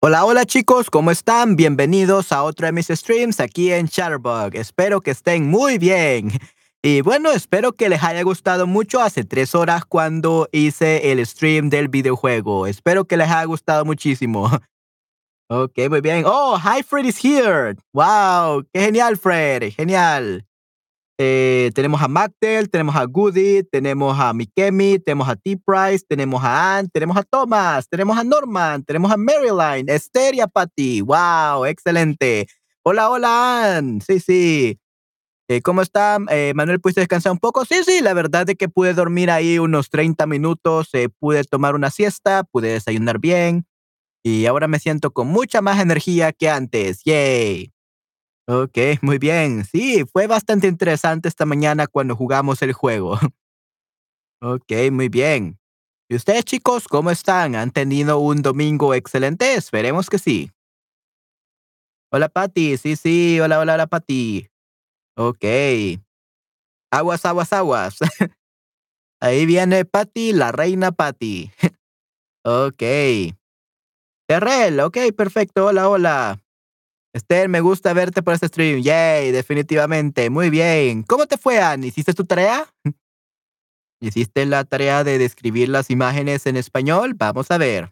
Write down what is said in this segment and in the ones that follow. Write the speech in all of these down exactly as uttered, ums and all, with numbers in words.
Hola, hola chicos, ¿cómo están? Bienvenidos a otro de mis streams aquí en Chatterbug. Espero que estén muy bien. Y bueno, espero que les haya gustado mucho hace tres horas cuando hice el stream del videojuego. Espero que les haya gustado muchísimo. Ok, muy bien. Oh, hi, Fred is here. Wow, qué genial, Fred. Genial. Eh, tenemos a Magtel, tenemos a Goody, tenemos a Mikemi, tenemos a T-Price, tenemos a Ann, tenemos a Thomas, tenemos a Norman, tenemos a Maryline, Esther y a Patty. ¡Wow! ¡Excelente! Hola, hola, Ann. Sí, sí. Eh, ¿cómo está? Eh, Manuel, ¿pudiste descansar un poco? Sí, sí, la verdad es que pude dormir ahí unos treinta minutos, eh, pude tomar una siesta, pude desayunar bien y ahora me siento con mucha más energía que antes. ¡Yay! Okey, muy bien. Sí, fue bastante interesante esta mañana cuando jugamos el juego. Okey, muy bien. ¿Y ustedes, chicos, cómo están? ¿Han tenido un domingo excelente? Esperemos que sí. Hola, Patty. Sí, sí. Hola, hola, hola, Patty. Okey. Aguas, aguas, aguas. Ahí viene Patty, la reina Patty. Okey. Terrell, okey, perfecto. Hola, hola. Esther, me gusta verte por este stream. Yay, definitivamente. Muy bien. ¿Cómo te fue, Ann? ¿Hiciste tu tarea? ¿Hiciste la tarea de describir las imágenes en español? Vamos a ver.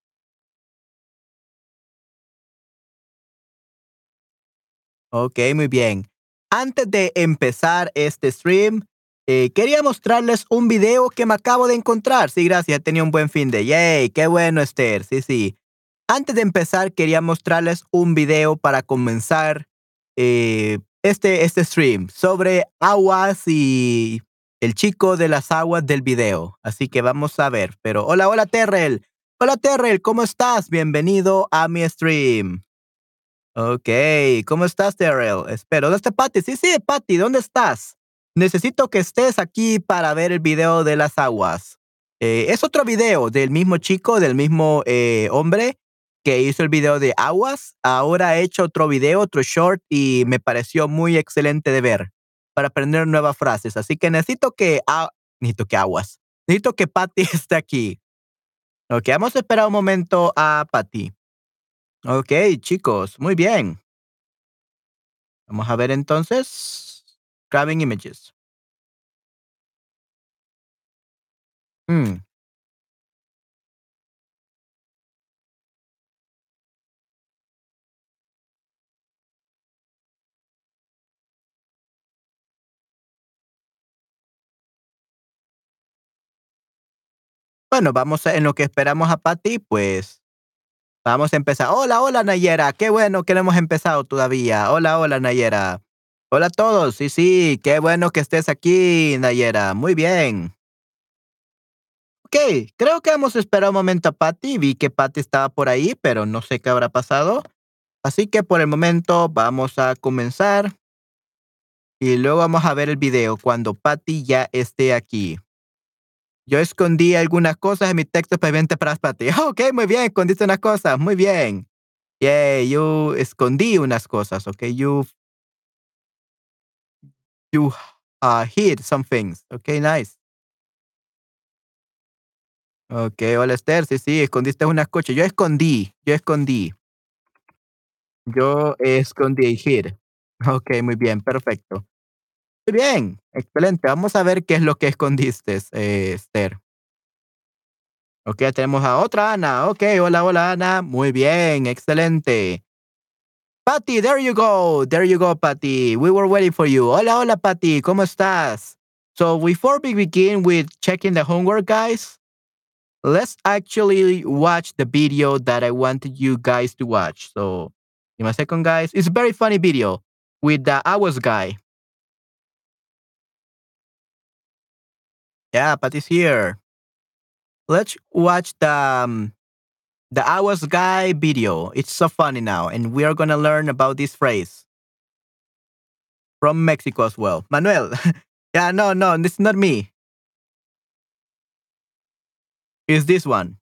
Ok, muy bien. Antes de empezar este stream, eh, quería mostrarles un video que me acabo de encontrar. Sí, gracias, tenía un buen fin de. Yay, qué bueno, Esther. Sí, sí. Antes de empezar, quería mostrarles un video para comenzar eh, este, este stream sobre aguas y el chico de las aguas del video. Así que vamos a ver. Pero hola, hola, Terrell. Hola, Terrell, ¿cómo estás? Bienvenido a mi stream. Ok, ¿cómo estás, Terrell? Espero. ¿Dónde está Patty? Sí, sí, Patty, ¿dónde estás? Necesito que estés aquí para ver el video de las aguas. Eh, es otro video del mismo chico, del mismo eh, hombre que hizo el video de aguas. Ahora ha hecho otro video, otro short, y me pareció muy excelente de ver para aprender nuevas frases. Así que necesito que, ah, necesito que aguas. Necesito que Patty esté aquí. Ok, vamos a esperar un momento a Patty. Ok, chicos, muy bien. Vamos a ver entonces. Grabbing images. Mm, Bueno, vamos a, en lo que esperamos a Patty, pues vamos a empezar. Hola, hola Nayera. Qué bueno que no hemos empezado todavía. Hola, hola Nayera. Hola a todos. Sí, sí, qué bueno que estés aquí, Nayera. Muy bien. Ok, creo que vamos a esperar un momento a Patty. Vi que Patty estaba por ahí, pero no sé qué habrá pasado. Así que por el momento vamos a comenzar y luego vamos a ver el video cuando Patty ya esté aquí. Yo escondí algunas cosas en mi texto pendiente para Patty. Ok, muy bien, escondiste unas cosas, muy bien. Yeah, yo escondí unas cosas, ok. You, you uh, hid some things. Ok, nice. Ok, hola Esther, sí, sí, escondiste unas cosas. Yo escondí, yo escondí. Yo escondí, hid. Ok, muy bien, perfecto. Muy bien, excelente. Vamos a ver qué es lo que escondiste, eh, Esther. Ok, ya tenemos a otra Ana. Ok, hola, hola Ana. Muy bien, excelente. Patty, there you go. There you go, Patty. We were waiting for you. Hola, hola, Patty. ¿Cómo estás? So before we begin with checking the homework, guys, let's actually watch the video that I wanted you guys to watch. So, give me a second, guys. It's a very funny video with the Awas guy. Yeah, Patty's here. Let's watch the um, the Awas guy video. It's so funny now, and we are gonna learn about this phrase from Mexico as well. Manuel. Yeah, no, no, this is not me. It's this one.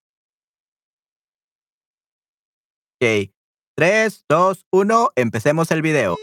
Ok. Tres, dos, uno. Empecemos el video.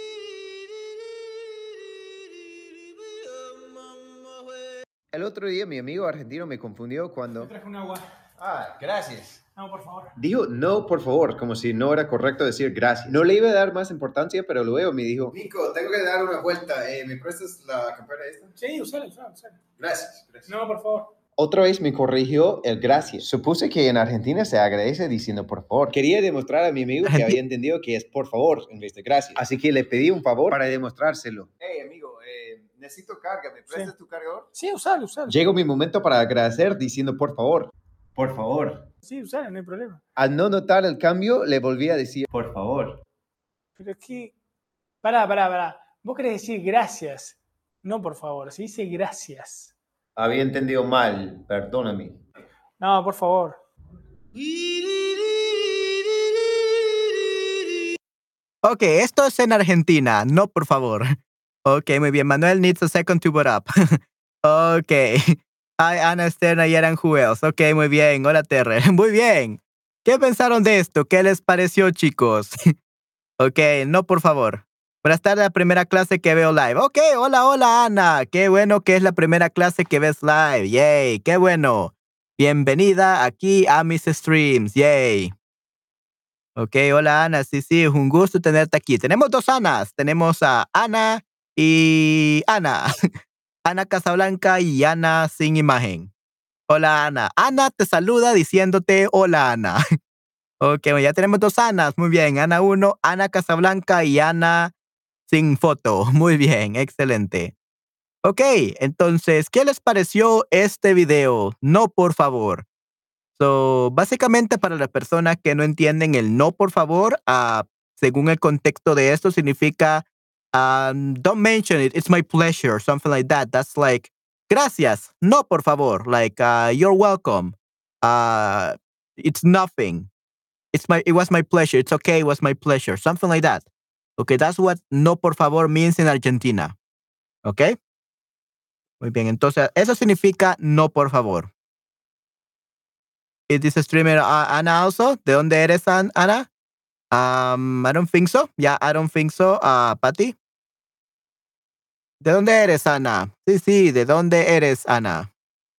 El otro día mi amigo argentino me confundió Te cuando... traje un agua. Ah, gracias. No, por favor. Dijo no, por favor, como si no era correcto decir gracias. No le iba a dar más importancia, pero luego me dijo, Nico, tengo que dar una vuelta. Eh, ¿Me prestas la campera esta? Sí, usala, usala, usala. Gracias, gracias. No, por favor. Otra vez me corrigió el gracias. Supuse que en Argentina se agradece diciendo por favor. Quería demostrar a mi amigo que Argenti- había entendido que es por favor en vez de gracias. Así que le pedí un favor para demostrárselo. Hey, amigo, eh, necesito carga. ¿Me prestas Sí. tu cargador? Sí, usala, usala. Llegó mi momento para agradecer diciendo por favor. Por favor. Sí, usala, no hay problema. Al no notar el cambio, le volví a decir por favor. Pero es que... Pará, pará, pará. Vos querés decir gracias. No, por favor. Se dice gracias. Había entendido mal, perdóname. No, por favor. Ok, esto es en Argentina, no por favor. Ok, muy bien. Manuel needs a second to boot up. Ok. Hi, Ana, Esther, Nayara, and who else? Ok, muy bien. Hola, Terre. Muy bien. ¿Qué pensaron de esto? ¿Qué les pareció, chicos? Ok, no por favor. Buenas tardes, la primera clase que veo live. Ok, hola, hola, Ana. Qué bueno que es la primera clase que ves live. Yay, qué bueno. Bienvenida aquí a mis streams. Yay. Ok, hola Ana, sí, sí, es un gusto tenerte aquí. Tenemos dos Anas, tenemos a Ana y Ana. Ana Casablanca y Ana sin imagen. Hola Ana. Ana te saluda diciéndote hola Ana. Ok, bueno, ya tenemos dos Anas, muy bien. Ana uno, Ana Casablanca y Ana sin foto. Muy bien, excelente. Ok, entonces, ¿qué les pareció este video? No, por favor. So, básicamente para las personas que no entienden el no, por favor, ah, según el contexto de esto, significa um, don't mention it, it's my pleasure, something like that. That's like, gracias, no, por favor, like, uh, you're welcome. Uh, it's nothing. It's my, it was my pleasure. It's okay, it was my pleasure, something like that. Okay, that's what no, por favor means in Argentina. Okay? Muy bien, entonces, eso significa no, por favor. Is this streamer uh, Ana also? ¿De dónde eres, An- Ana? Um, I don't think so. Yeah, I don't think so. Uh, Patty. ¿De dónde eres, Ana? Sí, sí, ¿de dónde eres, Ana?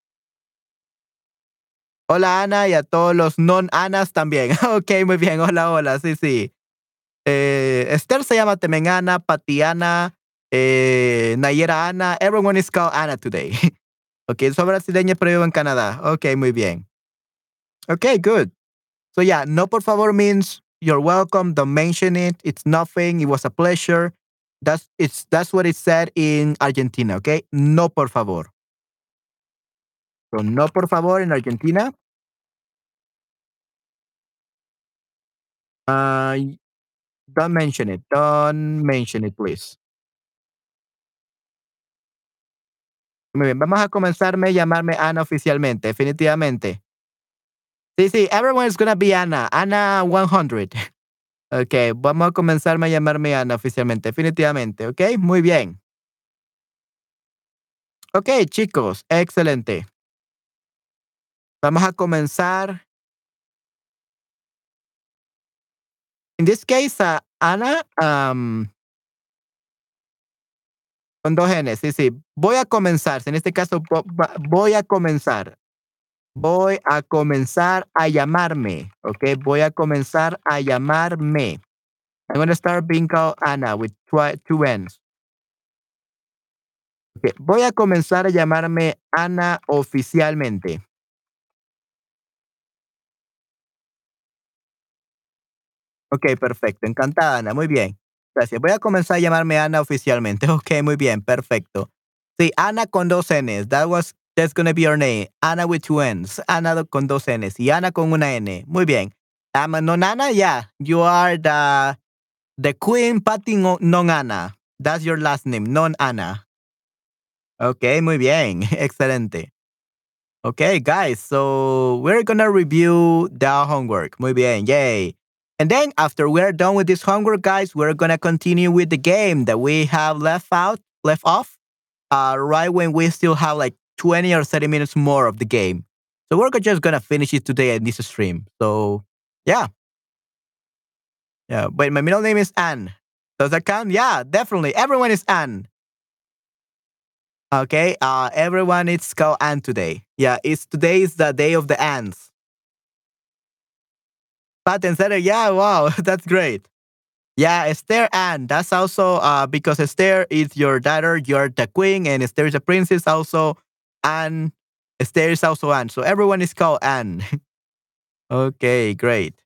Hola, Ana, y a todos los non-Anas también. Ok, muy bien. Hola, hola. Sí, sí. Eh, Esther se llama también Ana, Patty Ana, eh, Nayera Ana. Everyone is called Ana today. Ok, soy brasileña, pero vivo en Canadá. Ok, muy bien. Ok, good. So yeah, no por favor means you're welcome. Don't mention it. It's nothing. It was a pleasure. That's it's that's what it said in Argentina. Okay, no por favor. So no por favor in Argentina. Uh, don't mention it. Don't mention it, please. Muy bien, vamos a comenzarme a llamarme Ana oficialmente, definitivamente. Sí, sí, everyone is gonna be Ana. Ana one hundred. Okay, vamos a comenzarme a llamarme Ana oficialmente, definitivamente. Okay, muy bien. Ok, chicos, excelente. Vamos a comenzar. In this case, uh, Ana, um, con dos N, sí, sí. Voy a comenzar. En este caso, vo- va- voy a comenzar. Voy a comenzar a llamarme. Ok, voy a comenzar a llamarme. I'm going to start being called Ana with twi- two N's. Ok, voy a comenzar a llamarme Ana oficialmente. Ok, perfecto. Encantada, Ana. Muy bien. Gracias. Voy a comenzar a llamarme Ana oficialmente. Ok, muy bien. Perfecto. Sí, Ana con dos N's. That was, that's gonna be your name. Ana with two N's. Ana do- con dos N's. Y Ana con una N. Muy bien. Um, non Ana, yeah. You are the, the Queen Patty no- Non Ana. That's your last name. Non Ana. Ok, muy bien. Excelente. Okay, guys, so we're gonna review the homework. Muy bien, yay. And then after we're done with this homework, guys, we're gonna continue with the game that we have left out, left off, uh, right when we still have like twenty or thirty minutes more of the game. So we're just gonna finish it today in this stream. So yeah, yeah. But my middle name is Anne. Does that count? Yeah, definitely. Everyone is Anne. Okay, uh, everyone is called Anne today. Yeah, it's today is the day of the ants. Pat and Center, yeah, wow, that's great. Yeah, Esther Anne. That's also uh, because Esther is your daughter, you're the queen, and Esther is a princess also. Anne, Esther is also Anne. So everyone is called Anne. Okay, great.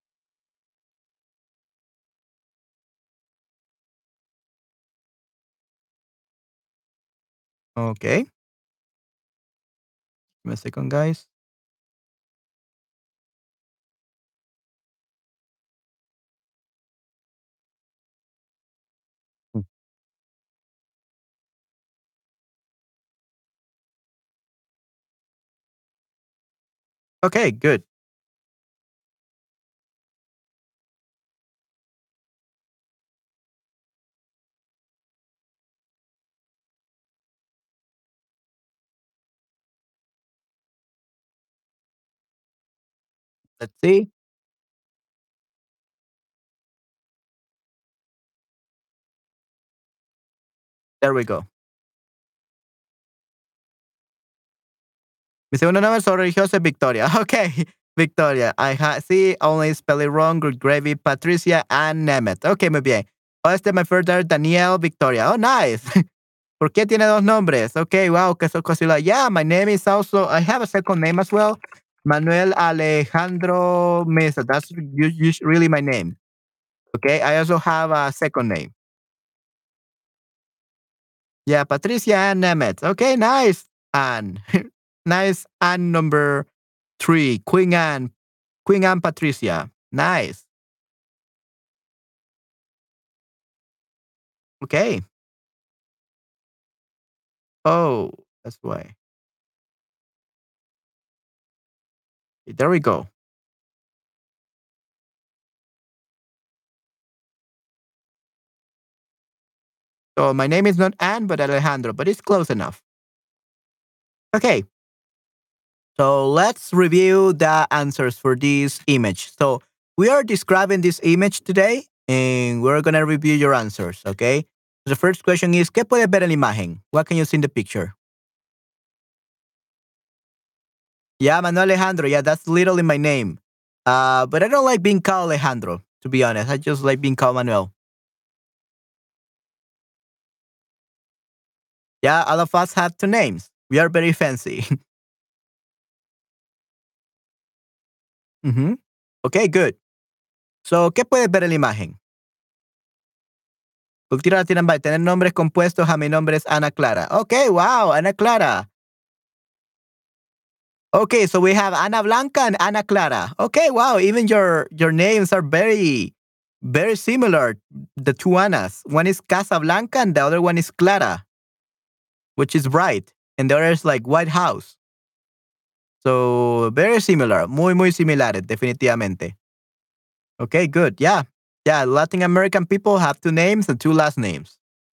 Okay. Give me a second, guys. Mm. Okay, good. Let's see. There we go. Mi segundo nombre es religioso es Victoria. Okay, Victoria. I ha see only spell it wrong. Good gravy. Patricia and Nemeth. Okay, muy bien. Oh, este es my first daughter, Danielle Victoria. Oh, nice. ¿Por qué tiene dos nombres? Okay, wow, que so cosila. Yeah, my name is also, I have a second name as well. Manuel Alejandro Mesa. That's u- us- really my name. Okay, I also have a second name. Yeah, Patricia Ann Nemeth. Okay, nice. Anne. Nice. Anne number three. Queen Anne. Queen Anne Patricia. Nice. Okay. Oh, that's why. There we go. So my name is not Anne, but Alejandro, but it's close enough. Okay. So let's review the answers for this image. So we are describing this image today and we're going to review your answers, okay? The first question is, ¿qué puedes ver en la imagen? What can you see in the picture? Yeah, Manuel Alejandro. Yeah, that's literally my name. Uh, but I don't like being called Alejandro, to be honest. I just like being called Manuel. Yeah, all of us have two names. We are very fancy. Mhm. Okay, good. So, ¿qué puedes ver en la imagen? Cultura Latina va a tener nombres compuestos. A mi nombre es Ana Clara. Okay, wow, Ana Clara. Okay, so we have Ana Blanca and Ana Clara. Okay, wow, even your your names are very very similar. The two Anas. One is Casablanca and the other one is Clara, which is bright, and the other is like White House. So very similar, muy muy similares, definitivamente. Okay, good. Yeah, yeah. Latin American people have two names and two last names.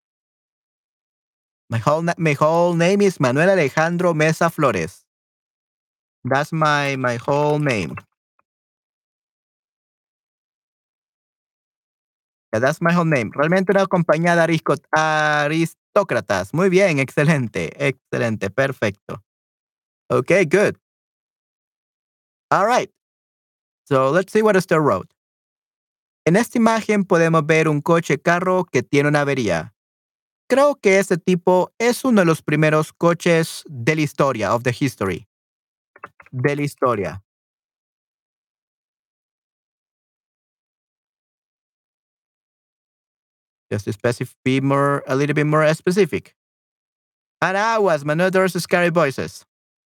My whole na- my whole name is Manuel Alejandro Mesa Flores. That's my my whole name. Yeah, that's my whole name. Realmente una compañía de arisco- aristócratas. Muy bien, excelente, excelente, perfecto. Okay, good. All right. So let's see what Esther wrote. En esta imagen podemos ver un coche carro que tiene una avería. Creo que este tipo es uno de los primeros coches de la historia, of the history, de la historia. Just to specify, be more, a little bit more specific. And I was Manother's scary voices.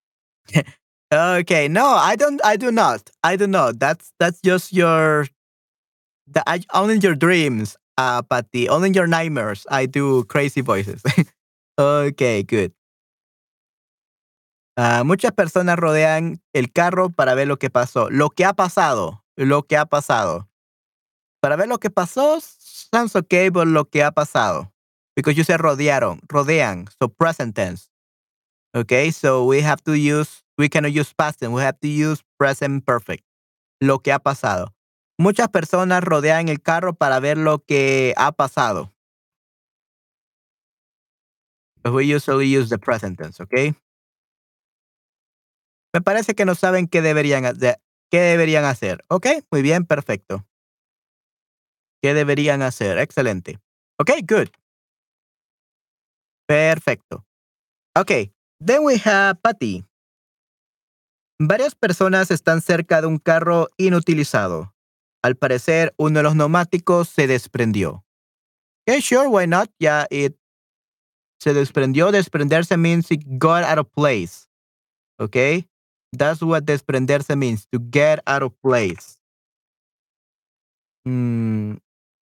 Okay, no, I don't. I do not. I do not. That's that's just your, the, I, only in your dreams, uh, Patty. Only in your nightmares. I do crazy voices. Okay, good. Ah, muchas personas rodean el carro para ver lo que pasó. Lo que ha pasado. Lo que ha pasado. Para ver lo que pasó, sounds okay, but lo que ha pasado. Because you said rodearon, rodean, so present tense. Okay, so we have to use, we cannot use past tense, we have to use present perfect. Lo que ha pasado. Muchas personas rodean el carro para ver lo que ha pasado. But we usually use the present tense, okay? Me parece que no saben qué deberían hacer. ¿Qué deberían hacer? Ok, muy bien, perfecto. ¿Qué deberían hacer? Excelente. Ok, good. Perfecto. Ok, then we have Patty. Varias personas están cerca de un carro inutilizado. Al parecer, uno de los neumáticos se desprendió. Okay, sure, why not? Yeah, it se desprendió. Desprenderse means it got out of place. Okay? That's what desprenderse means, to get out of place. Mm,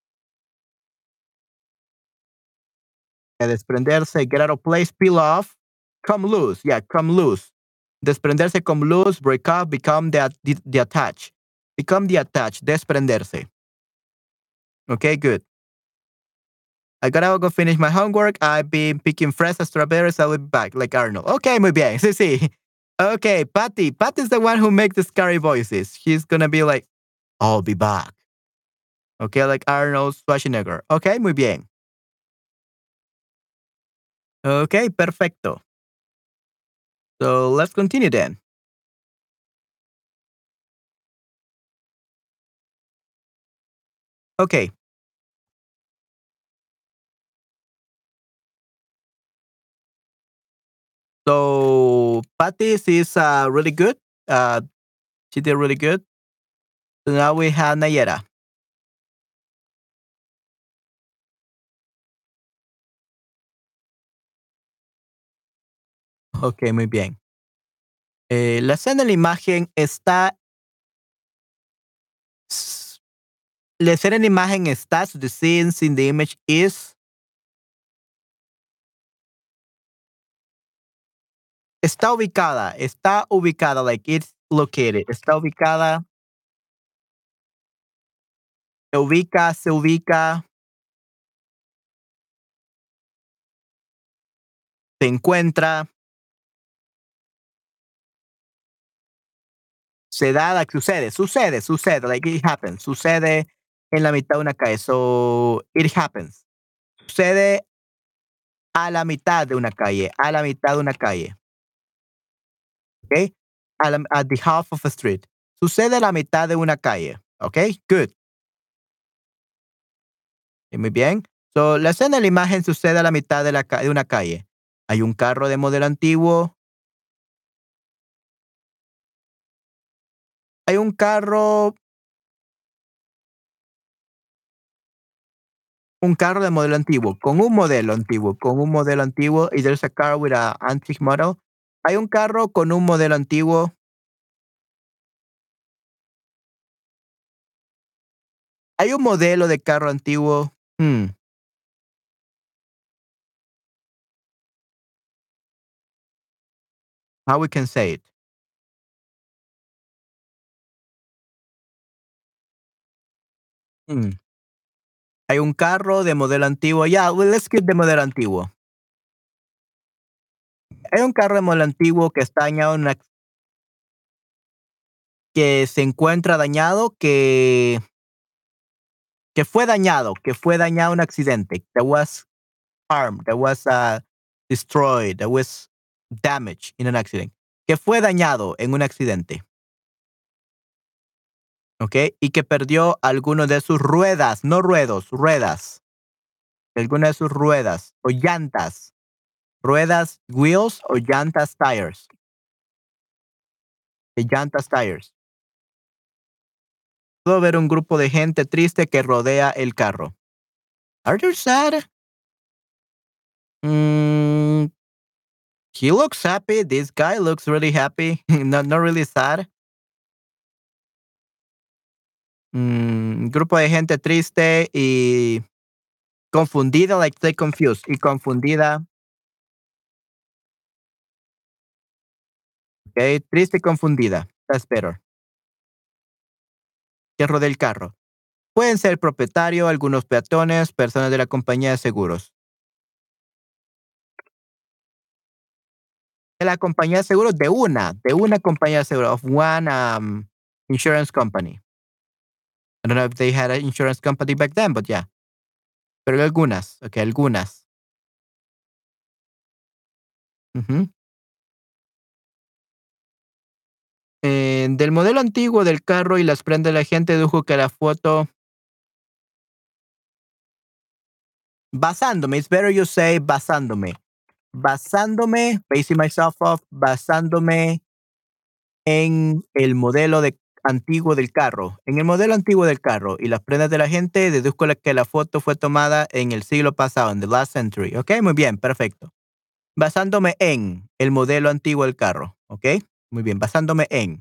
desprenderse, get out of place, peel off, come loose. Yeah, come loose. Desprenderse, come loose, break up, become the, the, the attach. Become the attach, desprenderse. Okay, good. I gotta go finish my homework. I've been picking fresh strawberries. I'll be back, like Arnold. Okay, muy bien. Sí, sí. Okay, Patty. Patty's the one who makes the scary voices. He's gonna be like, I'll be back. Okay, like Arnold Schwarzenegger. Okay, muy bien. Okay, perfecto. So let's continue then. Okay. So Patty's is uh, really good. Uh, she did really good. So now we have Nayera. Okay, muy bien. Eh, la escena en la imagen está. La escena en la imagen está. So the scenes in the image is. Está ubicada. Está ubicada. Like it's located. Está ubicada. Se ubica. Se ubica. Se encuentra. Se da, like, sucede, sucede, sucede, like it happens, sucede en la mitad de una calle. So it happens. Sucede a la mitad de una calle, a la mitad de una calle. Okay? A la, at the half of a street. Sucede a la mitad de una calle. Okay? Good. Y muy bien. So la escena de la imagen sucede a la mitad de, la, de una calle. Hay un carro de modelo antiguo. Hay un carro un carro de modelo antiguo, con un modelo antiguo, con un modelo antiguo, y there's a car with a antique model. Hay un carro con un modelo antiguo. Hay un modelo de carro antiguo. Hmm. How we can say it? Hmm. Hay un carro de modelo antiguo. Yeah, well, let's keep de modelo antiguo. Hay un carro de modelo antiguo que está dañado en una, que se encuentra dañado, que que fue dañado, que fue dañado en un accidente. That was harmed, that was uh, destroyed, that was damaged in an accident. Que fue dañado en un accidente. ¿Ok? Y que perdió alguno de sus ruedas, no ruedos, ruedas. Alguna de sus ruedas o llantas. Ruedas, wheels o llantas, tires. De llantas, tires. Puedo ver un grupo de gente triste que rodea el carro. Are you sad? Mm, he looks happy. This guy looks really happy. not, not really sad. Mm, grupo de gente triste y confundida, like stay confused. Y confundida. Okay, triste y confundida. That's better. Que rodea el carro. Pueden ser el propietario, algunos peatones, personas de la compañía de seguros. De la compañía de seguros, de una, de una compañía de seguros, of one um, insurance company. I don't know if they had an insurance company back then, but yeah. Pero algunas, ok, algunas. Ujú. Eh, del modelo antiguo del carro y las prendas de la gente dedujo que la foto. Basándome, it's better you say basándome. Basándome, basing myself off, basándome en el modelo de, antiguo del carro. En el modelo antiguo del carro y las prendas de la gente, deduzco la- que la foto fue tomada en el siglo pasado, en the last century. ¿Ok? Muy bien, perfecto. Basándome en el modelo antiguo del carro. ¿Ok? Muy bien, basándome en.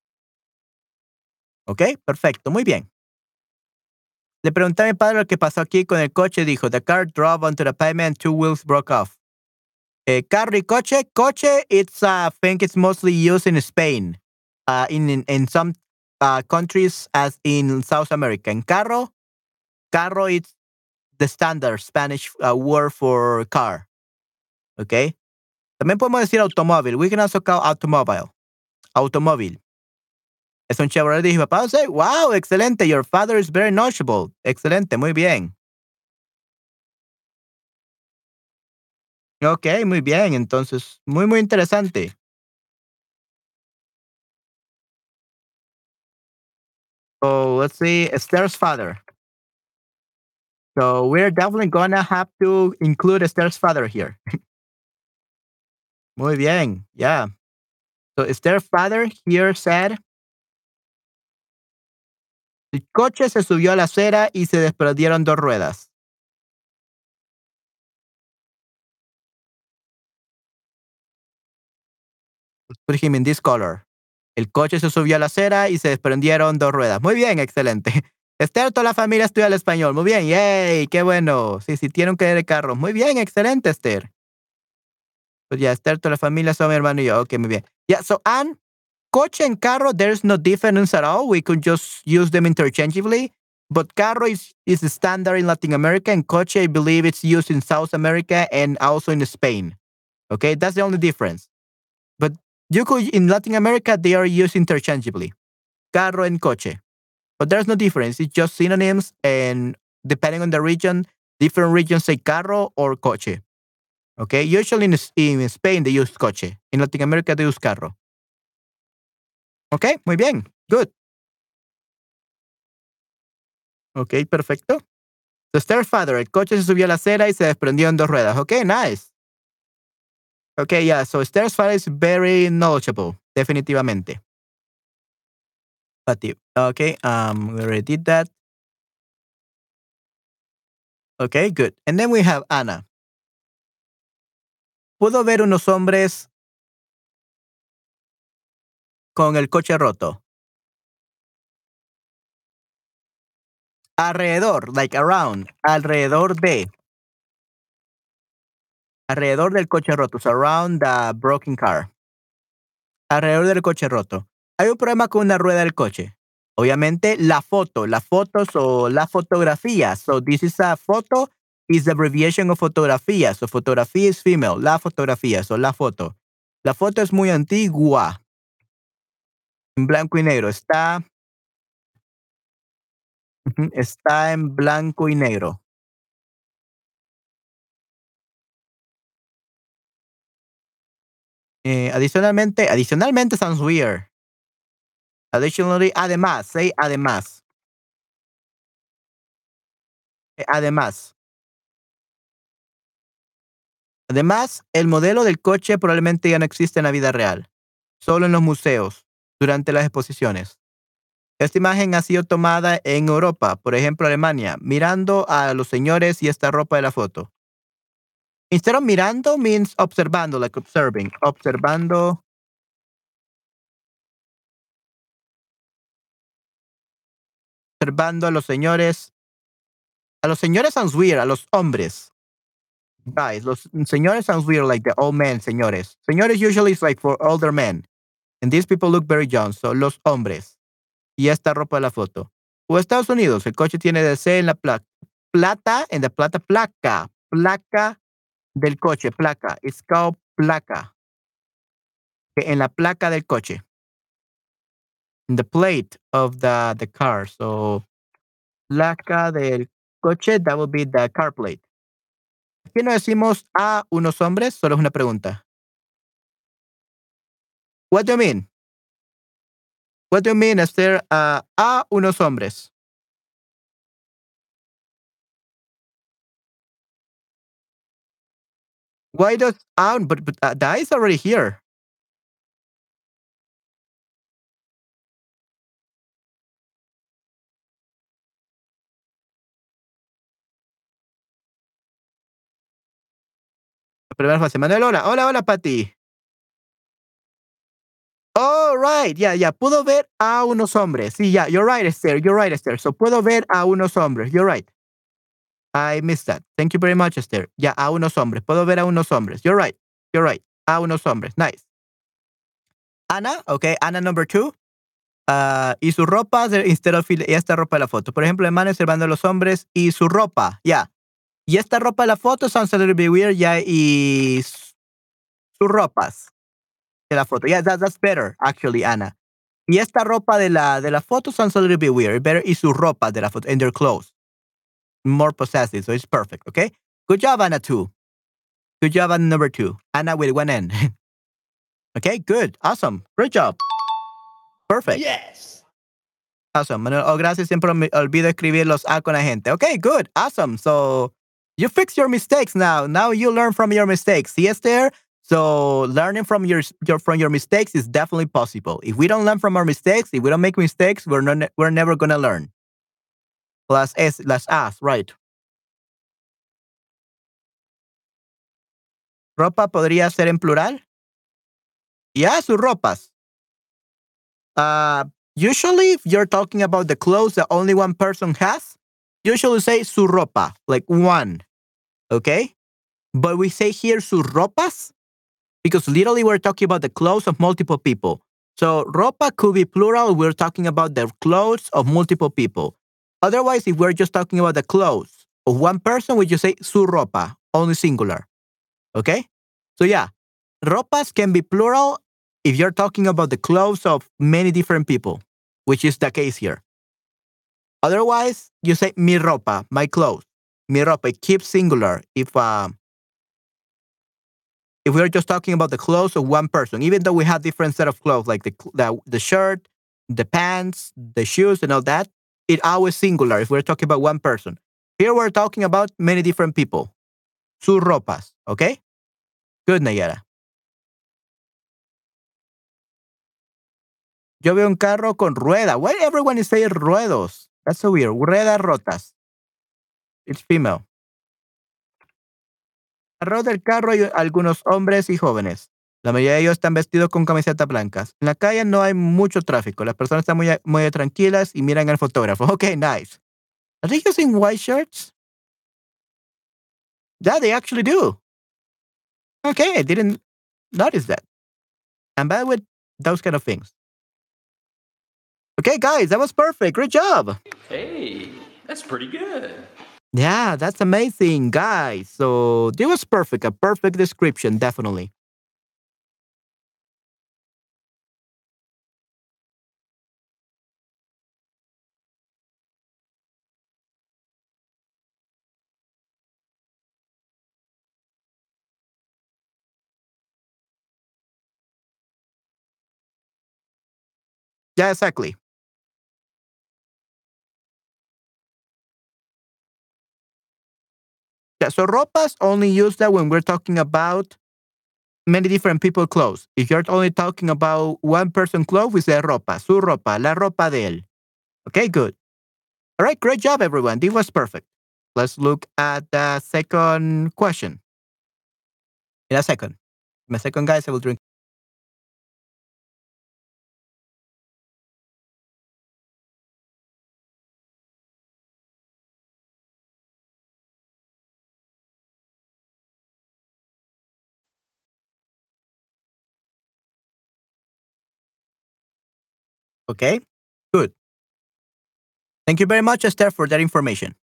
¿Ok? Perfecto, muy bien. Le pregunté a mi padre lo que pasó aquí con el coche. Dijo, the car drove onto the pavement and two wheels broke off. Eh, carro y coche. Coche, it's, uh, I think it's mostly used in Spain. Uh, in, in, in some uh, countries as in South America. En carro, carro, it's the standard Spanish uh, word for car. Okay. También podemos decir automóvil. We can also call automobile. Automóvil. Es un Chevrolet. Dije, papá, say, wow, excelente. Your father is very knowledgeable. Excelente, muy bien. Ok, muy bien. Entonces, muy, muy interesante. So, let's see. Esther's father. So, we're definitely gonna have to include Esther's father here. Muy bien. Yeah. So, Esther's father here said, el coche se subió a la acera y se desprendieron dos ruedas. Put him in this color. El coche se subió a la acera y se desprendieron dos ruedas. Muy bien, excelente. Esther, toda la familia estudia el español. Muy bien, yay, qué bueno. Sí, sí, tienen que ir de carro. Muy bien, excelente, Esther. Pues ya, Esther, toda la familia son mi hermano y yo. Ok, muy bien. Yeah, so, Anne, coche and carro, there's no difference at all. We could just use them interchangeably. But carro is, is the standard in Latin America, and coche, I believe it's used in South America and also in Spain. Okay, that's the only difference. But you could, in Latin America, they are used interchangeably. Carro and coche. But there's no difference. It's just synonyms, and depending on the region, different regions say carro or coche. Okay, usually in, in Spain they use coche. In Latin America they use carro. Okay, muy bien. Good. Okay, perfecto. So Stepfather, el coche se subió a la acera y se desprendió en dos ruedas. Okay, nice. Okay, yeah, so Stepfather is very knowledgeable, definitivamente. But okay, um, we already did that. Okay, good. And then we have Anna. Pudo ver unos hombres con el coche roto. Alrededor, like around, alrededor de. Alrededor del coche roto, so around the broken car. Alrededor del coche roto. Hay un problema con una rueda del coche. Obviamente, la foto, las fotos o la fotografía. So, this is a photo, is the abbreviation of fotografía. So, fotografía is female, la fotografía, so la foto. La foto es muy antigua. En blanco y negro. Está, ujú, está en blanco y negro. Eh, adicionalmente, adicionalmente sounds weird. Additionally, además, say además. Eh, además. Además, el modelo del coche probablemente ya no existe en la vida real, solo en los museos, durante las exposiciones. Esta imagen ha sido tomada en Europa, por ejemplo, Alemania, mirando a los señores y esta ropa de la foto. Instead of mirando means observando, like observing. Observando. Observando a los señores. A los señores sounds weird, a los hombres. Guys, los señores sounds weird, like the old men, señores. Señores usually is like for older men. And these people look very young, so los hombres. Y esta ropa de la foto. O Estados Unidos, el coche tiene D C en la placa. Plata, en la plata, placa. Placa del coche, placa. It's called placa. En la placa del coche. In the plate of the, the car. So, placa del coche, that would be the car plate. ¿Qué no decimos a unos hombres? Solo es una pregunta. What do you mean? What do you mean, Esther? Uh, a unos hombres. Why does ah, but, but uh, that is already here. La primera fase. Manuel, hola. Hola, hola, Pati. Oh, right. Yeah, yeah. Puedo ver a unos hombres. Sí, yeah. You're right, Esther. You're right, Esther. So puedo ver a unos hombres. You're right. I missed that. Thank you very much, Esther. Yeah, a unos hombres. Puedo ver a unos hombres. You're right. You're right. A unos hombres. Nice. Ana, okay. Ana number two. Uh, y su ropa instead of y esta ropa de la foto. Por ejemplo, hermano observando a los hombres y su ropa. Yeah. Y esta ropa de la foto sounds a little bit weird. Yeah. Y sus ropas de la foto. Yeah, that, that's better, actually, Ana. Y esta ropa de la, de la foto sounds a little bit weird. Better y su ropa de la foto, and their clothes. More possessive, so it's perfect, okay? Good job, Anna, two. Good job, Anna, number two. Anna with one N. Okay, good. Awesome. Great job. Perfect. Yes. Awesome. Manuel, oh, gracias. Siempre me olvido escribir los A con la gente. Okay, good. Awesome. So you fix your mistakes now. Now you learn from your mistakes. See, Esther? So learning from your, your from your mistakes is definitely possible. If we don't learn from our mistakes, if we don't make mistakes, we're not we're never gonna learn. Las S, las A's, right? Ropa podría ser en plural. Yeah, sus ropas. Uh, usually, if you're talking about the clothes that only one person has, usually say su ropa, like one. Okay? But we say here sus ropas because literally we're talking about the clothes of multiple people. So ropa could be plural. We're talking about the clothes of multiple people. Otherwise, if we're just talking about the clothes of one person, we just say su ropa, only singular. Okay? So yeah, ropas can be plural if you're talking about the clothes of many different people, which is the case here. Otherwise, you say mi ropa, my clothes. Mi ropa, it keeps singular if uh, if we're just talking about the clothes of one person, even though we have different set of clothes, like the the, the shirt, the pants, the shoes, and all that, it always singular if we're talking about one person. Here we're talking about many different people. Sus ropas, okay? Good, Nayara. Yo veo un carro con rueda. Why everyone is saying ruedos? That's so weird. Ruedas rotas. It's female. Alrededor del carro hay algunos hombres y jóvenes. La mayoría de ellos están vestidos con camisetas blancas. En la calle no hay mucho tráfico. Las personas están muy, muy tranquilas y miran al fotógrafo. Okay, nice. Are they using white shirts? Yeah, they actually do. Okay, I didn't notice that. I'm bad with those kind of things. Okay, guys, that was perfect. Great job. Hey, that's pretty good. Yeah, that's amazing, guys. So this was perfect. A perfect description, definitely. Yeah, exactly. Yeah, so ropas only use that when we're talking about many different people clothes. If you're only talking about one person clothes, we say ropa, su ropa, la ropa de él. Okay, good. All right, great job, everyone. This was perfect. Let's look at the second question. In a second. In a second, guys, I will drink. Okay, good. Thank you very much, Esther, for that information.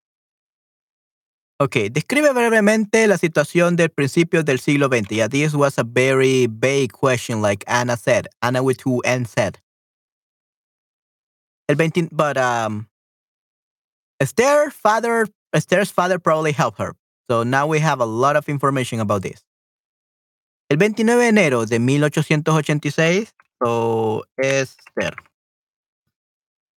Okay, describe brevemente la situación del principio del siglo veinte. Yeah, this was a very vague question, like Anna said. Anna with two N said. El veinte, but um, Esther father, Esther's father probably helped her. So now we have a lot of information about this. El veintinueve de enero de mil ochocientos ochenta y seis, so Esther.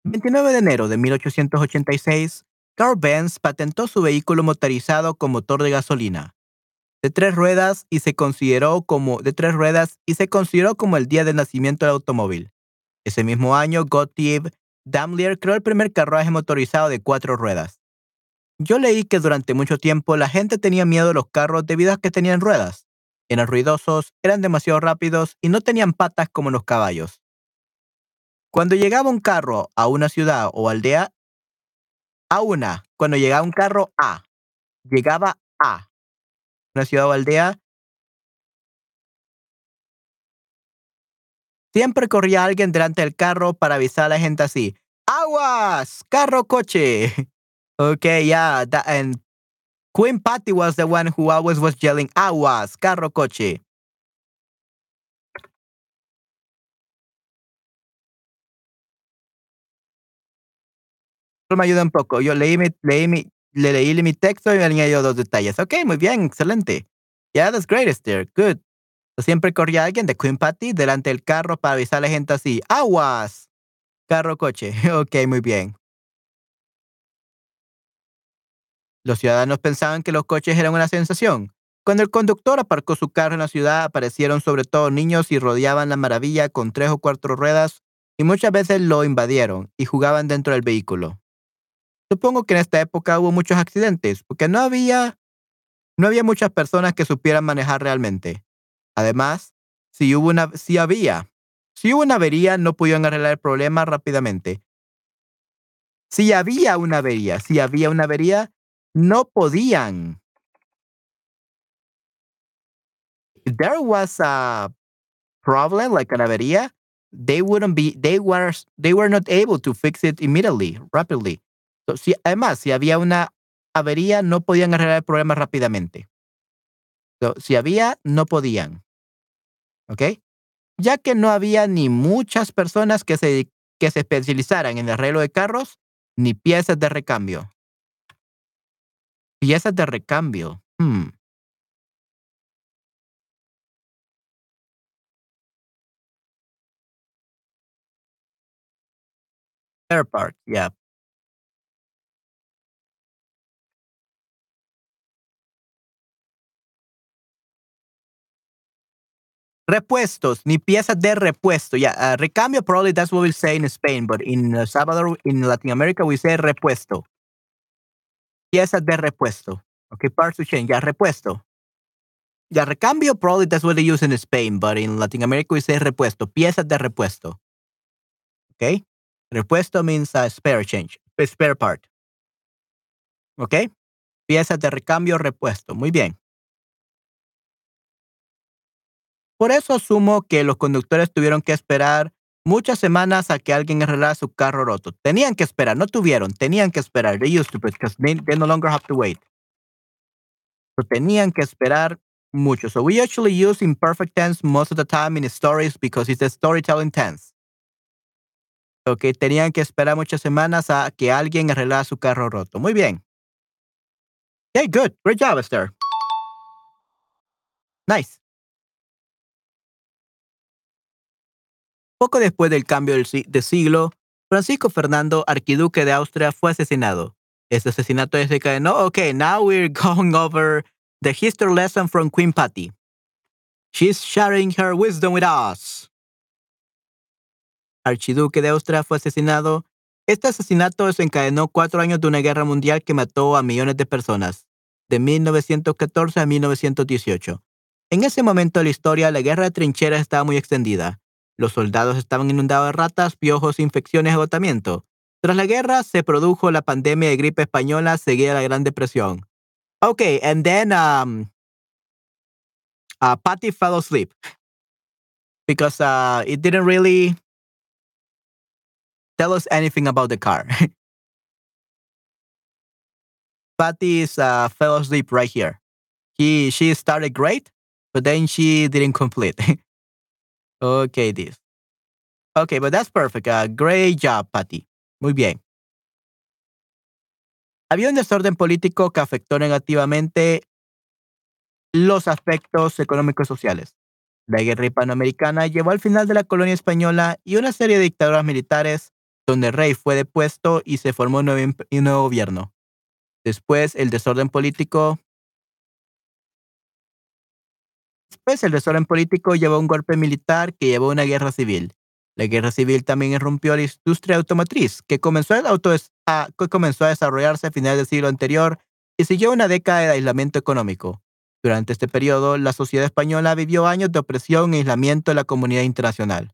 veintinueve de enero de mil ochocientos ochenta y seis, Carl Benz patentó su vehículo motorizado con motor de gasolina de tres ruedas y se consideró como de tres ruedas y se consideró como el día del nacimiento del automóvil. Ese mismo año, Gottlieb Daimler creó el primer carruaje motorizado de cuatro ruedas. Yo leí que durante mucho tiempo la gente tenía miedo de los carros debido a que tenían ruedas. Eran ruidosos, eran demasiado rápidos y no tenían patas como los caballos. Cuando llegaba un carro a una ciudad o aldea, a una, cuando llegaba un carro a, llegaba a una ciudad o aldea, siempre corría alguien delante del carro para avisar a la gente así: ¡Aguas! ¡Carro, coche! Okay, yeah, that, and Queen Patty was the one who always was yelling, "Aguas! Carro, coche!" Eso me ayuda un poco. Yo leí mi, leí mi, le leí mi texto y me añadió dos detalles. Ok, muy bien, excelente. Yeah, that's great, Esther. Good. Siempre corría alguien de Queen Patty delante del carro para avisar a la gente así: ¡Aguas! Carro, coche. Ok, muy bien. Los ciudadanos pensaban que los coches eran una sensación. Cuando el conductor aparcó su carro en la ciudad, aparecieron sobre todo niños y rodeaban la maravilla con tres o cuatro ruedas y muchas veces lo invadieron y jugaban dentro del vehículo. Supongo que en esta época hubo muchos accidentes porque no había, no había muchas personas que supieran manejar realmente. Además, si, hubo una, si había, si hubo una avería, no pudieron arreglar el problema rápidamente. Si había una avería, si había una avería, no podían. If there was a problem like an avería, they wouldn't be, they were, they were not able to fix it immediately, rapidly. So, si, además, si había una avería, no podían arreglar el problema rápidamente. So, si había, no podían. ¿Ok? Ya que no había ni muchas personas que se, que se especializaran en el arreglo de carros, ni piezas de recambio. Piezas de recambio. Hmm. Spare parts, yeah. Repuestos, ni piezas de repuesto. Yeah, uh, recambio, probably that's what we say in Spain, but in El Salvador, in Latin America, we say repuesto. Piezas de repuesto. Okay, parts to change. Yeah, repuesto. Yeah, recambio, probably that's what they use in Spain, but in Latin America, we say repuesto. Piezas de repuesto. Okay? Repuesto means a spare change, a spare part. Okay? Piezas de recambio, repuesto. Muy bien. Por eso asumo que los conductores tuvieron que esperar muchas semanas a que alguien arreglara su carro roto. Tenían que esperar, no tuvieron, tenían que esperar. They used to, because they, they no longer have to wait. So tenían que esperar mucho. So we actually use imperfect tense most of the time in stories because it's a storytelling tense. Ok, tenían que esperar muchas semanas a que alguien arreglara su carro roto. Muy bien. Okay, good. Great job, Esther. Nice. Poco después del cambio de siglo, Francisco Fernando, arquiduque de Austria, fue asesinado. Este asesinato desencadenó. Okay, now we're going over the history lesson from Queen Patty. She's sharing her wisdom with us. Archiduque de Austria fue asesinado. Este asesinato desencadenó cuatro años de una guerra mundial que mató a millones de personas, de mil novecientos catorce a mil novecientos dieciocho. En ese momento de la historia, la guerra de trincheras estaba muy extendida. Los soldados estaban inundados de ratas, piojos, infecciones y agotamiento. Tras la guerra, se produjo la pandemia de gripe española seguida de la Gran Depresión. Okay, and then um, uh, Patty fell asleep because uh, it didn't really tell us anything about the car. Patty is, uh, fell asleep right here. He, she started great, but then she didn't complete. Okay, this. Okay, but that's perfect. Uh, great job, Patty. Muy bien. Había un desorden político que afectó negativamente los aspectos económicos y sociales. La guerra hispanoamericana llevó al final de la colonia española y una serie de dictaduras militares donde el rey fue depuesto y se formó un nuevo, imp- un nuevo gobierno. Después, el desorden político. Después, el desorden político llevó a un golpe militar que llevó a una guerra civil. La guerra civil también irrumpió la industria automotriz, que comenzó, el auto a, que comenzó a desarrollarse a finales del siglo anterior y siguió una década de aislamiento económico. Durante este periodo, la sociedad española vivió años de opresión e aislamiento de la comunidad internacional.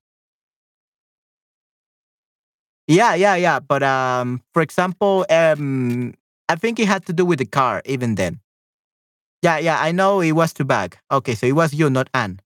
Yeah, yeah, yeah. But um, for example, um, I think it had to do with the car even then. Yeah, yeah. I know it was too bad. Okay, so it was you, not Anne.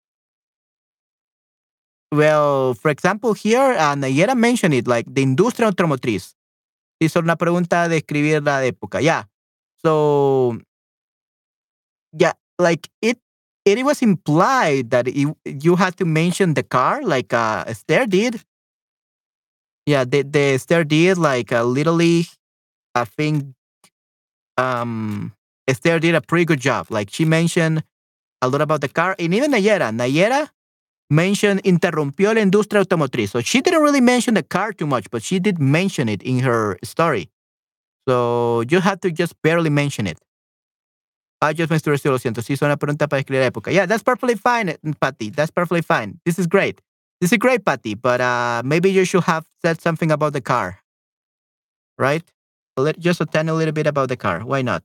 Well, for example, here, uh, Nayera mentioned it, like the industria automotriz. Hizo una pregunta de escribir la época. Yeah. So, yeah, like it, it was implied that it, you had to mention the car, like uh, Esther did. Yeah, the, the Esther did, like uh, literally, I think um, Esther did a pretty good job. Like she mentioned a lot about the car, and even Nayera. Nayera mentioned interrumpió la industria automotriz. So she didn't really mention the car too much, but she did mention it in her story. So you had to just barely mention it. I just menstrué, lo siento. Sí, hizo una pregunta para escribir la época. Yeah, that's perfectly fine, eh, Patty. That's perfectly fine. This is great. This is great, Patty. But uh, maybe you should have said something about the car, right? Let, just a tiny little bit about the car. Why not?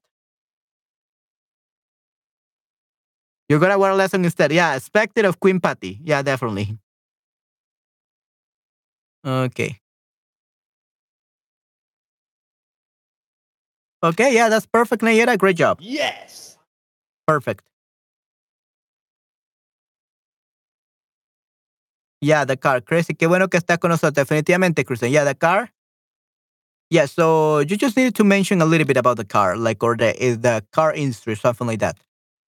You're gonna wear a lesson instead. Yeah, expected of Queen Patty. Yeah, definitely. Okay. Okay, yeah, that's perfect, Nayera. Great job. Yes. Perfect. Yeah, the car. Crazy. Qué bueno que estás con nosotros. Definitivamente, Kristen. Yeah, the car. Yeah, so you just needed to mention a little bit about the car, like, or the, is the car industry, something like that.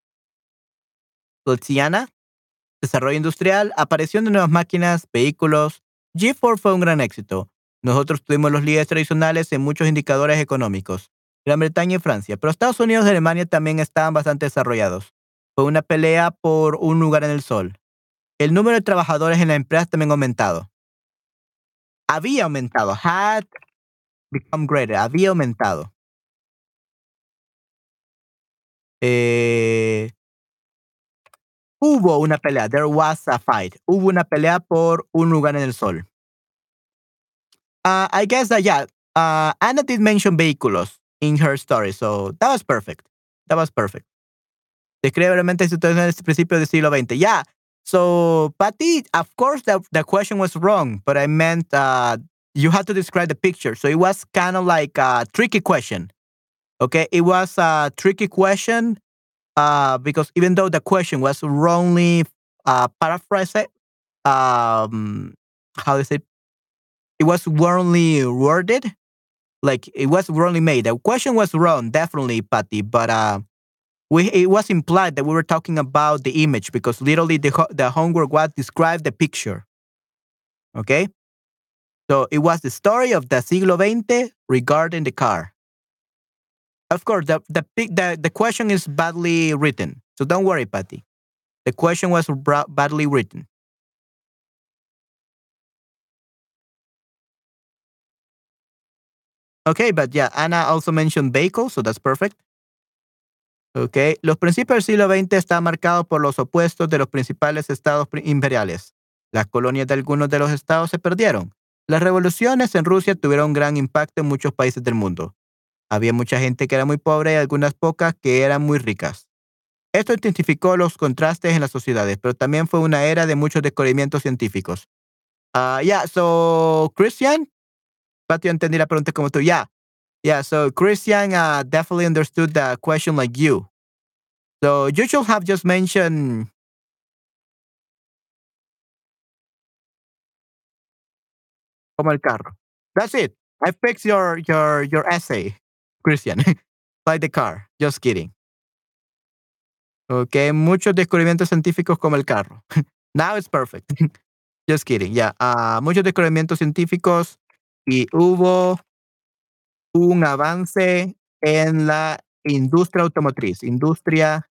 Luciana, desarrollo industrial, aparición de nuevas máquinas, vehículos. G cuatro fue un gran éxito. Nosotros tuvimos los líderes tradicionales en muchos indicadores económicos, Gran Bretaña y Francia, pero Estados Unidos y Alemania también estaban bastante desarrollados. Fue una pelea por un lugar en el sol. El número de trabajadores en la empresa también ha aumentado. Había aumentado. Had become greater. Había aumentado. Eh, hubo una pelea. There was a fight. Hubo una pelea por un lugar en el sol. Uh, I guess that, yeah, uh, Anna did mention vehículos in her story, so that was perfect. That was perfect. Describe brevemente situaciones en este principio del siglo veinte. Yeah. So, Patty, of course, the, the question was wrong, but I meant uh, you had to describe the picture. So it was kind of like a tricky question. Okay. It was a tricky question uh, because even though the question was wrongly uh, paraphrased, um, how do you say? It was wrongly worded. Like it was wrongly made. The question was wrong, definitely, Patty, but uh, we it was implied that we were talking about the image because literally the ho- the homework was describe the picture. Okay, so it was the story of the siglo veinte regarding the car. Of course, the the pic- the, the question is badly written, so don't worry, Patty. The question was bra- badly written. Okay, but yeah, Anna also mentioned vehicles, so that's perfect. Okay. Los principios del siglo veinte están marcados por los opuestos de los principales estados pri- imperiales. Las colonias de algunos de los estados se perdieron. Las revoluciones en Rusia tuvieron un gran impacto en muchos países del mundo. Había mucha gente que era muy pobre y algunas pocas que eran muy ricas. Esto intensificó los contrastes en las sociedades, pero también fue una era de muchos descubrimientos científicos. Ah, yeah, so Christian, Patio, entendí la pregunta como tú. Yeah, yeah, so Christian uh, definitely understood the question like you. So you should have just mentioned como el carro. That's it. I fixed your your your essay, Christian. Like the car. Just kidding. Okay, muchos descubrimientos científicos como el carro. Now it's perfect. Just kidding. Yeah. Ah, muchos descubrimientos científicos y hubo un avance en la industria automotriz. Industria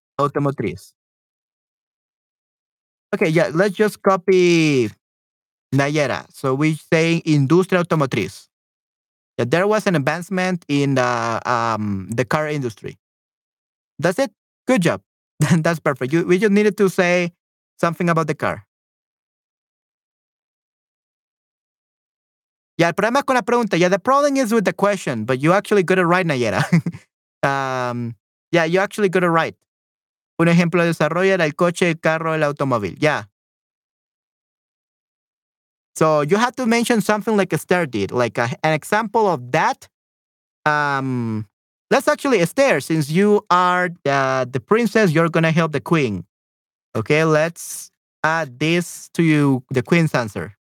automotriz. Okay, yeah, let's just copy Nayera. So we say industria automotriz. That there was an advancement in the um the car industry. That's it. Good job. That's perfect. You, we just needed to say something about the car. Yeah, el problema es con la pregunta. Yeah, the problem is with the question, but you actually got it right, Nayera. um, yeah, you actually got it right. Un ejemplo de desarrollo era el coche, el carro, el automóvil. Yeah. So you have to mention something like Esther did, like a, an example of that. Um, let's actually, Esther, since you are the, the princess, you're going to help the queen. Okay, let's add this to you, the queen's answer.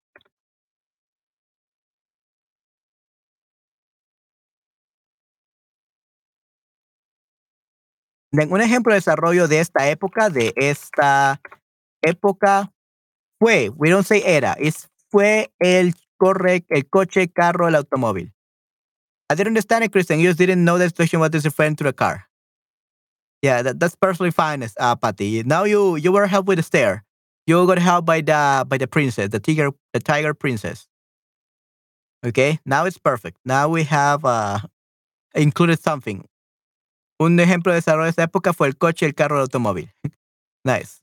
Then, un ejemplo de desarrollo de esta época, de esta época, fue, we don't say era, es fue el corre, el coche, carro, el automóvil. I didn't understand it, Christian. You just didn't know the situation was referring to the car. Yeah, that, that's perfectly fine, uh, Patty. Now you you were helped with the stair. You got helped by the by the princess, the tiger, the tiger princess. Okay, now it's perfect. Now we have uh, included something. Un ejemplo de desarrollo de esa época fue el coche, el carro, el automóvil. Nice.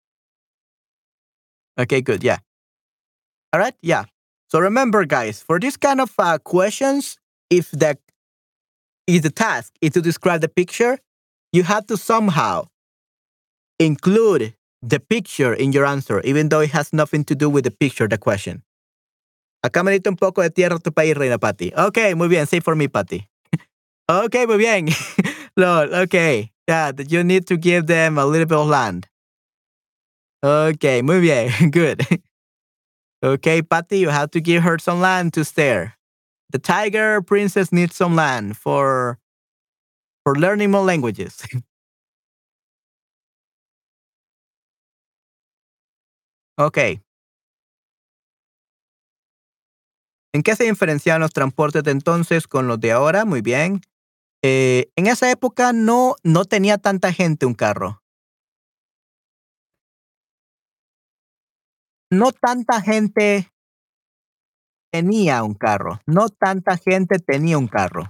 Okay, good. Yeah. All right. Yeah. So remember, guys, for these kind of uh, questions, if the if the task is to describe the picture, you have to somehow include the picture in your answer, even though it has nothing to do with the picture, the question. Acá me diste un poco de tierra a tu país, Reina Patty. Okay, muy bien. Say for me, Patty. Okay, muy bien. Lord, okay. Yeah, you need to give them a little bit of land. Okay, muy bien. Good. Okay, Patty, you have to give her some land to stare. The tiger princess needs some land for for learning more languages. Okay. ¿En qué se diferencian los transportes de entonces con los de ahora? Muy bien. Eh, en esa época no, no tenía tanta gente un carro. No tanta gente tenía un carro. No tanta gente tenía un carro.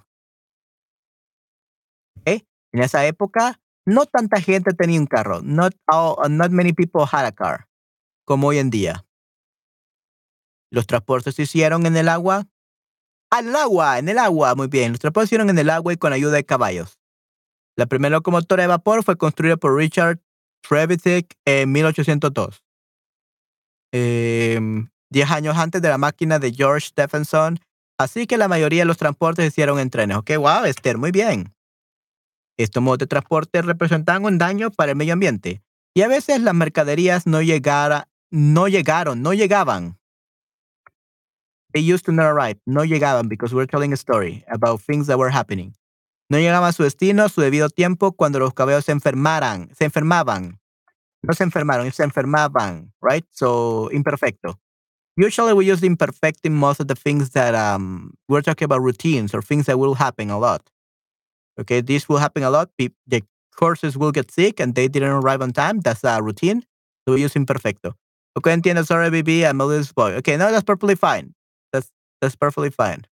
¿Okay? En esa época, no tanta gente tenía un carro. Not, all, not many people had a car, como hoy en día. Los transportes se hicieron en el agua. Al agua, en el agua, muy bien. Los transportes se hicieron en el agua y con ayuda de caballos. La primera locomotora de vapor fue construida por Richard Trevithick en mil ochocientos dos. Eh, diez años antes de la máquina de George Stephenson. Así que la mayoría de los transportes se hicieron en trenes. Ok, wow, Esther, muy bien. Estos modos de transporte representaban un daño para el medio ambiente. Y a veces las mercaderías no, llegara, no llegaron, no llegaban. They used to not arrive. No llegaban because we're telling a story about things that were happening. No llegaban a su destino a su debido tiempo cuando los caballos se enfermaran, se enfermaban. No se enfermaron, se enfermaban, right? So, imperfecto. Usually we use imperfect in most of the things that um, we're talking about routines or things that will happen a lot. Okay, this will happen a lot. Pe- the horses will get sick and they didn't arrive on time. That's a routine. So we use imperfecto. Okay, entiendo. Sorry, baby. I'm a little boy. Okay, no, that's perfectly fine. That's that's perfectly fine.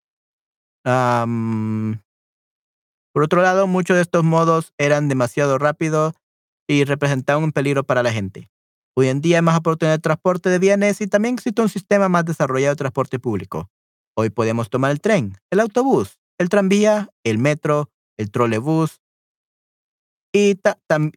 Um, por otro lado, muchos de estos modos eran demasiado rápidos y representaban un peligro para la gente. Hoy en día hay más oportunidades de transporte de bienes y también existe un sistema más desarrollado de transporte público. Hoy podemos tomar el tren, el autobús, el tranvía, el metro, el trolebús y, ta- tam-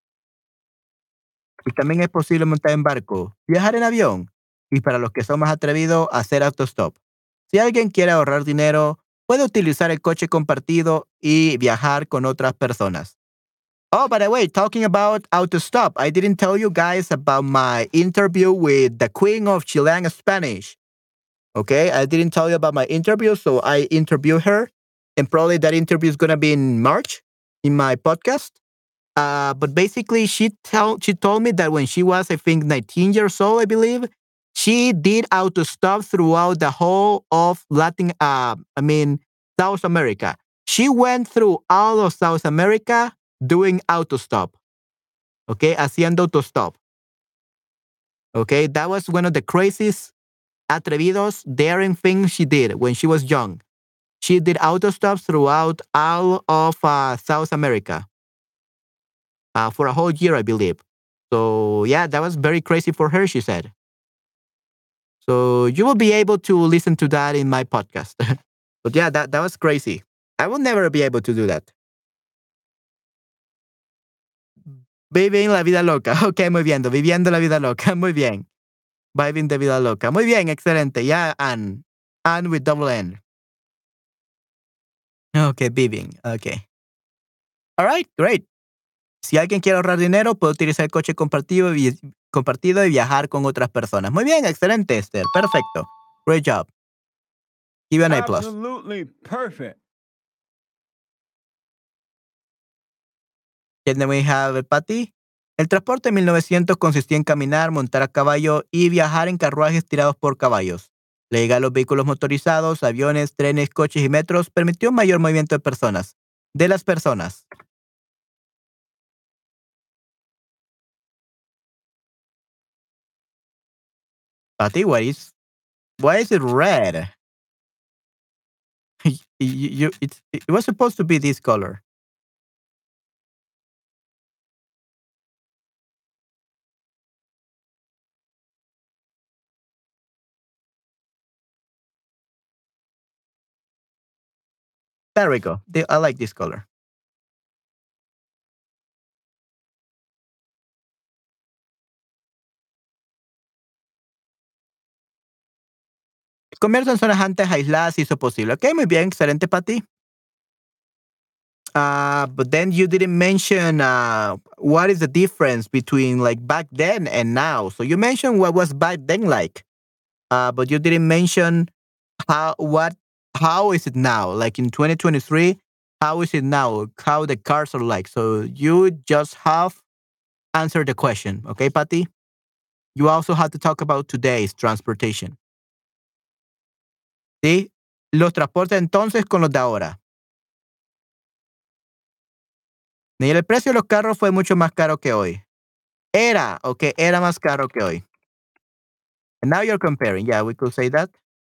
y también es posible montar en barco, viajar en avión y para los que son más atrevidos, hacer autostop. Si alguien quiere ahorrar dinero, puede utilizar el coche compartido y viajar con otras personas. Oh, by the way, talking about autostop, I didn't tell you guys about my interview with the queen of Chilean Spanish. Okay, I didn't tell you about my interview, so I interviewed her, and probably that interview is gonna be in March in my podcast. Uh, but basically, she tell she told me that when she was, I think, nineteen years old, I believe, she did autostop throughout the whole of Latin, uh, I mean, South America. She went through all of South America doing autostop. Okay, haciendo autostop. Okay, that was one of the craziest atrevidos, daring things she did when she was young. She did autostops throughout all of uh, South America uh, for a whole year, I believe. So yeah, that was very crazy for her, she said. So you will be able to listen to that in my podcast. But yeah, that, that was crazy. I will never be able to do that. Viving la vida loca. Ok, muy bien. Viviendo la vida loca. Muy bien. Viving the vida loca. Muy bien, excelente. Ya, Anne. Anne with double N. Ok, viving. Ok. All right, great. Si alguien quiere ahorrar dinero, puede utilizar el coche compartido y, compartido y viajar con otras personas. Muy bien, excelente, Esther. Perfecto. Great job. Give you an A plus. Absolutely perfect. Then we have Patty. El transporte en mil novecientos consistía en caminar, montar a caballo y viajar en carruajes tirados por caballos. La llegada de los vehículos motorizados, aviones, trenes, coches y metros permitió un mayor movimiento de personas. De las personas. Patty, what is, why is it red? you, you, it's, it was supposed to be this color. There we go. I like this color. El comercio en zonas antes aisladas hizo posible. Ok, muy bien, excelente para ti. Uh, but then you didn't mention uh, what is the difference between like back then and now. So you mentioned what was back then like, uh, but you didn't mention how what how is it now? Like in twenty twenty-three, how is it now? How the cars are like? So you just have answered the question, okay, Patty? You also have to talk about today's transportation. ¿Sí? Los transportes entonces con los de ahora. Y el precio de los carros fue mucho más caro que hoy. Era, ok, era más caro que hoy. And now you're comparing. Yeah, we could say that.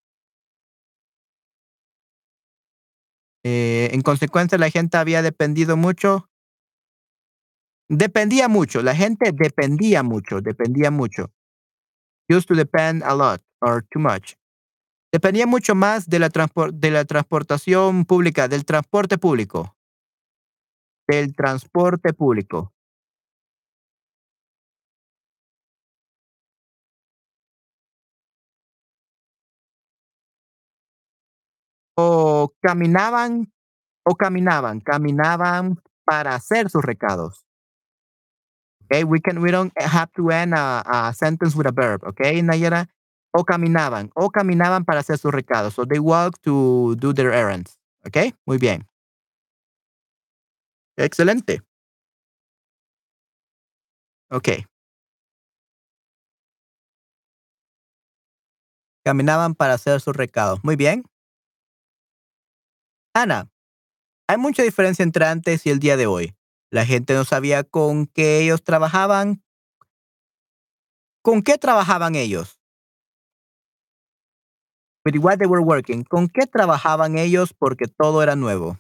Eh, en consecuencia, la gente había dependido mucho. Dependía mucho. La gente dependía mucho. Dependía mucho. Used to depend a lot or too much. Dependía mucho más de la, transpor de la transportación pública, del transporte público. Del transporte público. O caminaban, o caminaban, caminaban para hacer sus recados. Okay, we can we don't have to end a, a sentence with a verb, okay, Nayara? O caminaban, o caminaban para hacer sus recados. So they walk to do their errands. Okay, muy bien. Excelente. Okay. Caminaban para hacer sus recados. Muy bien. Ana, hay mucha diferencia entre antes y el día de hoy. La gente no sabía con qué ellos trabajaban. ¿Con qué trabajaban ellos? With what they were working. ¿Con qué trabajaban ellos? Porque todo era nuevo.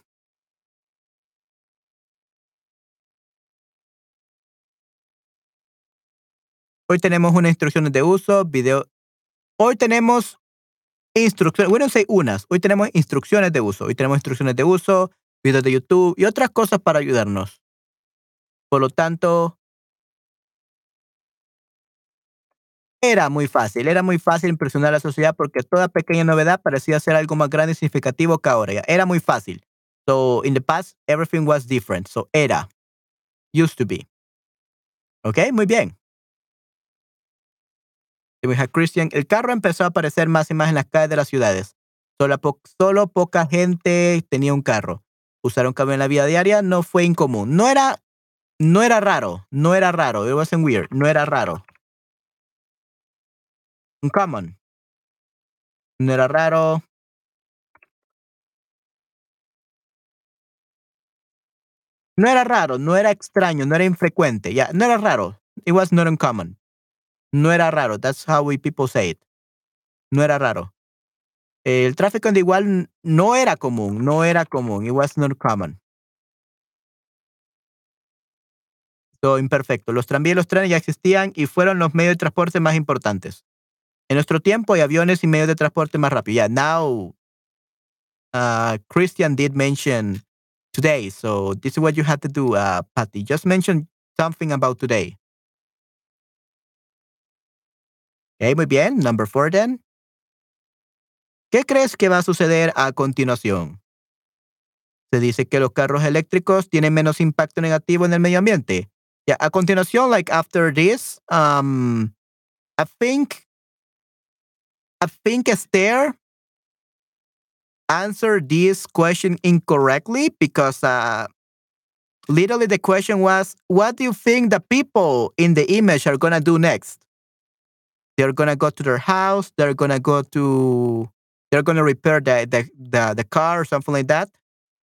Hoy tenemos unas instrucciones de uso, video. Hoy tenemos instrucciones, bueno, sé unas. Hoy tenemos instrucciones de uso. Hoy tenemos instrucciones de uso, videos de YouTube y otras cosas para ayudarnos. Por lo tanto, era muy fácil. Era muy fácil impresionar a la sociedad porque toda pequeña novedad parecía ser algo más grande y significativo que ahora. Era muy fácil. So, in the past, everything was different. So, era. Used to be. ¿Ok? Muy bien. Christian, el carro empezó a aparecer más y más en las calles de las ciudades. Solo, po solo poca gente tenía un carro. Usar un camión en la vida diaria no fue incomún. No era, no era raro. No era raro. It wasn't weird. No era raro. Uncommon. No era raro. No era raro. No era extraño. No era infrecuente. Yeah, no era raro. It was not uncommon. No era raro. That's how we people say it. No era raro. El tráfico igual no era común, no era común. It was not common. So, imperfecto. Los tranvías y los trenes ya existían y fueron los medios de transporte más importantes. En nuestro tiempo hay aviones y medios de transporte más rápidos. Yeah, now uh, Christian did mention today. So this is what you had to do, uh, Patty. Just mention something about today. Okay, muy bien. Number four then. ¿Qué crees que va a suceder a continuación? Se dice que los carros eléctricos tienen menos impacto negativo en el medio ambiente. Yeah, a continuación, like after this, um, I think, I think Esther answered this question incorrectly because uh, literally the question was, what do you think the people in the image are going to do next? They're going to go to their house. They're going to go to, they're going to repair the, the, the, the car or something like that.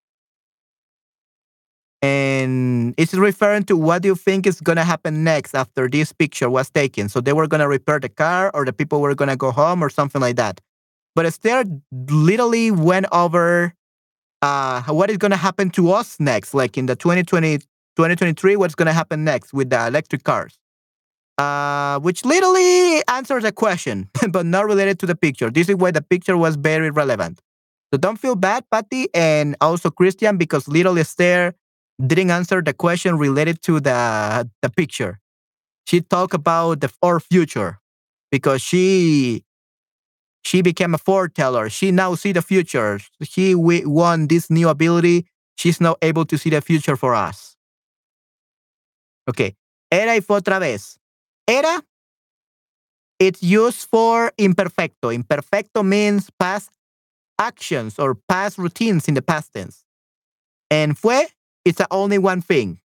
And it's referring to what do you think is going to happen next after this picture was taken. So they were going to repair the car or the people were going to go home or something like that. But Esther literally went over uh, what is going to happen to us next, like in the twenty twenty, twenty twenty-three, what's going to happen next with the electric cars, uh, which literally answers the question, but not related to the picture. This is why the picture was very relevant. So don't feel bad, Patty, and also Christian, because little Esther didn't answer the question related to the the picture. She talked about the our future because she she became a foreteller. She now see the future. She we won this new ability. She's now able to see the future for us. Okay. Era y fue otra vez. Era, it's used for imperfecto. Imperfecto means past actions or past routines in the past tense. And fue, it's only one thing.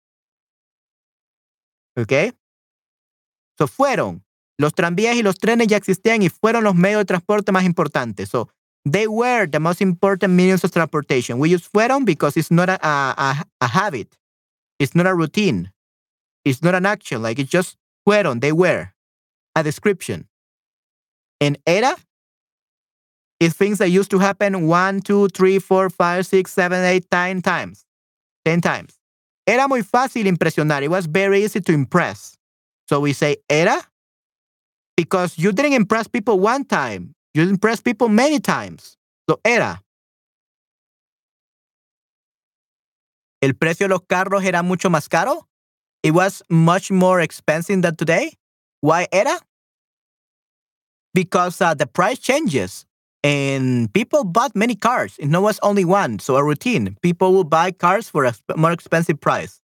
Okay. So fueron. Los tranvías y los trenes ya existían y fueron los medios de transporte más importantes. So they were the most important means of transportation. We use fueron because it's not a, a, a habit. It's not a routine. It's not an action. Like it's just fueron. They were a description. And era is things that used to happen one, two, three, four, five, six, seven, eight, nine times. Ten times. Era muy fácil impresionar. It was very easy to impress. So we say era because you didn't impress people one time. You impressed people many times. So era. El precio de los carros era mucho más caro. It was much more expensive than today. Why era? Because uh, the price changes. And people bought many cars. It was only one. So a routine. People will buy cars for a more expensive price.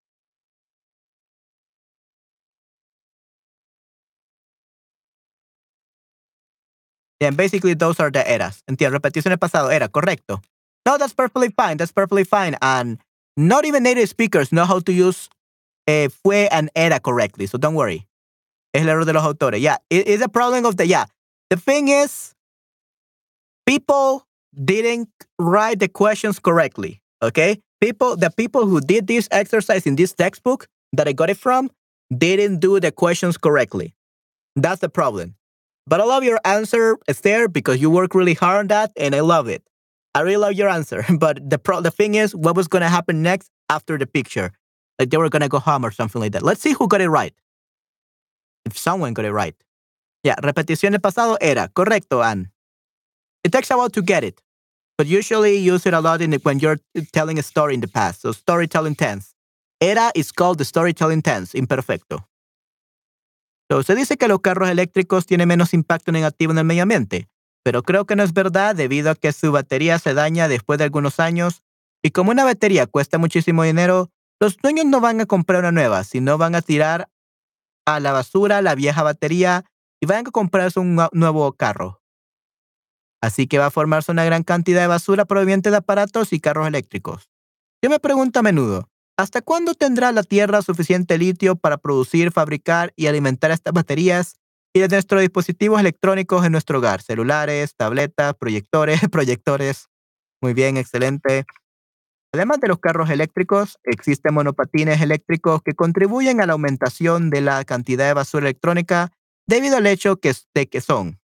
And basically those are the eras. Entiendo, repeticiones pasado, era, correcto. No, that's perfectly fine. That's perfectly fine. And not even native speakers know how to use eh, fue and era correctly. So don't worry. Es el error de los autores. Yeah, it is a problem of the, yeah. The thing is, people didn't write the questions correctly. Okay? People, the people who did this exercise in this textbook that I got it from, didn't do the questions correctly. That's the problem. But I love your answer, Esther, because you work really hard on that, and I love it. I really love your answer. But the pro- the thing is, what was going to happen next after the picture? Like they were going to go home or something like that. Let's see who got it right. If someone got it right. Yeah, repetición del pasado era. Correcto, Anne. It takes a while to get it. But usually use it a lot in the, when you're telling a story in the past. So storytelling tense. Era is called the storytelling tense, imperfecto. So, se dice que los carros eléctricos tienen menos impacto negativo en el medio ambiente, pero creo que no es verdad debido a que su batería se daña después de algunos años y como una batería cuesta muchísimo dinero, los dueños no van a comprar una nueva, sino van a tirar a la basura la vieja batería y van a comprarse un nuevo carro. Así que va a formarse una gran cantidad de basura proveniente de aparatos y carros eléctricos. Yo me pregunto a menudo, ¿hasta cuándo tendrá la Tierra suficiente litio para producir, fabricar y alimentar estas baterías y de nuestros dispositivos electrónicos en nuestro hogar? Celulares, tabletas, proyectores, proyectores. Muy bien, excelente. Además de los carros eléctricos, existen monopatines eléctricos que contribuyen a la aumentación de la cantidad de basura electrónica debido al hecho que, de que son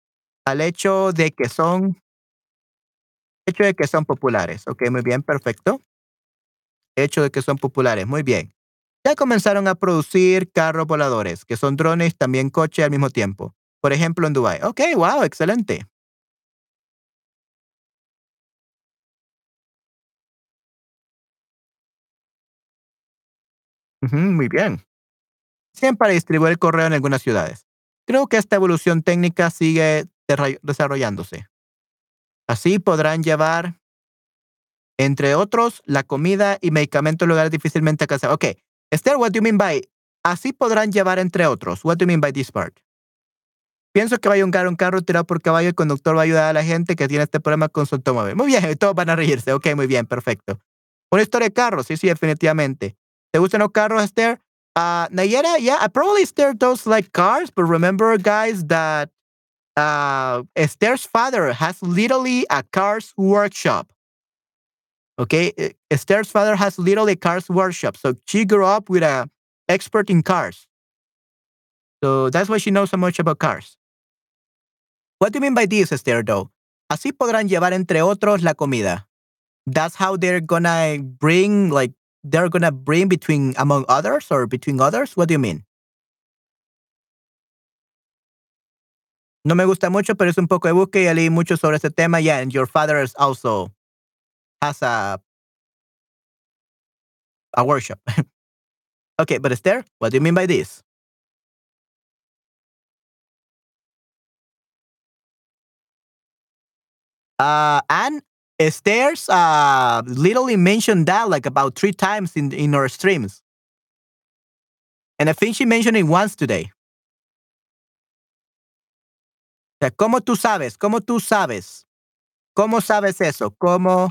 al hecho de que son, hecho de que son populares. Ok, muy bien, perfecto. Hecho de que son populares, muy bien. Ya comenzaron a producir carros voladores, que son drones, también coche al mismo tiempo. Por ejemplo, en Dubái. Ok, wow, excelente. Ujú, muy bien. Siempre para distribuir el correo en algunas ciudades. Creo que esta evolución técnica sigue derra- desarrollándose. Así podrán llevar, entre otros, la comida y medicamentos a lugares difícilmente alcanzables. Ok, Esther, what do you mean by así podrán llevar, entre otros? What do you mean by this part? Pienso que va a llegar un carro tirado por caballo, el conductor va a ayudar a la gente que tiene este problema con su automóvil. Muy bien, todos van a reírse. Ok, muy bien, perfecto. Una historia de carros, sí, sí, definitivamente. ¿Te gustan los carros, Esther? Uh, Nayera, yeah, I probably Esther does like cars, but remember, guys, that uh, Esther's father has literally a cars workshop. Okay, Eh, Esther's father has literally a cars workshop, so she grew up with a expert in cars. So that's why she knows so much about cars. What do you mean by this, Esther, though? Así podrán llevar, entre otros, la comida. That's how they're gonna bring, like, they're gonna bring between, among others, or between others? What do you mean? No me gusta mucho, pero es un poco de búsqueda y ya leí mucho sobre este tema. Yeah, and your father is also has a, a workshop. Okay, but Esther, what do you mean by this? Uh, and Esther's uh, literally mentioned that like about three times in, in our streams. And I think she mentioned it once today. O sea, ¿cómo tú sabes? ¿Cómo tú sabes? ¿Cómo sabes eso? ¿Cómo,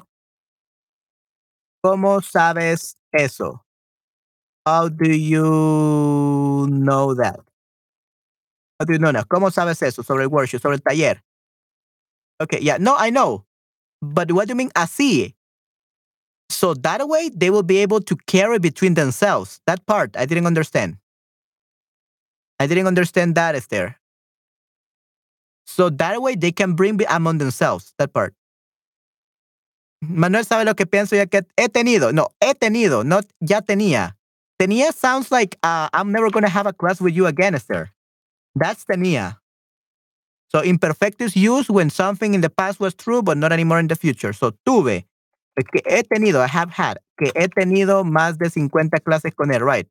cómo sabes eso? How do you know that? How do you know that? ¿Cómo sabes eso sobre el workshop, sobre el taller? Okay, yeah, no, I know. But what do you mean así? So that way they will be able to carry between themselves. That part I didn't understand. I didn't understand that, Esther. So that way they can bring be- among themselves. That part. Manuel sabe lo que pienso ya que he tenido. No, he tenido, not ya tenía. Tenía sounds like uh, I'm never going to have a class with you again, Esther. That's tenía. So imperfect is used when something in the past was true, but not anymore in the future. So tuve. Que he tenido, I have had. Que he tenido más de cincuenta clases con él, right?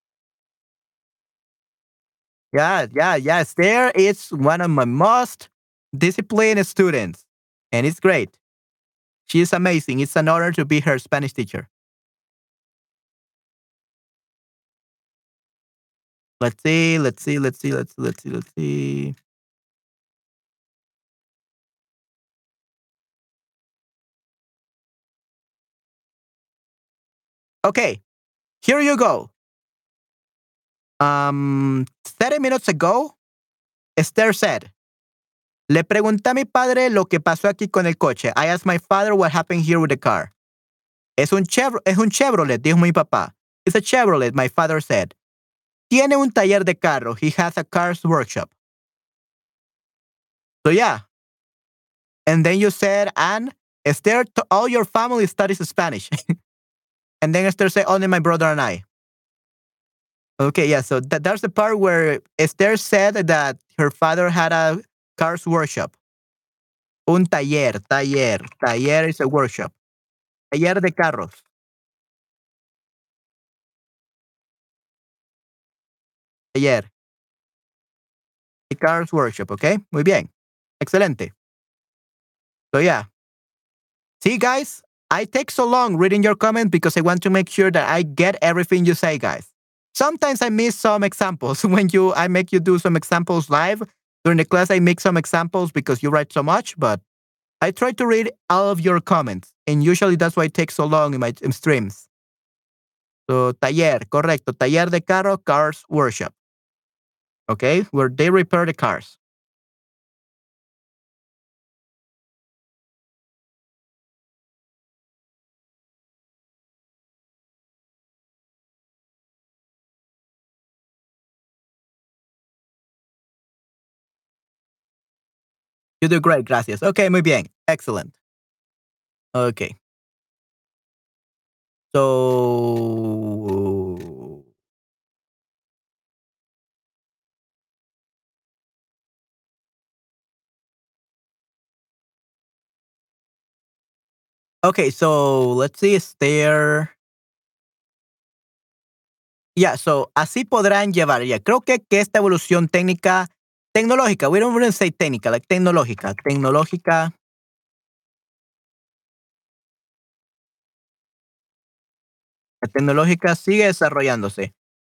Yeah, yeah, yeah. Esther is one of my most disciplined students, and it's great. She is amazing. It's an honor to be her Spanish teacher. Let's see, let's see, let's see, let's see, let's see, let's see. Okay, here you go. Um, thirty minutes ago, Esther said, le pregunté a mi padre lo que pasó aquí con el coche. I asked my father what happened here with the car. Es un, Chevro es un Chevrolet, dijo mi papá. It's a Chevrolet, my father said. Tiene un taller de carro. He has a car's workshop. So yeah. And then you said, and Esther, to all your family studies Spanish. And then Esther said, only my brother and I. Okay, yeah. So that, that's the part where Esther said that her father had a car's workshop. Un taller, taller. Taller is a workshop. Taller de carros. Taller. A car's workshop, okay? Muy bien. Excelente. So yeah. See, guys, I take so long reading your comments because I want to make sure that I get everything you say, guys. Sometimes I miss some examples when you I make you do some examples live during the class. I make some examples because you write so much, but I try to read all of your comments, and usually that's why it takes so long in my in streams. So taller, correcto, taller de carro, cars workshop. Okay, where they repair the cars. You do great, gracias. Okay, muy bien. Excellent. Okay. So Okay, so let's see, is there Yeah, so así podrán llevar, ya. Creo que, que esta evolución técnica, tecnológica, we don't even say técnica, like tecnológica, tecnológica. La tecnológica sigue desarrollándose.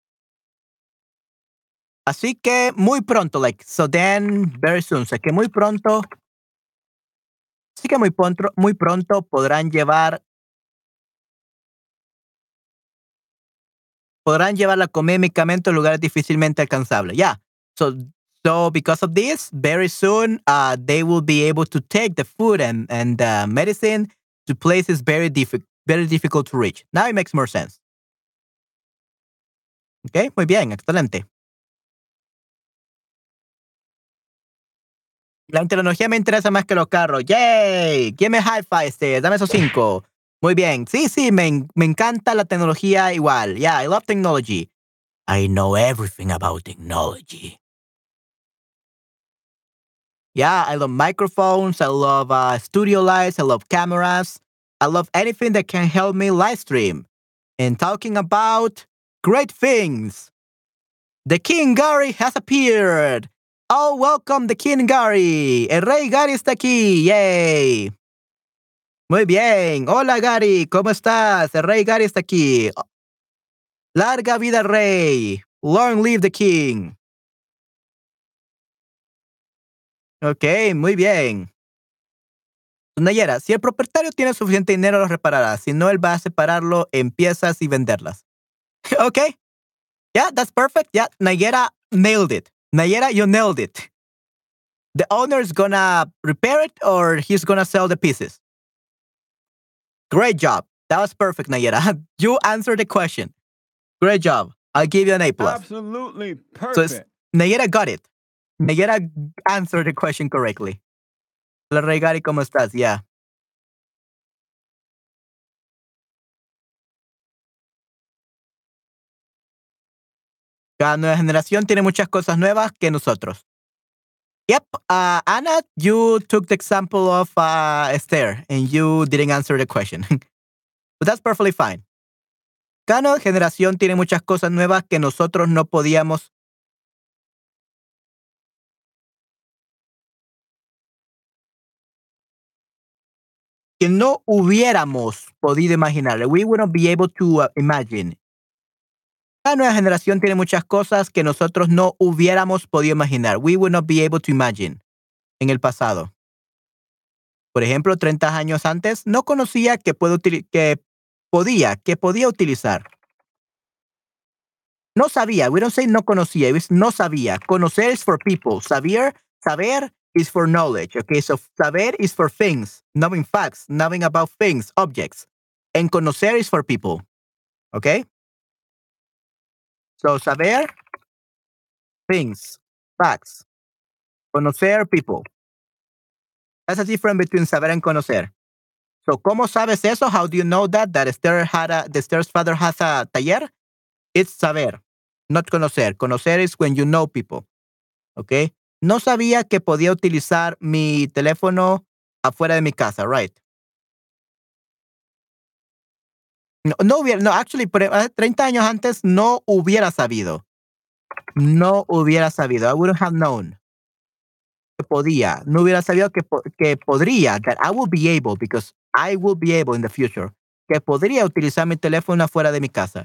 Así que muy pronto, like, so then, very soon, o sea que muy pronto, así que muy pronto, muy pronto podrán llevar, podrán llevar la comida y medicamentos a lugares difícilmente alcanzables. Yeah. So, so because of this, very soon, uh, they will be able to take the food and, and uh, medicine to places very difficult, very difficult to reach. Now it makes more sense. Okay, muy bien, excelente. La tecnología me interesa más que los carros. ¡Yay! Give me high five, este. Dame esos cinco. Muy bien. Sí, sí, me, me encanta la tecnología igual. Yeah, I love technology. I know everything about technology. Yeah, I love microphones. I love uh, studio lights. I love cameras. I love anything that can help me live stream. And talking about great things. The King Gary has appeared. Oh, welcome the King Gary. El Rey Gary está aquí. Yay. Muy bien. Hola Gary, ¿cómo estás? El Rey Gary está aquí. Larga vida al Rey. Long live the King. Ok, muy bien. Nayera, si el propietario tiene suficiente dinero, lo reparará. Si no, él va a separarlo en piezas y venderlas. Ok. Yeah, that's perfect. Yeah, Nayera nailed it. Nayera, you nailed it. The owner is gonna repair it or he's gonna sell the pieces. Great job. That was perfect, Nayera. You answered the question. Great job. I'll give you an A plus. Absolutely So perfect. Nayera got it. Nayera answered the question correctly. Hola, Rey Gary, ¿cómo estás? Yeah. Cada nueva generación tiene muchas cosas nuevas que nosotros. Yep. Uh, Anna, you took the example of uh, Esther and you didn't answer the question. But that's perfectly fine. Cada nueva generación tiene muchas cosas nuevas que nosotros no podíamos. Que no hubiéramos podido imaginar. We wouldn't be able to uh, imagine. Cada nueva generación tiene muchas cosas que nosotros no hubiéramos podido imaginar. We would not be able to imagine en el pasado. Por ejemplo, treinta años antes no conocía que, puedo que podía, que podía utilizar. No sabía. We don't say no conocía. It was no sabía. Conocer is for people. Saber, saber is for knowledge. Okay, so saber is for things, knowing facts, knowing about things, objects. And conocer is for people. Okay? So saber, things, facts. Conocer, people. That's a difference between saber and conocer. So, ¿cómo sabes eso? How do you know that? That Esther had a, the Esther's father has a taller? It's saber, not conocer. Conocer is when you know people. Okay? No sabía que podía utilizar mi teléfono afuera de mi casa, right? No, no hubiera, no, actually, treinta años antes no hubiera sabido. No hubiera sabido. I wouldn't have known. Que podía. No hubiera sabido que, que podría. That I will be able, because I will be able in the future. Que podría utilizar mi teléfono afuera de mi casa.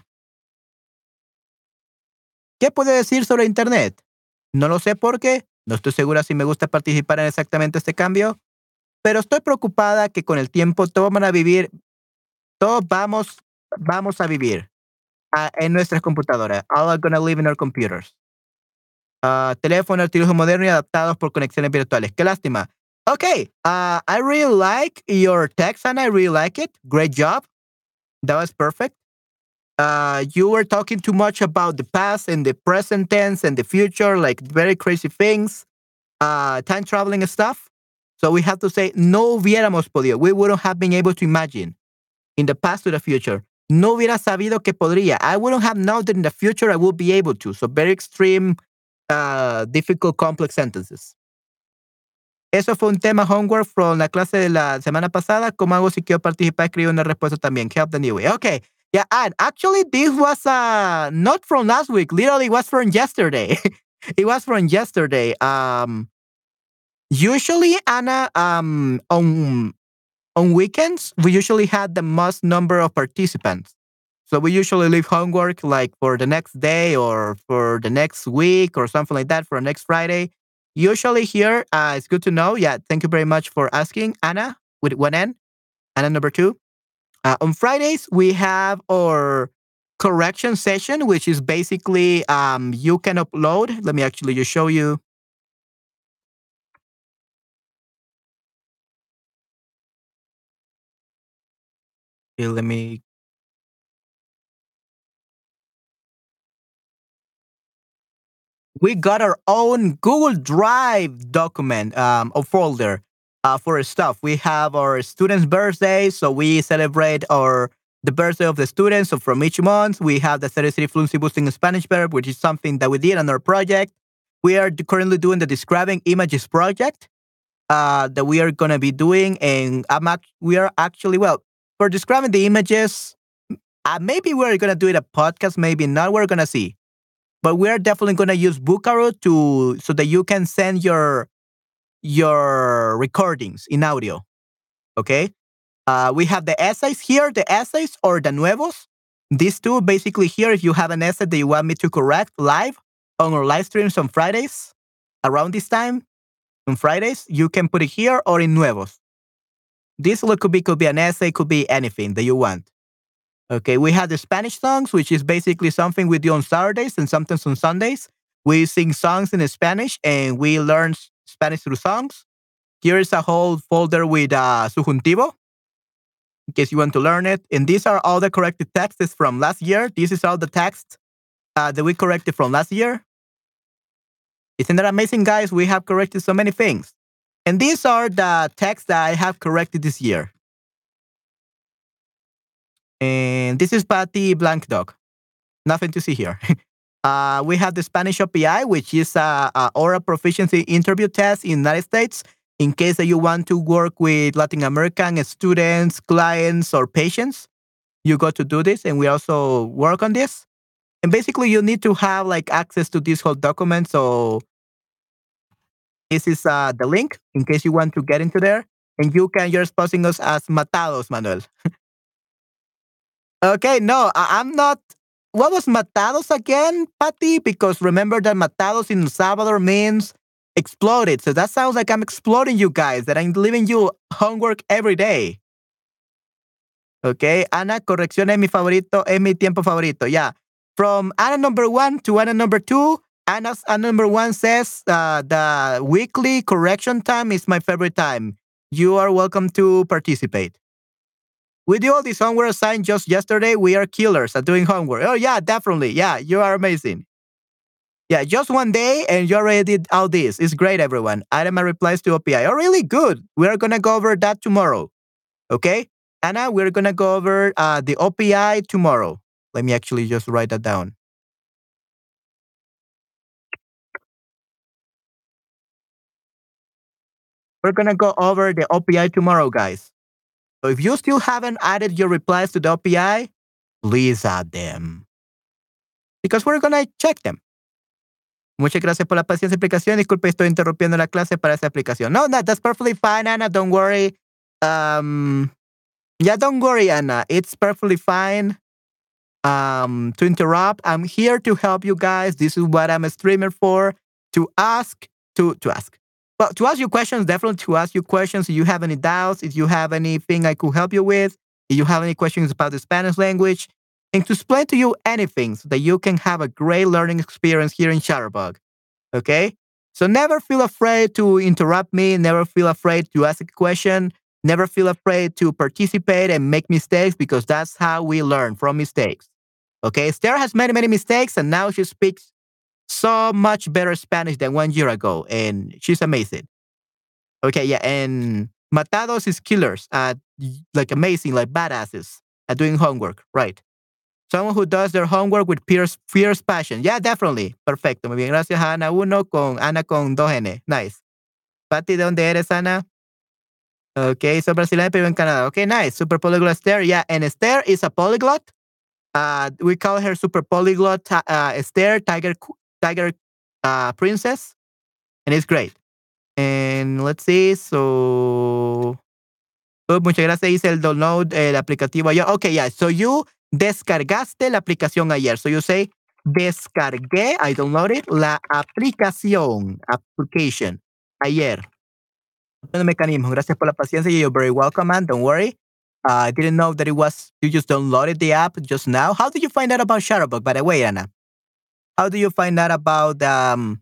¿Qué puede decir sobre Internet? No lo sé por qué. No estoy segura si me gusta participar en exactamente este cambio. Pero estoy preocupada que con el tiempo todos van a vivir, todos vamos, vamos a vivir uh, en nuestras computadoras. All are gonna live in our computers. Uh, teléfono, artículos modernos y adaptados por conexiones virtuales. Qué lástima. Okay, uh, I really like your text and I really like it. Great job. That was perfect. Uh, you were talking too much about the past and the present tense and the future, like very crazy things, uh, time traveling stuff. So we have to say, no hubiéramos podido. We wouldn't have been able to imagine in the past to the future. No hubiera sabido que podría. I wouldn't have known that in the future I would be able to. So very extreme, uh, difficult, complex sentences. Eso fue un tema homework from la clase de la semana pasada. ¿Cómo hago si quiero participar? Escribo una respuesta también. Help the new way. Okay. Yeah, and actually this was uh, not from last week. Literally, it was from yesterday. It was from yesterday. Um, usually, Anna, um, on on weekends, we usually had the most number of participants. So we usually leave homework like for the next day or for the next week or something like that for next Friday. Usually here, uh, it's good to know. Yeah, thank you very much for asking, Anna, with one N. Anna number two. Uh, on Fridays, we have our correction session, which is basically um, you can upload. Let me actually just show you. Okay, let me. We got our own Google Drive document um, or folder uh, for our stuff. We have our students' birthdays, so we celebrate our the birthday of the students. So from each month, we have the thirty City Fluency Boosting Spanish Verb, which is something that we did on our project. We are currently doing the Describing Images project uh, that we are going to be doing, and I'm act- we are actually well for describing the images. Uh, maybe we're going to do it a podcast, maybe not. We're going to see. But we are definitely going to use Bucaro to so that you can send your your recordings in audio. Okay. Uh, we have the essays here, the essays or the nuevos. These two basically here. If you have an essay that you want me to correct live on our live streams on Fridays around this time on Fridays, you can put it here or in nuevos. This could be could be an essay, could be anything that you want. Okay, we have the Spanish songs, which is basically something we do on Saturdays and sometimes on Sundays. We sing songs in Spanish and we learn Spanish through songs. Here is a whole folder with uh, subjuntivo, in case you want to learn it. And these are all the corrected texts from last year. This is all the text uh, that we corrected from last year. Isn't that amazing, guys? We have corrected so many things. And these are the texts that I have corrected this year. And this is Patty Blank Dog. Nothing to see here. uh, we have the Spanish O P I, which is a, a oral proficiency interview test in the United States. In case that you want to work with Latin American students, clients, or patients, you got to do this, and we also work on this. And basically, you need to have like access to this whole document. So this is uh, the link in case you want to get into there, and you can. You're exposing us as matados, Manuel. Okay, no, I, I'm not. What was matados again, Patty? Because remember that matados in El Salvador means exploded. So that sounds like I'm exploding you guys, that I'm leaving you homework every day. Okay, Ana, corrección es mi favorito, es mi tiempo favorito. Yeah. From Ana number one to Ana number two, Anna's Ana number one says uh, the weekly correction time is my favorite time. You are welcome to participate. We do all this homework assigned just yesterday. We are killers at doing homework. Oh, yeah, definitely. Yeah, you are amazing. Yeah, just one day and you already did all this. It's great, everyone. Item replies to O P I. Oh, really? Good. We're going to go over that tomorrow. Okay? Anna, we're going to go over uh, the O P I tomorrow. Let me actually just write that down. We're going to go over the O P I tomorrow, guys. So if you still haven't added your replies to the O P I, please add them. Because we're going to check them. Muchas gracias por la paciencia y explicación. Disculpe, estoy interrumpiendo la clase para esa explicación. No, no, that's perfectly fine, Anna. Don't worry. Um, yeah, don't worry, Anna. It's perfectly fine um, to interrupt. I'm here to help you guys. This is what I'm a streamer for. To ask, to, to ask. Well, to ask you questions, definitely to ask you questions. If you have any doubts, if you have anything I could help you with, if you have any questions about the Spanish language, and to explain to you anything so that you can have a great learning experience here in Shutterbug. Okay? So never feel afraid to interrupt me. Never feel afraid to ask a question. Never feel afraid to participate and make mistakes because that's how we learn, from mistakes. Okay? Esther has many, many mistakes, and now she speaks so much better Spanish than one year ago, and she's amazing. Okay, yeah, and matados is killers, uh, like amazing, like badasses at doing homework, right? Someone who does their homework with fierce, fierce passion. Yeah, definitely. Perfecto. Muy bien. Gracias a Ana uno con Ana con dos N. Nice. Pati, ¿de dónde eres, Ana? Okay, soy brasileña, pero en Canadá. Okay, nice. Super polyglot Esther. Yeah, and Esther is a polyglot. Uh, we call her super polyglot uh, Esther, Tiger, Tiger uh, Princess, and it's great. And let's see, so... Oh, muchas gracias, hice el download, el aplicativo ayer. Okay, yeah, so you descargaste la aplicación ayer. So you say, descargué, I downloaded, la aplicación, application, ayer. El mecanismo. Gracias por la paciencia. You're very welcome, man. Don't worry. Uh, I didn't know that it was, you just downloaded the app just now. How did you find out about Shutterbug, by the way, Anna? How do you find out about um,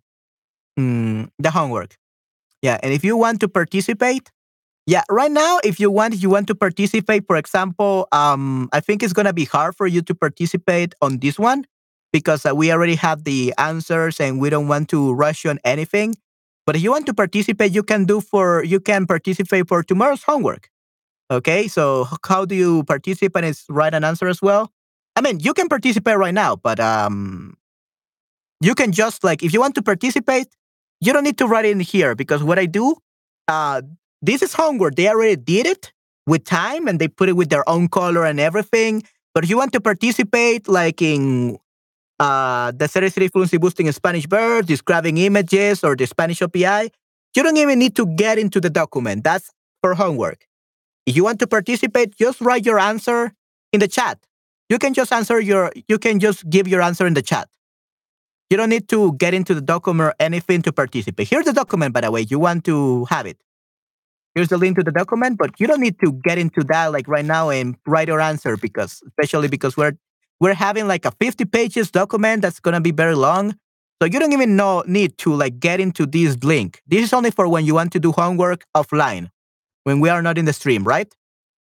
mm, the homework? Yeah, and if you want to participate, yeah, right now, if you want, you want to participate, for example, um, I think it's going to be hard for you to participate on this one because uh, we already have the answers and we don't want to rush you on anything. But if you want to participate, you can do for, you can participate for tomorrow's homework. Okay, so how do you participate? Is write an answer as well? I mean, you can participate right now, but um, you can just like, if you want to participate, you don't need to write it in here because what I do, uh, this is homework. They already did it with time and they put it with their own color and everything. But if you want to participate, like in uh, the thirty-three Fluency Boosting Spanish Verbs, describing images, or the Spanish O P I, you don't even need to get into the document. That's for homework. If you want to participate, just write your answer in the chat. You can just answer your, you can just give your answer in the chat. You don't need to get into the document or anything to participate. Here's the document, by the way. You want to have it. Here's the link to the document, but you don't need to get into that like right now and write your answer because, especially because we're we're having like a fifty pages document that's gonna be very long. So you don't even know need to like get into this link. This is only for when you want to do homework offline, when we are not in the stream, right?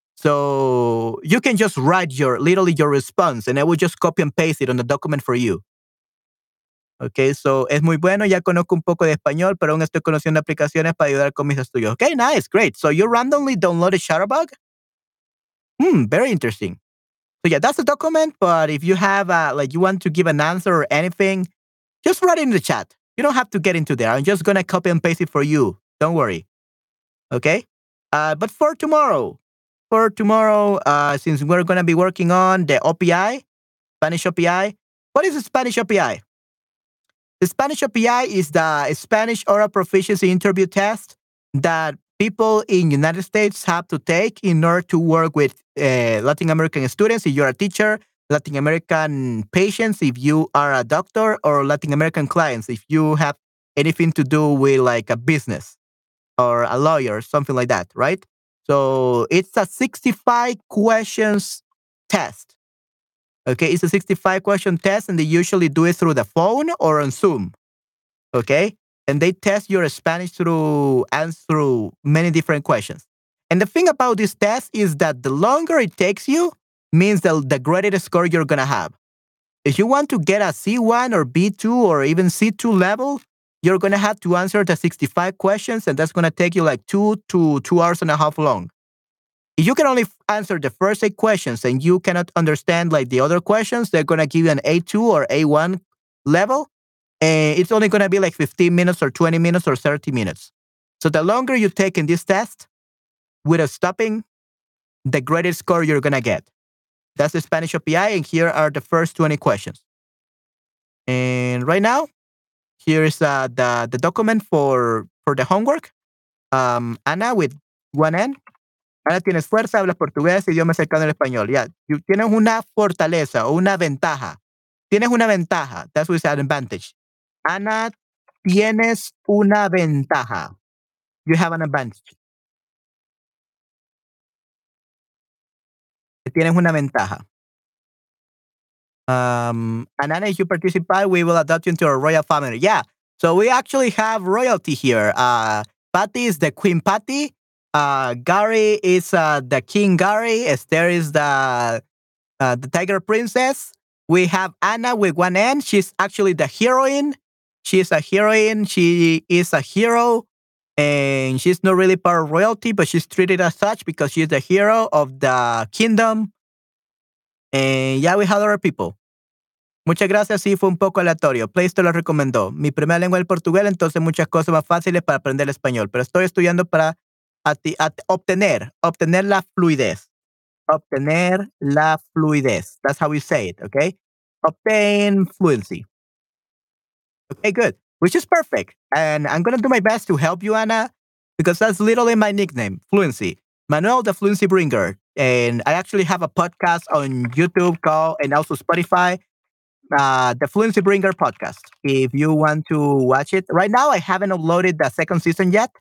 So you can just write your literally your response, and I will just copy and paste it on the document for you. Okay, so es muy bueno, ya conozco un poco de español, pero aún estoy conociendo aplicaciones para ayudar con mis estudios. Okay, nice, great. So you randomly downloaded Shutterbug? Hmm, very interesting. So yeah, that's the document, but if you have, uh, like you want to give an answer or anything, just write it in the chat. You don't have to get into there. I'm just going to copy and paste it for you. Don't worry. Okay? Uh, but for tomorrow, for tomorrow, uh, since we're going to be working on the O P I, Spanish O P I, what is the Spanish O P I? The Spanish O P I is the Spanish Oral Proficiency Interview Test that people in United States have to take in order to work with uh, Latin American students. If you're a teacher, Latin American patients, if you are a doctor, or Latin American clients, if you have anything to do with like a business or a lawyer, something like that, right? So it's a sixty-five questions test. Okay, it's a sixty-five question test, and they usually do it through the phone or on Zoom. Okay, and they test your Spanish through and through many different questions. And the thing about this test is that the longer it takes you means the, the greater score you're gonna have. If you want to get a C one or B two or even C two level, you're gonna have to answer the sixty-five questions, and that's gonna take you like two to two hours and a half long. If you can only answer the first eight questions and you cannot understand like the other questions, they're going to give you an A two or A one level. And it's only going to be like fifteen minutes or twenty minutes or thirty minutes. So the longer you take in this test without stopping, the greater score you're going to get. That's the Spanish O P I. And here are the first twenty questions. And right now, here is uh, the, the document for, for the homework. Um, Ana with one N. Ahora tienes fuerza, hablas portugués, idioma cercano al español. Ya, yeah. Tienes una fortaleza o una ventaja. Tienes una ventaja. That's what is an advantage. Ana, tienes una ventaja. You have an advantage. Tienes una ventaja. Um, and Ana, if you participate, we will adopt you into our royal family. Yeah. So we actually have royalty here. Uh, Patty is the Queen Patty. Uh, Gary is uh, the King Gary. Esther is the uh, the Tiger Princess. We have Anna with one N. She's actually the heroine. She is a heroine. She is a hero. And she's not really part of royalty, but she's treated as such because she's the hero of the kingdom. And yeah, we had other people. Muchas gracias, sí, fue un poco aleatorio. Play Store lo recomendó. Mi primera lengua es el portugués, entonces muchas cosas más fáciles para aprender el español. Pero estoy estudiando para ati- at- obtener, obtener la fluidez. Obtener la fluidez. That's how we say it, okay? Obtain fluency. Okay, good. Which is perfect. And I'm going to do my best to help you, Anna, because that's literally my nickname, Fluency. Manuel, the Fluency Bringer. And I actually have a podcast on YouTube called, and also Spotify, uh, the Fluency Bringer podcast. If you want to watch it. Right now, I haven't uploaded the second season yet.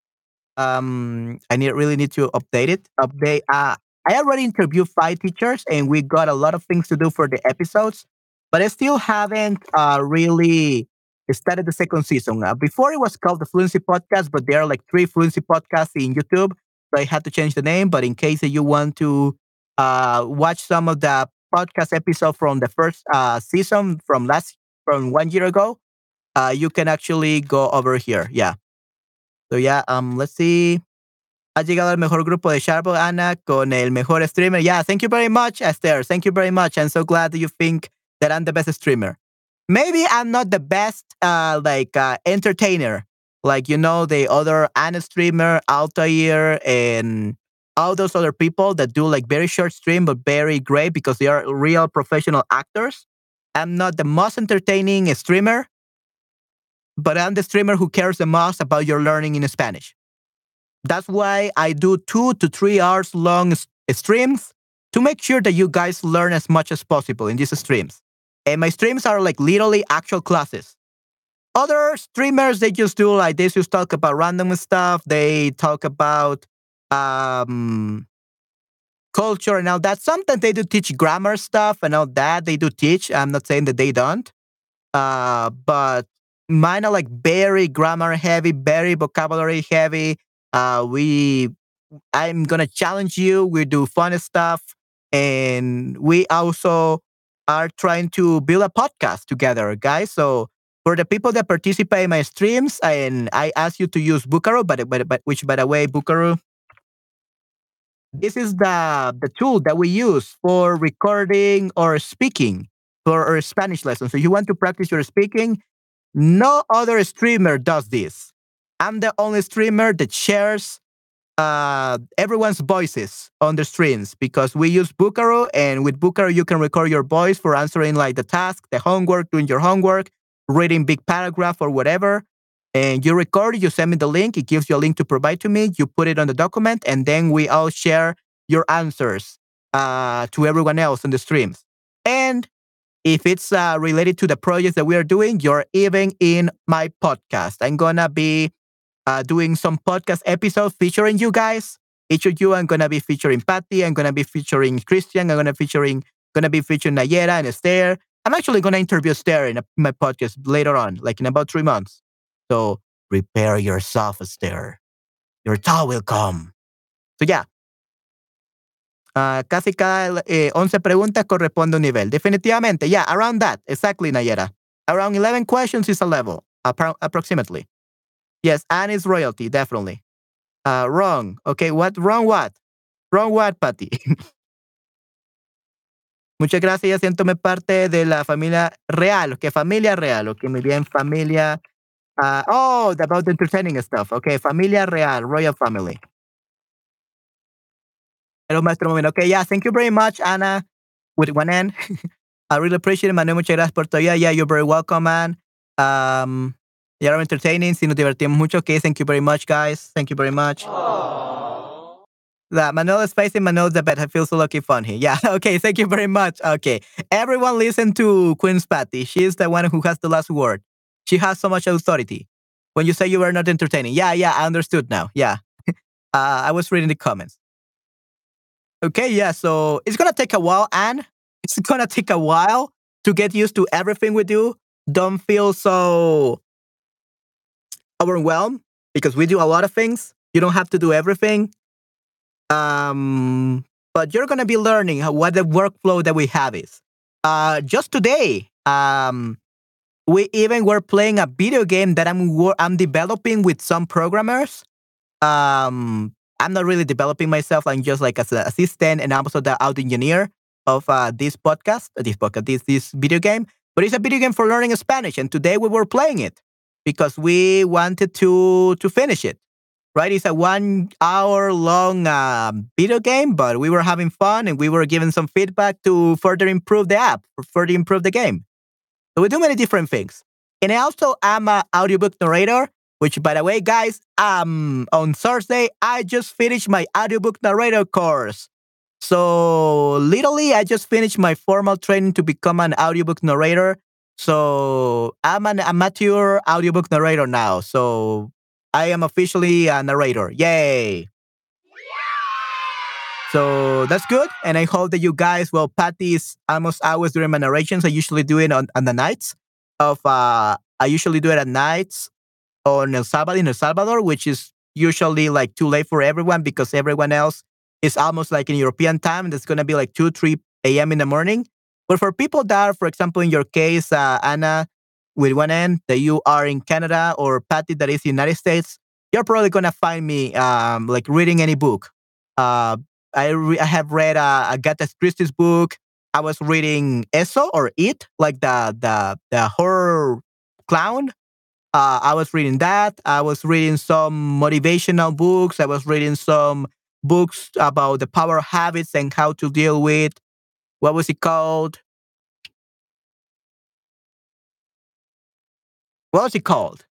Um, I need really need to update it. Update. Uh, I already interviewed five teachers, and we got a lot of things to do for the episodes, but I still haven't uh, really started the second season. Uh, before it was called the Fluency Podcast, but there are like three Fluency podcasts in YouTube, so I had to change the name. But in case that you want to uh, watch some of the podcast episode from the first uh, season from last from one year ago, uh, you can actually go over here. Yeah. So yeah, um, let's see. Ha llegado al mejor grupo de Sharpo, Ana, con el mejor streamer. Yeah, thank you very much, Esther. Thank you very much. I'm so glad that you think that I'm the best streamer. Maybe I'm not the best, uh, like, uh, entertainer. Like, you know, the other Anna streamer, Altair, and all those other people that do, like, very short stream, but very great because they are real professional actors. I'm not the most entertaining streamer, but I'm the streamer who cares the most about your learning in Spanish. That's why I do two to three hours long s- streams to make sure that you guys learn as much as possible in these streams. And my streams are like literally actual classes. Other streamers, they just do like they just talk about random stuff. They talk about um, culture and all that. Sometimes they do teach grammar stuff and all that. They do teach. I'm not saying that they don't. Uh, but mine are like very grammar heavy, very vocabulary heavy. Uh, we, I'm gonna challenge you. We do fun stuff, and we also are trying to build a podcast together, guys. So for the people that participate in my streams, and I ask you to use Bucaro, but but, but which by the way, Bucaro, this is the the tool that we use for recording or speaking for our Spanish lessons. So you want to practice your speaking, no other streamer does this. I'm the only streamer that shares uh, everyone's voices on the streams because we use Bucaro, and with Bucaro you can record your voice for answering like the task, the homework, doing your homework, reading big paragraph or whatever. And you record it, you send me the link, it gives you a link to provide to me, you put it on the document, and then we all share your answers uh, to everyone else on the streams. And if it's uh, related to the projects that we are doing, you're even in my podcast. I'm gonna be uh, doing some podcast episodes featuring you guys. Each of you, I'm gonna be featuring Patty. I'm gonna be featuring Christian. I'm gonna featuring gonna be featuring Nayera and Esther. I'm actually gonna interview Esther in, a, my podcast later on, like in about three months. So prepare yourself, Esther. Your time will come. So yeah. Uh, casi cada eh, once preguntas corresponde a un nivel. Definitivamente, yeah, around that. Exactly, Nayera. Around eleven questions is a level, appro- approximately. Yes, and it's royalty, definitely. Uh, wrong. Okay, what? Wrong what? Wrong what, Patty? Muchas gracias, ya siéntome parte de la familia real. Okay, familia real. Okay, muy bien, familia. Uh, oh, about the entertaining stuff. Okay, familia real, royal family. Hello, Maestro Momento. Okay, yeah, thank you very much, Anna, with one N. I really appreciate it, Manuel. Muchas gracias por todo. Yeah, yeah, you're very welcome, man. Um, you're entertaining. Si nos divertimos mucho. Okay, thank you very much, guys. Thank you very much. That Manuel is facing Manuel's the best. I feel so lucky fun here. Yeah, okay, thank you very much. Okay, everyone listen to Queen's Patty. She is the one who has the last word. She has so much authority. When you say you were not entertaining. Yeah, yeah, I understood now. Yeah. Uh, I was reading the comments. Okay, yeah, so it's gonna take a while, Anne. It's gonna take a while to get used to everything we do. Don't feel so overwhelmed because we do a lot of things. You don't have to do everything. Um, but you're gonna be learning how, what the workflow that we have is. Uh, just today, um, we even were playing a video game that I'm wor- I'm developing with some programmers. Um, I'm not really developing myself. I'm just like as an assistant and I'm also the audio engineer of uh, this podcast, uh, this podcast, this this video game. But it's a video game for learning Spanish, and today we were playing it because we wanted to to finish it. Right? It's a one hour long uh, video game, but we were having fun and we were giving some feedback to further improve the app, or further improve the game. So we do many different things. And I also am an audiobook narrator, which, by the way, guys, um, on Thursday, I just finished my audiobook narrator course. So literally, I just finished my formal training to become an audiobook narrator. So I'm an amateur audiobook narrator now. So I am officially a narrator. Yay! So that's good. And I hope that you guys, well, Patty is almost always doing my narrations. I usually do it on, on the nights of, uh, I usually do it at nights on El Salvador, in El Salvador, which is usually like too late for everyone because everyone else is almost like in European time. That's going to be like two, three a.m. in the morning. But for people that are, for example, in your case, uh, Anna, with one N, that you are in Canada, or Patty that is in the United States, you're probably going to find me um, like reading any book. Uh, I, re- I have read uh, Agatha Christie's book. I was reading Eso or It, like the the the horror clown. Uh, I was reading that. I was reading some motivational books. I was reading some books about the power of habits and how to deal with, what was it called? What was it called?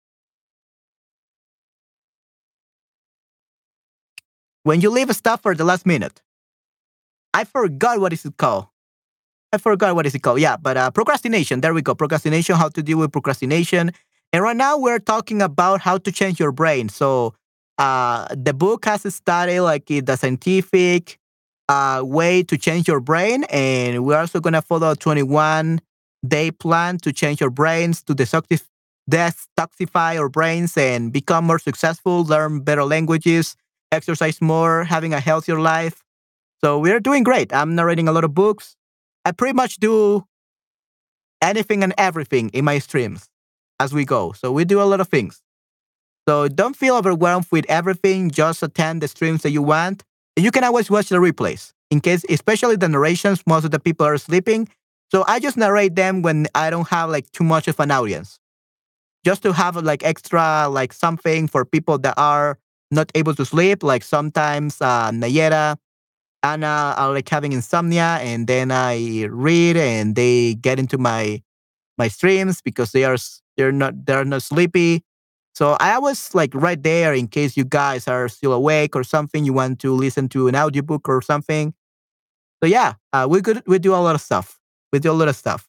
When you leave stuff for the last minute. I forgot what is it called. I forgot what is it called. Yeah, but uh, procrastination. There we go. Procrastination, how to deal with procrastination. And right now we're talking about how to change your brain. So uh, the book has a study like uh, the scientific uh, way to change your brain. And we're also going to follow a twenty-one day plan to change your brains, to detoxif- detoxify your brains and become more successful, learn better languages, exercise more, having a healthier life. So we're doing great. I'm narrating a lot of books. I pretty much do anything and everything in my streams as we go. So we do a lot of things. So don't feel overwhelmed with everything. Just attend the streams that you want. And you can always watch the replays in case, especially the narrations, most of the people are sleeping. So I just narrate them when I don't have like too much of an audience. Just to have like extra, like something for people that are not able to sleep. Like sometimes uh, Nayera, Anna are like having insomnia, and then I read and they get into my my streams because they are s- they're not they're not sleepy. So I was like right there in case you guys are still awake or something. You want to listen to an audiobook or something. So yeah, uh, we could we do a lot of stuff. We do a lot of stuff.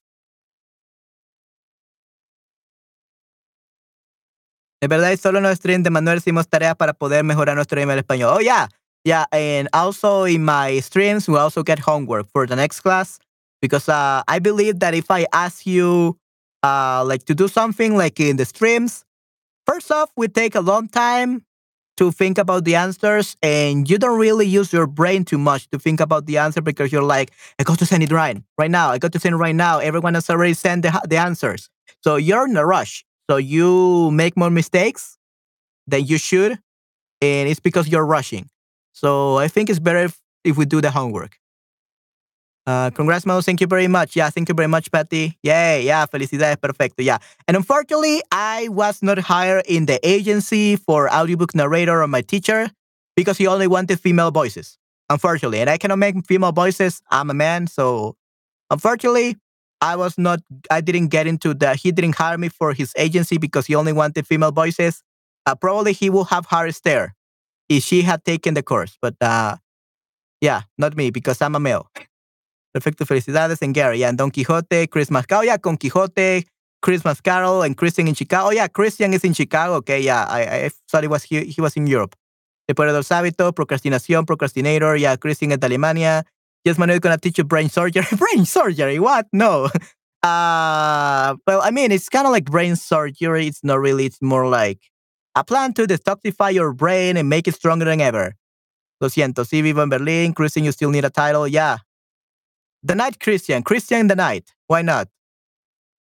Es verdad, y solo en los streams de Manuel hicimos tareas para poder mejorar nuestro nivel de español. Oh, yeah. Yeah, and also in my streams, we also get homework for the next class because uh, I believe that if I ask you uh, like to do something like in the streams, first off, we take a long time to think about the answers, and you don't really use your brain too much to think about the answer because you're like, I got to send it right, right now. I got to send it right now. Everyone has already sent the, the answers. So you're in a rush. So you make more mistakes than you should, and it's because you're rushing. So I think it's better if, if we do the homework. Uh, congrats, Mo. Thank you very much. Yeah, thank you very much, Patty. Yay. Yeah, felicidades. Perfecto. Yeah. And unfortunately, I was not hired in the agency for audiobook narrator or my teacher because he only wanted female voices. Unfortunately. And I cannot make female voices. I'm a man. So unfortunately, I was not, I didn't get into the, he didn't hire me for his agency because he only wanted female voices. Uh, probably he will have hired Esther if she had taken the course. But uh, yeah, not me because I'm a male. Perfecto, felicidades. And Gary, yeah, and Don Quixote, Chris Mascaro, yeah, Con Quixote, Chris Mascaro, and Christian in Chicago. Oh, yeah, Christian is in Chicago. Okay, yeah, I, I thought he was, he, he was in Europe. El Poder del Hábito, Procrastinación, Procrastinator, yeah, Christian is Alemania. Yes, Manuel is going to teach you brain surgery. Brain surgery? What? No. Uh, well, I mean, it's kind of like brain surgery. It's not really, it's more like a plan to detoxify your brain and make it stronger than ever. Lo siento, sí, vivo en Berlin. Christian, you still need a title. Yeah. The Night Christian. Christian the Night. Why not?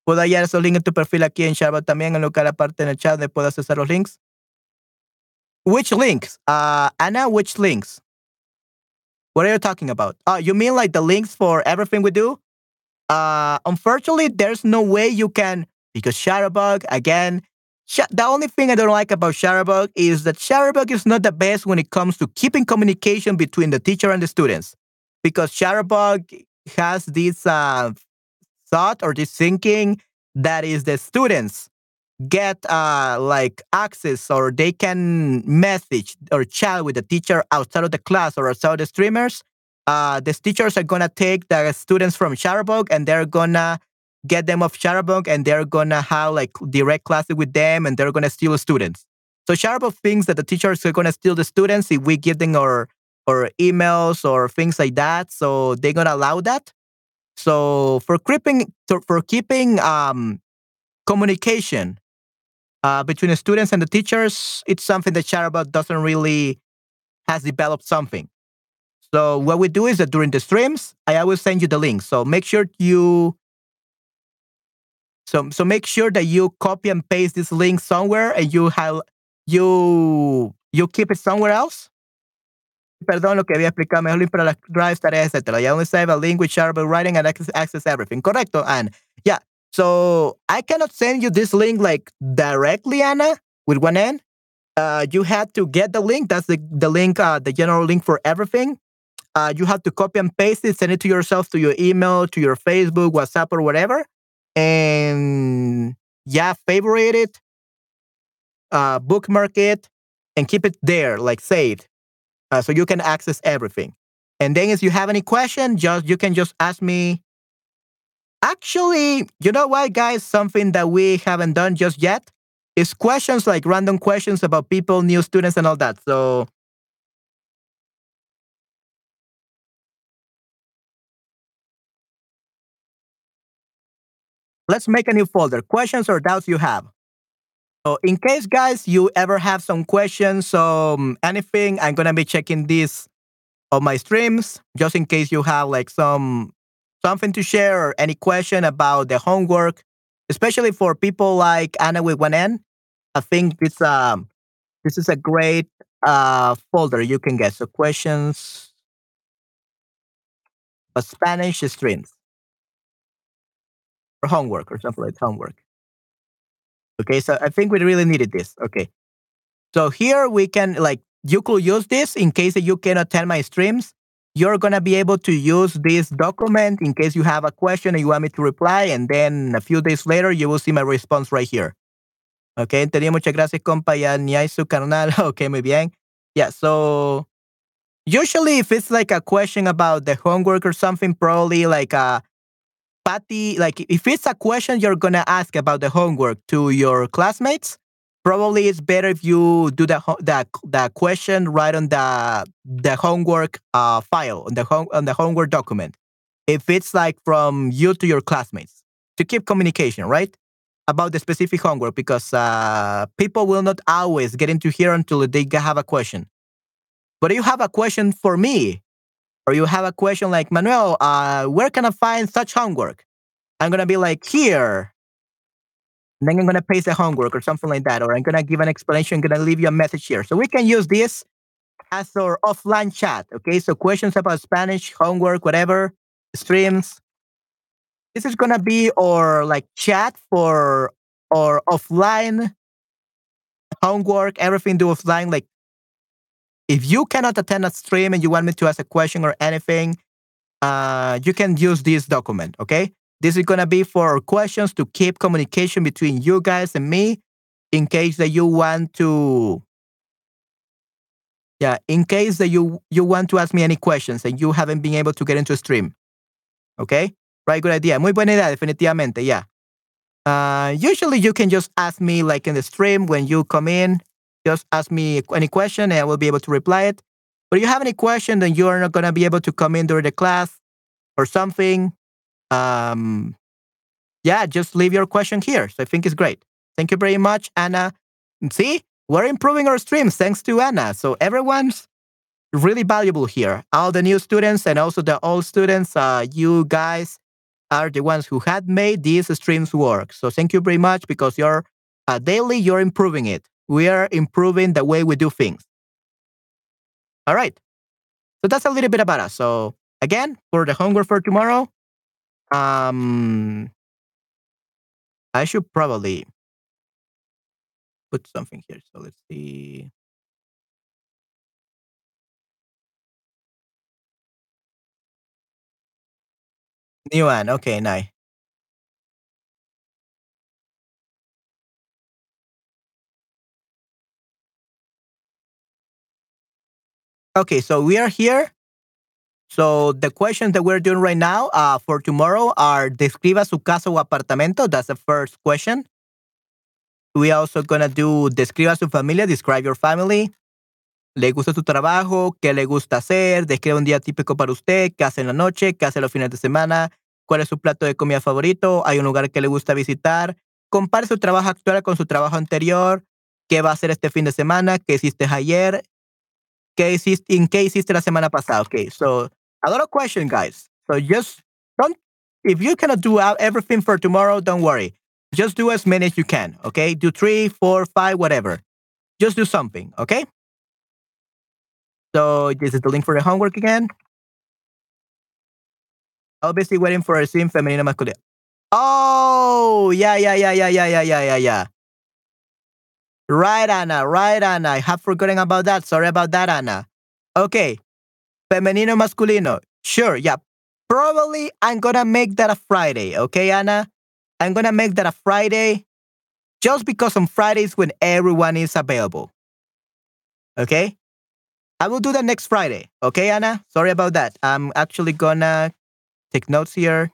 ¿Puedo hallar esos links en tu perfil aquí en Sharbot también? En lo que aparte en el chat de puedo accesar los links. Which links? Uh, Anna, which links? What are you talking about? Oh, you mean like the links for everything we do? Uh, unfortunately, there's no way you can, because Shutterbug, again, sh- the only thing I don't like about Shutterbug is that Shutterbug is not the best when it comes to keeping communication between the teacher and the students. Because Shutterbug has this uh, thought or this thinking that is the students get uh, like access or they can message or chat with the teacher outside of the class or outside of the streamers. Uh, the teachers are gonna take the students from Shutterbug and they're gonna get them off Shutterbug and they're gonna have like direct classes with them and they're gonna steal students. So Shutterbug thinks that the teachers are gonna steal the students if we give them our or emails or things like that. So they're gonna allow that. So for keeping for keeping um, communication uh, between the students and the teachers, it's something that Shutterbug doesn't really has developed something. So what we do is that during the streams, I always send you the link. So make sure you so so make sure that you copy and paste this link somewhere and you have you you keep it somewhere else. Perdón, lo que había explicado, mejor link para las drives, tareas, etcétera. You only save a link with Shutterbug writing and access, access everything. Correcto, Anne. Yeah. So I cannot send you this link like directly, Anna, with one N. Uh, you had to get the link. That's the, the link, uh, the general link for everything. Uh, you have to copy and paste it, send it to yourself, to your email, to your Facebook, WhatsApp, or whatever. And yeah, favorite it, uh, bookmark it, and keep it there, like saved, uh, so you can access everything. And then if you have any question, just you can just ask me. Actually, you know what, guys? Something that we haven't done just yet is questions, like random questions about people, new students, and all that. So let's make a new folder, questions or doubts you have. So in case, guys, you ever have some questions, um, anything, I'm going to be checking this on my streams, just in case you have like some something to share or any question about the homework, especially for people like Anna with one N. I think this, um, this is a great uh, folder you can get. So questions, uh, Spanish streams, or homework or something like homework. Okay, so I think we really needed this. Okay. So here we can, like, you could use this in case that you cannot attend my streams. You're going to be able to use this document in case you have a question and you want me to reply. And then a few days later, you will see my response right here. Okay, entendí. Muchas gracias, compa. Ya ni hay su canal. Okay, muy bien. Yeah, so usually if it's like a question about the homework or something, probably like a Patty, like if it's a question you're going to ask about the homework to your classmates, probably it's better if you do the the, the question right on the the homework uh, file on the home on the homework document. If it's like from you to your classmates to keep communication, right, about the specific homework, because uh, people will not always get into here until they have a question. But if you have a question for me, or you have a question like, Manuel, uh, where can I find such homework? I'm gonna be like, here. And then I'm going to paste the homework or something like that. Or I'm going to give an explanation. I'm going to leave you a message here. So we can use this as our offline chat. Okay. So questions about Spanish, homework, whatever, streams. This is going to be our like chat for our offline homework, everything do offline. Like if you cannot attend a stream and you want me to ask a question or anything, uh, you can use this document. Okay. This is going to be for questions to keep communication between you guys and me in case that you want to, yeah, in case that you, you want to ask me any questions and you haven't been able to get into a stream. Okay? Right, good idea. Muy buena idea, definitivamente, yeah. Uh, usually you can just ask me like in the stream when you come in, just ask me any question and I will be able to reply it. But if you have any question, then you are not going to be able to come in during the class or something. Um, yeah, just leave your question here. So I think it's great. Thank you very much, Anna. See, we're improving our streams thanks to Anna. So everyone's really valuable here. All the new students and also the old students, uh, you guys are the ones who had made these streams work. So thank you very much because you're uh, daily, you're improving it. We are improving the way we do things. All right. So that's a little bit about us. So again, for the homework for tomorrow, um, I should probably put something here. So let's see. New one. Okay, nice. Okay, so we are here. So the questions that we're doing right now uh, for tomorrow are describa su casa o apartamento. That's the first question. We also gonna do describa su familia, describe your family. ¿Le gusta su trabajo? ¿Qué le gusta hacer? Describe un día típico para usted. ¿Qué hace en la noche? ¿Qué hace los fines de semana? ¿Cuál es su plato de comida favorito? ¿Hay un lugar que le gusta visitar? Compare su trabajo actual con su trabajo anterior. ¿Qué va a hacer este fin de semana? ¿Qué hiciste ayer? ¿Qué hiciste, ¿En qué hiciste la semana pasada? Okay, so a lot of questions, guys. So just don't, if you cannot do out everything for tomorrow, don't worry. Just do as many as you can, okay? Do three, four, five, whatever. Just do something, okay? So this is the link for the homework again. Obviously waiting for a stream femenino masculino. Oh, yeah, yeah, yeah, yeah, yeah, yeah, yeah, yeah, yeah. Right, Anna, right, Anna. I have forgotten about that. Sorry about that, Anna. Okay. Femenino masculino. Sure, yeah. Probably I'm gonna make that a Friday, okay, Anna? I'm gonna make that a Friday just because on Fridays when everyone is available. Okay? I will do that next Friday. Okay, Anna? Sorry about that. I'm actually gonna take notes here.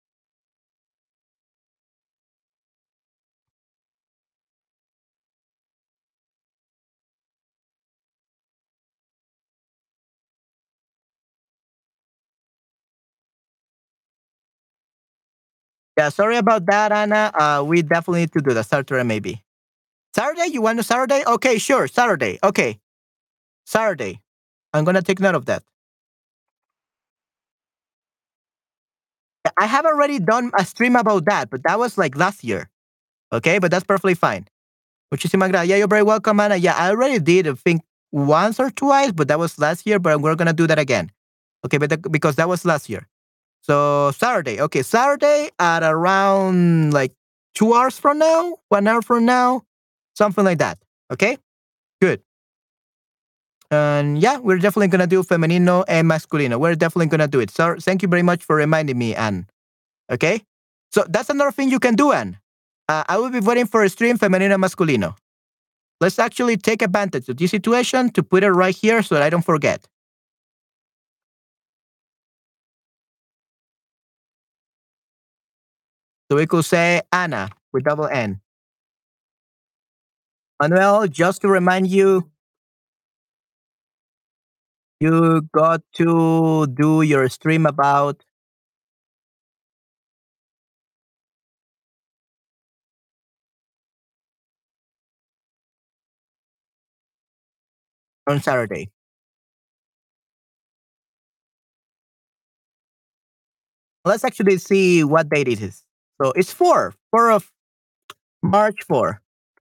Yeah, sorry about that, Anna. Uh, we definitely need to do that. Saturday, maybe. Saturday? You want to Saturday? Okay, sure. Saturday. Okay. Saturday. I'm gonna take note of that. I have already done a stream about that, but that was like last year. Okay, but that's perfectly fine. Muchísimas gracias. Yeah, you're very welcome, Anna. Yeah, I already did, I think, once or twice, but that was last year, but we're gonna do that again. Okay, but the, because that was last year. So Saturday. Okay, Saturday at around like two hours from now, one hour from now, something like that. Okay, good. And yeah, we're definitely gonna do femenino and masculino. We're definitely gonna do it. So thank you very much for reminding me, Anne. Okay, so that's another thing you can do, Anne. Uh, I will be waiting for a stream femenino and masculino. Let's actually take advantage of this situation to put it right here so that I don't forget. So we could say Anna with double N. Manuel, just to remind you, you got to do your stream about on Saturday. Let's actually see what date it is. So it's four, four of March four.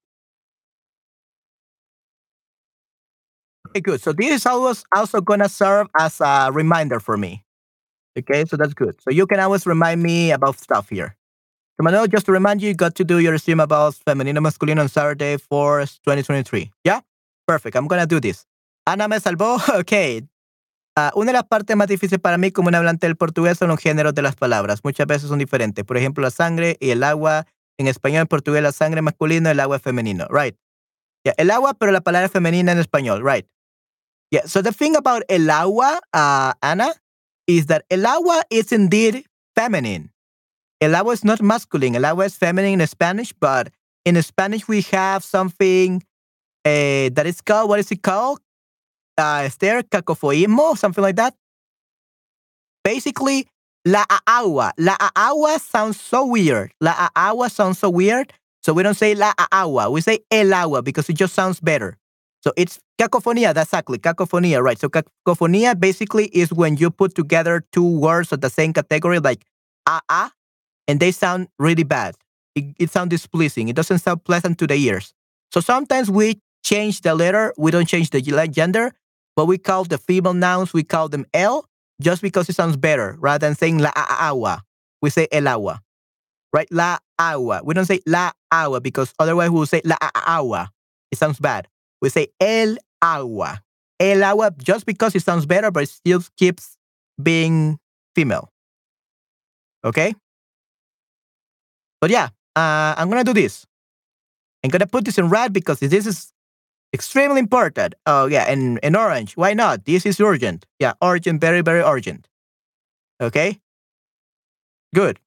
Okay, good. So this is always also gonna serve as a reminder for me. Okay, so that's good. So you can always remind me about stuff here. So Manuel, just to remind you, you got to do your stream about femenino masculino on Saturday for twenty twenty-three. Yeah? Perfect. I'm gonna do this. Ana me salvó. Okay. Uh, una de las partes más difíciles para mí como un hablante del portugués son los géneros de las palabras. Muchas veces son diferentes. Por ejemplo, la sangre y el agua. En español, en portugués, la sangre es masculino, el agua es femenino. Right. Yeah, el agua, pero la palabra es femenina en español. Right. Yeah. So the thing about el agua, uh, Ana, is that el agua is indeed feminine. El agua is not masculine. El agua is feminine in Spanish, but in Spanish we have something uh, that is called, what is it called? Uh, Esther, cacofoísmo, something like that. Basically, la agua. La agua sounds so weird. La agua sounds so weird. So we don't say la agua. We say el agua because it just sounds better. So it's cacofonía, that's exactly, cacofonía, right? So cacofonía basically is when you put together two words of the same category, like a-a, and they sound really bad. It, it sounds displeasing. It doesn't sound pleasant to the ears. So sometimes we change the letter. We don't change the gender, but we call the female nouns, we call them el, just because it sounds better. Rather than saying la agua, we say el agua, right? La agua. We don't say la agua because otherwise we will say la agua. It sounds bad. We say el agua. El agua just because it sounds better, but it still keeps being female. Okay? But yeah, uh, I'm going to do this. I'm going to put this in red because this is extremely important. Oh, yeah, and in orange. Why not? This is urgent. Yeah, urgent, very, very urgent. Okay? Good.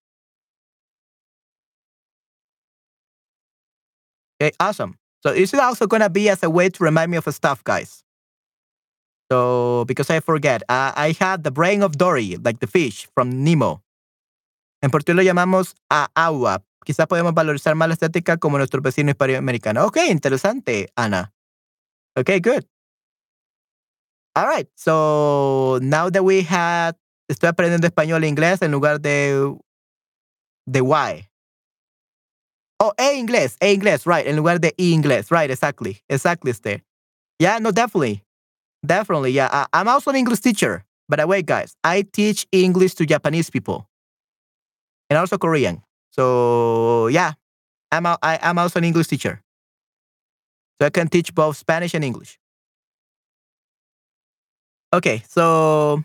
Okay, awesome. So this is also going to be as a way to remind me of stuff, guys. So, because I forget, uh, I had the brain of Dory, like the fish from Nemo. En portugués lo llamamos a agua. Quizás podemos valorizar más la estética como nuestro vecino hispanoamericano. Ok, interesante, Ana. Okay, good. All right, so now that we had, estoy aprendiendo español e inglés en lugar de, de Y. Oh, e inglés, e inglés, right, en lugar de e inglés, right, exactly, exactly, este. Yeah, no, definitely, definitely, yeah. I, I'm also an English teacher, by the way, guys. I teach English to Japanese people and also Korean. So, yeah, I'm, a, I, I'm also an English teacher. So I can teach both Spanish and English. Okay, so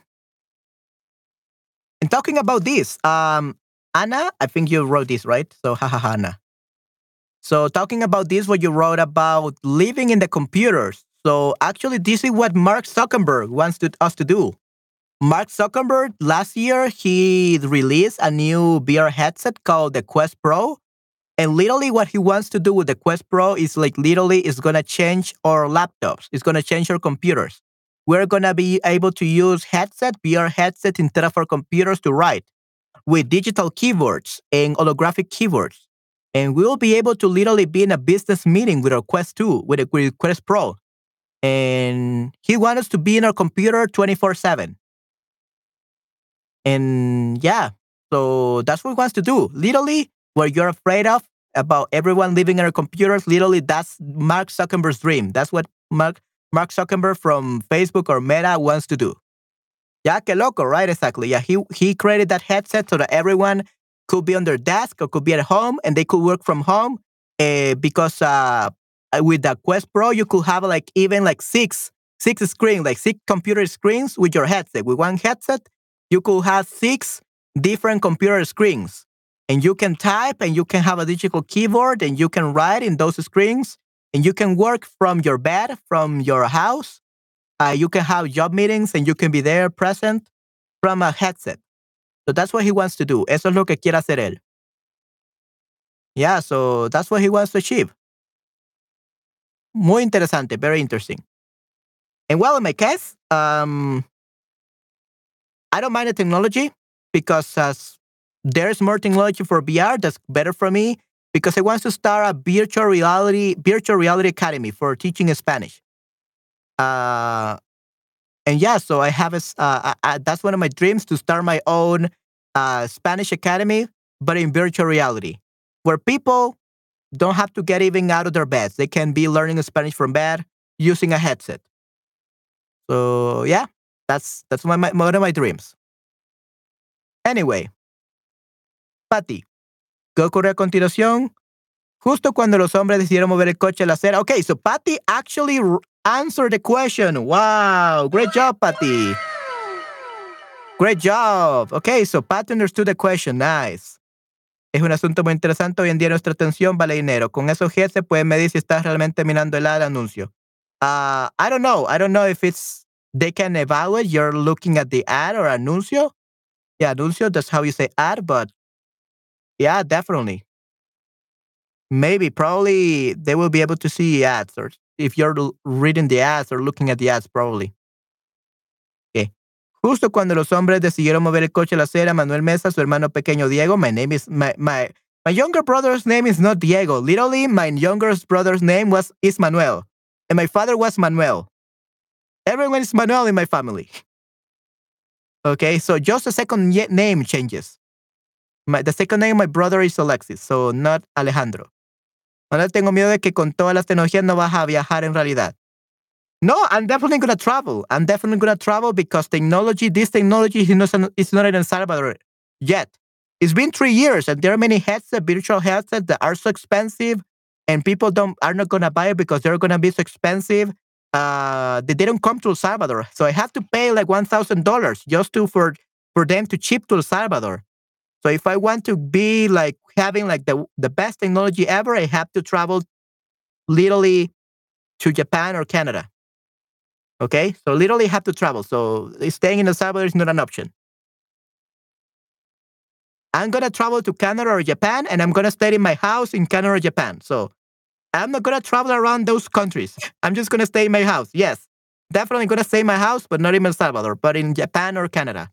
in talking about this, um, Anna, I think you wrote this, right? So, haha, Anna. So, talking about this, what you wrote about living in the computers. So, actually, this is what Mark Zuckerberg wants to, us to do. Mark Zuckerberg, last year, he released a new V R headset called the Quest Pro. And literally what he wants to do with the Quest Pro is like literally it's going to change our laptops. It's going to change our computers. We're going to be able to use headset, V R headset instead of our computers to write with digital keyboards and holographic keyboards. And we will be able to literally be in a business meeting with our Quest two, with a with Quest Pro. And he wants us to be in our computer twenty-four seven. And yeah, so that's what he wants to do. Literally, what you're afraid of about everyone living in our computers, literally that's Mark Zuckerberg's dream. That's what Mark Mark Zuckerberg from Facebook or Meta wants to do. Yeah, que loco, right? Exactly. Yeah, he he created that headset so that everyone could be on their desk or could be at home and they could work from home. Uh, because uh, with the Quest Pro, you could have like even like six six screens, like six computer screens with your headset. With one headset, you could have six different computer screens. And you can type and you can have a digital keyboard and you can write in those screens and you can work from your bed, from your house. Uh, you can have job meetings and you can be there present from a headset. So that's what he wants to do. Eso es lo que quiere hacer él. Yeah, so that's what he wants to achieve. Muy interesante, very interesting. And well, in my case, um, I don't mind the technology because as there's more technology for V R that's better for me because I want to start a virtual reality virtual reality academy for teaching Spanish. Uh, and yeah, so I have a, uh, I, I, that's one of my dreams to start my own uh, Spanish academy, but in virtual reality, where people don't have to get even out of their beds. They can be learning Spanish from bed using a headset. So yeah, that's that's my, my one of my dreams. Anyway. Patty, ¿qué ocurre a continuación? Justo cuando los hombres decidieron mover el coche a la acera. Okay, so Patty actually r- answered the question. Wow, great job, Patty. Great job. Okay, so Patty understood the question. Nice. Es un asunto muy interesante. Hoy en día nuestra atención vale dinero. Con esos G se puede medir si estás realmente mirando el ad anuncio. Uh, I don't know. I don't know if it's, they can evaluate you're looking at the ad or anuncio. Yeah, anuncio, that's how you say ad, but yeah, definitely. Maybe, probably they will be able to see ads or if you're l- reading the ads or looking at the ads, probably. Okay. Justo cuando los hombres decidieron mover el coche a la acera, Manuel Mesa, su hermano pequeño Diego, my name is, my, my, my younger brother's name is not Diego. Literally, my younger brother's name was, is Manuel. And my father was Manuel. Everyone is Manuel in my family. Okay, so just a second ye- name changes. My, the second name of my brother is Alexis, so not Alejandro. Ahora tengo miedo de que con todas las tecnologías no vas a viajar en realidad. No, I'm definitely going to travel. I'm definitely going to travel because technology, this technology is not, is not in El Salvador yet. It's been three years and there are many headsets, virtual headsets that are so expensive and people don't are not going to buy it because they're going to be so expensive. Uh, they didn't come to El Salvador. So I have to pay like one thousand dollars just to for, for them to ship to El Salvador. So if I want to be like having like the, the best technology ever, I have to travel literally to Japan or Canada. Okay, so literally have to travel. So staying in El Salvador is not an option. I'm gonna travel to Canada or Japan, and I'm gonna stay in my house in Canada or Japan. So I'm not gonna travel around those countries. I'm just gonna stay in my house. Yes, definitely gonna stay in my house, but not in El Salvador, but in Japan or Canada.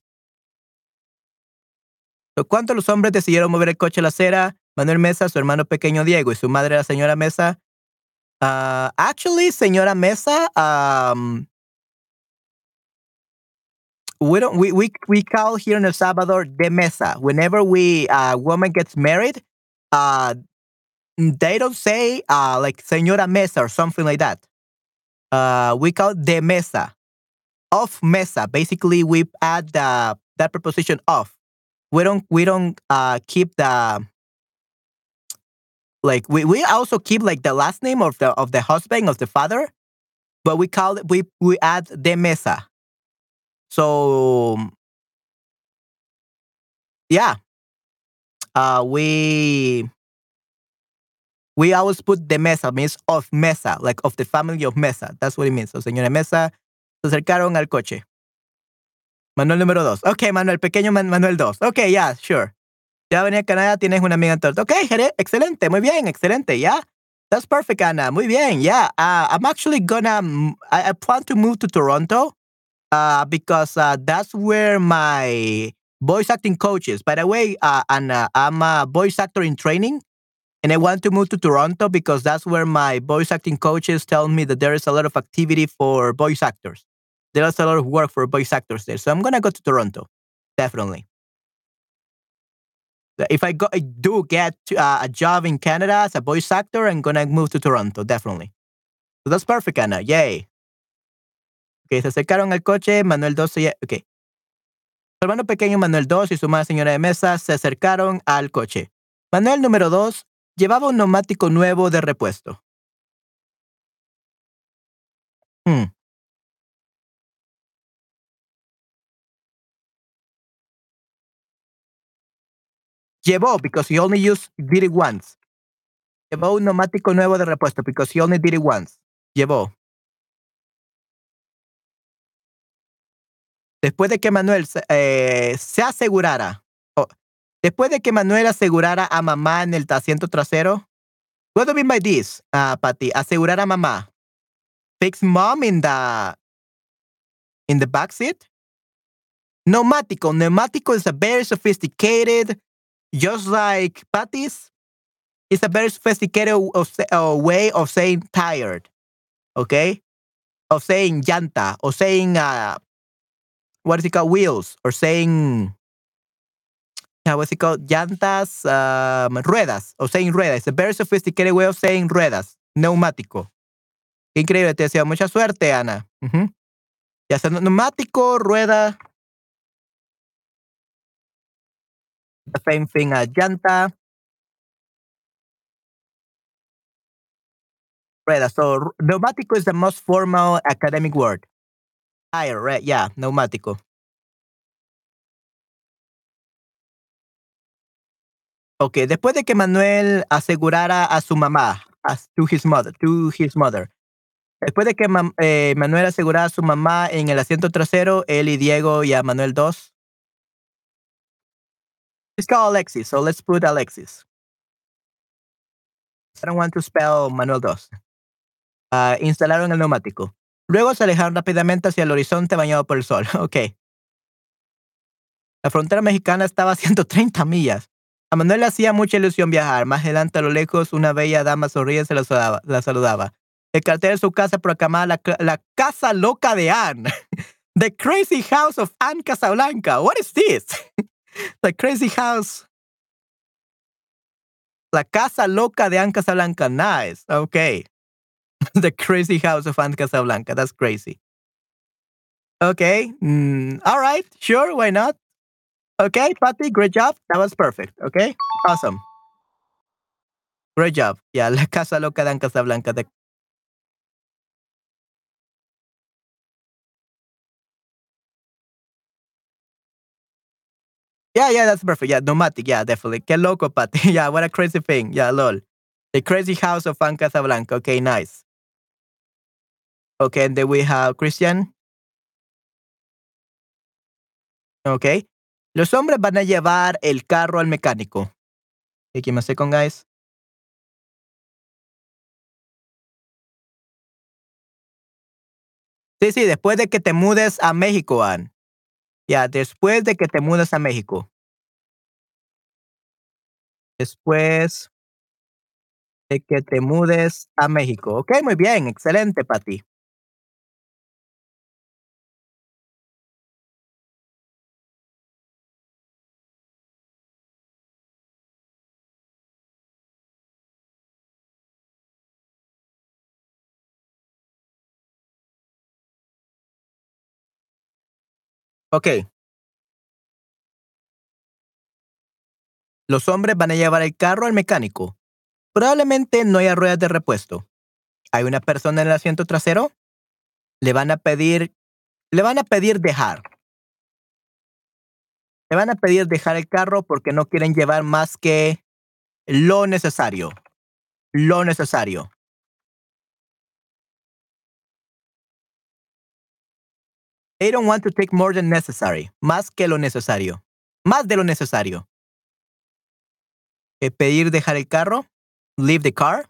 So, ¿cuántos los hombres decidieron mover el coche a la acera? Manuel Mesa, su hermano pequeño Diego y su madre la señora Mesa. Uh, actually, señora Mesa, um, we don't we, we we call here in El Salvador de mesa. Whenever we a uh, woman gets married, uh they don't say uh like señora mesa or something like that. Uh we call de mesa. Of mesa. Basically we add the that preposition of. We don't we don't uh keep the like we, we also keep like the last name of the of the husband of the father, but we call it we we add de mesa. So, yeah, uh, we we always put de mesa, means of mesa, like of the family of Mesa. That's what it means. So, señora Mesa, se acercaron al coche. Manuel número dos. Ok, Manuel, pequeño Man- Manuel dos. Ok, yeah, sure. Ya venía a Canadá, tienes una amiga en Toronto. Ok, Jere, excelente, muy bien, excelente, yeah. That's perfect, Ana. Muy bien, yeah. Uh, I'm actually gonna, mm, I, I plan to move to Toronto. Uh, because uh, that's where my voice acting coach is. By the way, uh, and uh, I'm a voice actor in training, and I want to move to Toronto because that's where my voice acting coaches tell me that there is a lot of activity for voice actors. There's a lot of work for voice actors there. So I'm gonna go to Toronto, definitely. If I go, I do get uh, a job in Canada as a voice actor, I'm gonna move to Toronto, definitely. So that's perfect, Anna. Yay. Okay, se acercaron al coche, Manuel dos, ok. Su hermano pequeño Manuel dos y su madre señora de Mesa se acercaron al coche. Manuel número dos llevaba un neumático nuevo de repuesto. Hmm. Llevó, because he only used, did it once. Llevó un neumático nuevo de repuesto, because he only did it once. Llevó. Después de que Manuel eh, se asegurara, oh, después de que Manuel asegurara a mamá en el asiento trasero. What do you mean by this, uh, Patty? Asegurar a mamá. Fix mom in the in the back seat? Neumático. Neumático is a very sophisticated, just like Patty's, it's a very sophisticated of, uh, way of saying tired. Okay? Of saying llanta, or saying, uh, what is it called? Wheels, or saying, uh, what's it called? Llantas, um, ruedas, or saying ruedas. It's a very sophisticated way of saying ruedas. Neumático. Qué increíble. Te deseo mucha suerte, Ana. Uh-huh. Ya sea neumático, rueda. The same thing as llanta. Rueda. So, neumático is the most formal academic word. Tire, right? Yeah, neumático. Ok, después de que Manuel asegurara a su mamá, as to his mother, to his mother. Después de que ma- eh, Manuel asegurara a su mamá en el asiento trasero, él y Diego y a Manuel dos. It's called Alexis, so let's put Alexis. I don't want to spell Manuel dos. Uh, instalaron el neumático. Luego se alejaron rápidamente hacia el horizonte bañado por el sol. Ok. La frontera mexicana estaba a ciento treinta millas. A Manuel le hacía mucha ilusión viajar. Más adelante, a lo lejos, una bella dama sonríe y se la saludaba. La saludaba. El cartel de su casa proclamaba la, la casa loca de Anne. The crazy house of Anne Casablanca. What is this? The crazy house La Casa Loca de Anne Casablanca. Nice. Okay. The Crazy House of Anne Casablanca. That's crazy. Okay. Mm, all right. Sure. Why not? Okay, Patty. Great job. That was perfect. Okay. Awesome. Great job. Yeah, La Casa Loca de Anne Casablanca. The Yeah, yeah, that's perfect. Yeah, Nomadic. Yeah, definitely. Qué loco, Patty. Yeah, what a crazy thing. Yeah, lol. The Crazy House of Anne Casablanca. Okay, nice. Okay, and then we have Christian. Okay. Los hombres van a llevar el carro al mecánico. Okay, give me a second, guys. Sí, sí, después de que te mudes a México, Ann. Ya, después de que te mudes a México. Después de que te mudes a México. Ok, muy bien, excelente, Pati. Ok. Los hombres van a llevar el carro al mecánico. Probablemente no haya ruedas de repuesto. Hay una persona en el asiento trasero. Le van a pedir, le van a pedir dejar. Le van a pedir dejar el carro porque no quieren llevar más que lo necesario. Lo necesario. They don't want to take more than necessary. Más que lo necesario. Más de lo necesario. Eh, pedir dejar el carro. Leave the car.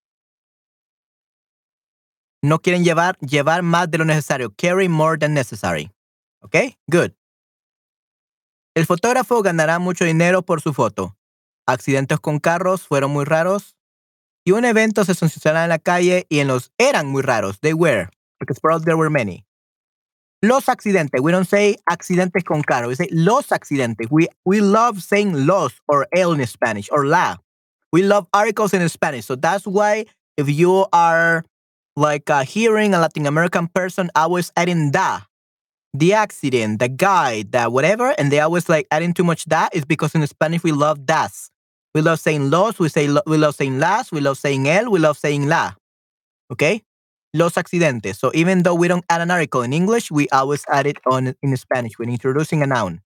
No quieren llevar, llevar más de lo necesario. Carry more than necessary. ¿Ok? Good. El fotógrafo ganará mucho dinero por su foto. Accidentes con carros fueron muy raros. Y un evento se sucederá en la calle y en los eran muy raros. They were. Because probably there were many. Los accidentes. We don't say accidentes con carro. We say los accidentes. We, we love saying los or el in Spanish or la. We love articles in Spanish. So that's why if you are like uh, hearing a Latin American person always adding da, the accident, the guy, the whatever, and they always like adding too much da is because in Spanish we love das. We love saying los, we say lo, we love saying las, we love saying el, we love saying la. Okay? Los accidentes. So even though we don't add an article in English, we always add it on in Spanish when introducing a noun.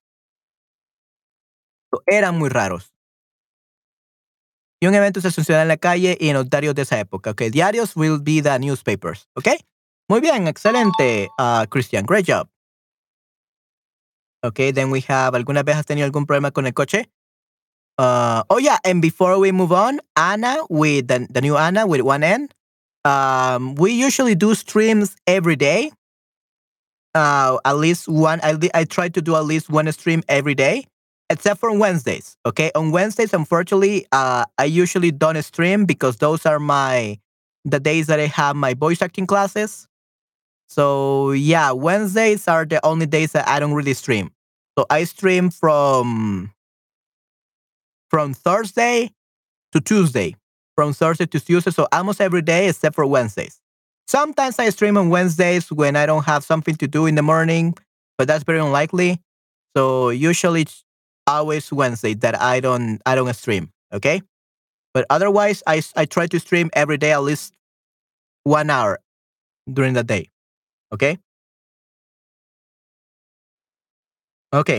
So eran muy raros. Y un evento se sucederá en la calle y en los diarios de esa época. Okay, diarios will be the newspapers. Okay? Muy bien, excelente, uh, Christian. Great job. Okay, then we have, ¿alguna vez has tenido algún problema con el coche? Uh, oh yeah, and before we move on, Anna with the, the new Anna with one N. Um, we usually do streams every day. Uh, at least one. I, I try to do at least one stream every day, except for Wednesdays. Okay, on Wednesdays, unfortunately, uh, I usually don't stream because those are my the days that I have my voice acting classes. So yeah, Wednesdays are the only days that I don't really stream. So I stream from from Thursday to Tuesday, from Thursday to Tuesday. So almost every day except for Wednesdays. Sometimes I stream on Wednesdays when I don't have something to do in the morning, but that's very unlikely. So usually it's always Wednesday that I don't I don't stream. Okay, but otherwise I I try to stream every day at least one hour during the day. Okay. Okay.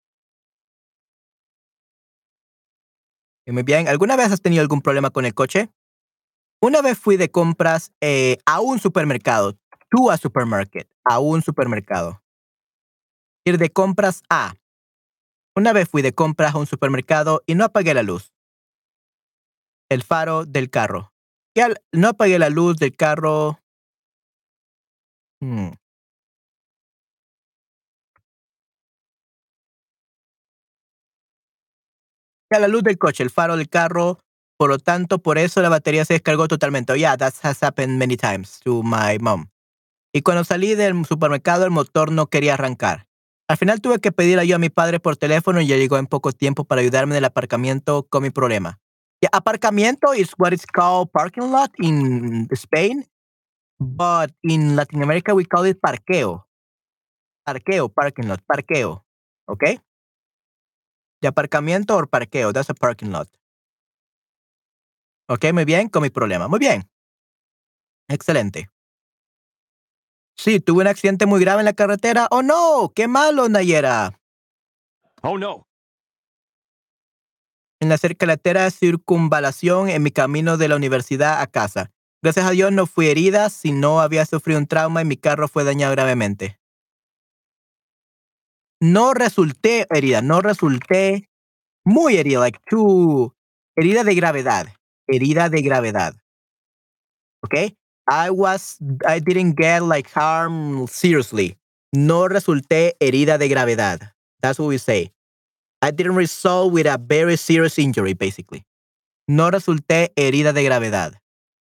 Muy bien. ¿Alguna vez has tenido algún problema con el coche? Una vez fui de compras eh, a un supermercado. To a supermarket. A un supermercado. Ir de compras a. Una vez fui de compras a un supermercado y no apagué la luz. El faro del carro. Y al, no apagué la luz del carro. Hmm. A la luz del coche, el faro del carro. Por lo tanto, por eso la batería se descargó totalmente. Oh, yeah, that has happened many times to my mom. Y cuando salí del supermercado, el motor no quería arrancar. Al final tuve que pedir ayuda a mi padre por teléfono y ya llegó en poco tiempo para ayudarme en el aparcamiento con mi problema. Yeah, aparcamiento is what is called parking lot in Spain, but in Latin America we call it parqueo. Parqueo, parking lot, parqueo. Okay? De aparcamiento or parqueo, that's a parking lot. Ok, muy bien, con mi problema. Muy bien. Excelente. Sí, tuve un accidente muy grave en la carretera. Oh no, qué malo, Nayera. Oh no. En la carretera circunvalación en mi camino de la universidad a casa. Gracias a Dios no fui herida, si no había sufrido un trauma y mi carro fue dañado gravemente. No resulté herida, no resulté muy herida, like too, herida de gravedad, herida de gravedad. Okay? I was, I didn't get like harm seriously. No resulté herida de gravedad. That's what we say. I didn't result with a very serious injury, basically. No resulté herida de gravedad.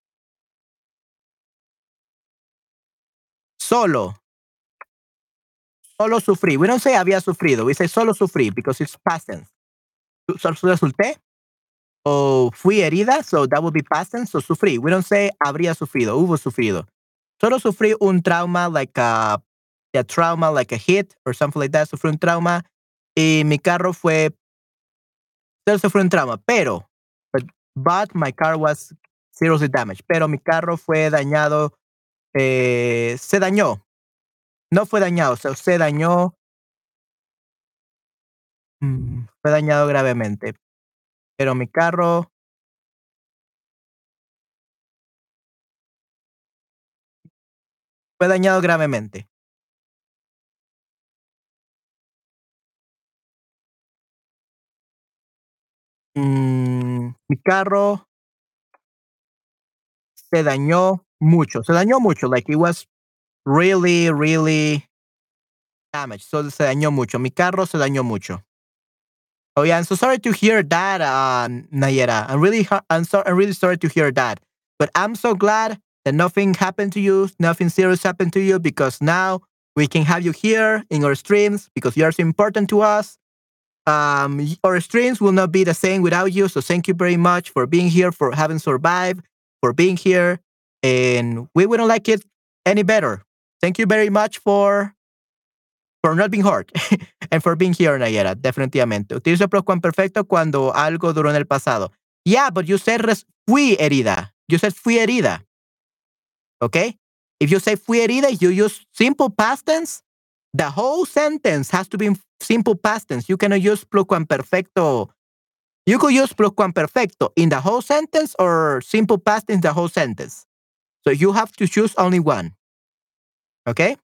Solo. Solo sufrí. We don't say había sufrido. We say solo sufrí because it's past tense. Solo resulté o fui herida, so that would be past tense. So sufrí. We don't say habría sufrido, hubo sufrido. Solo sufrí un trauma, like a, a trauma, like a hit or something like that. Sufrí un trauma y mi carro fue, solo sufrí un trauma, pero, but, but my car was seriously damaged. Pero mi carro fue dañado, eh, se dañó. No fue dañado, se, se dañó, mm, fue dañado gravemente. Pero mi carro fue dañado gravemente. Mm, mi carro se dañó mucho. Se dañó mucho. Like it was really, really damaged. So se dañó mucho. Mi carro se dañó mucho. Oh yeah, I'm so sorry to hear that, uh, Nayera. I'm really, I'm so, I'm really sorry to hear that. But I'm so glad that nothing happened to you, nothing serious happened to you, because now we can have you here in our streams because you are so important to us. Um, our streams will not be the same without you. So thank you very much for being here, for having survived, for being here, and we wouldn't like it any better. Thank you very much for for not being hurt and for being here, Nayera. Definitivamente. Utilizo pluscuamperfecto cuando algo duró en el pasado. Yeah, but you said res fui herida. You said fui herida. Okay? If you say fui herida, you use simple past tense. The whole sentence has to be in simple past tense. You cannot use pluscuamperfecto. You could use pluscuamperfecto in the whole sentence or simple past tense the whole sentence. So you have to choose only one. Okay?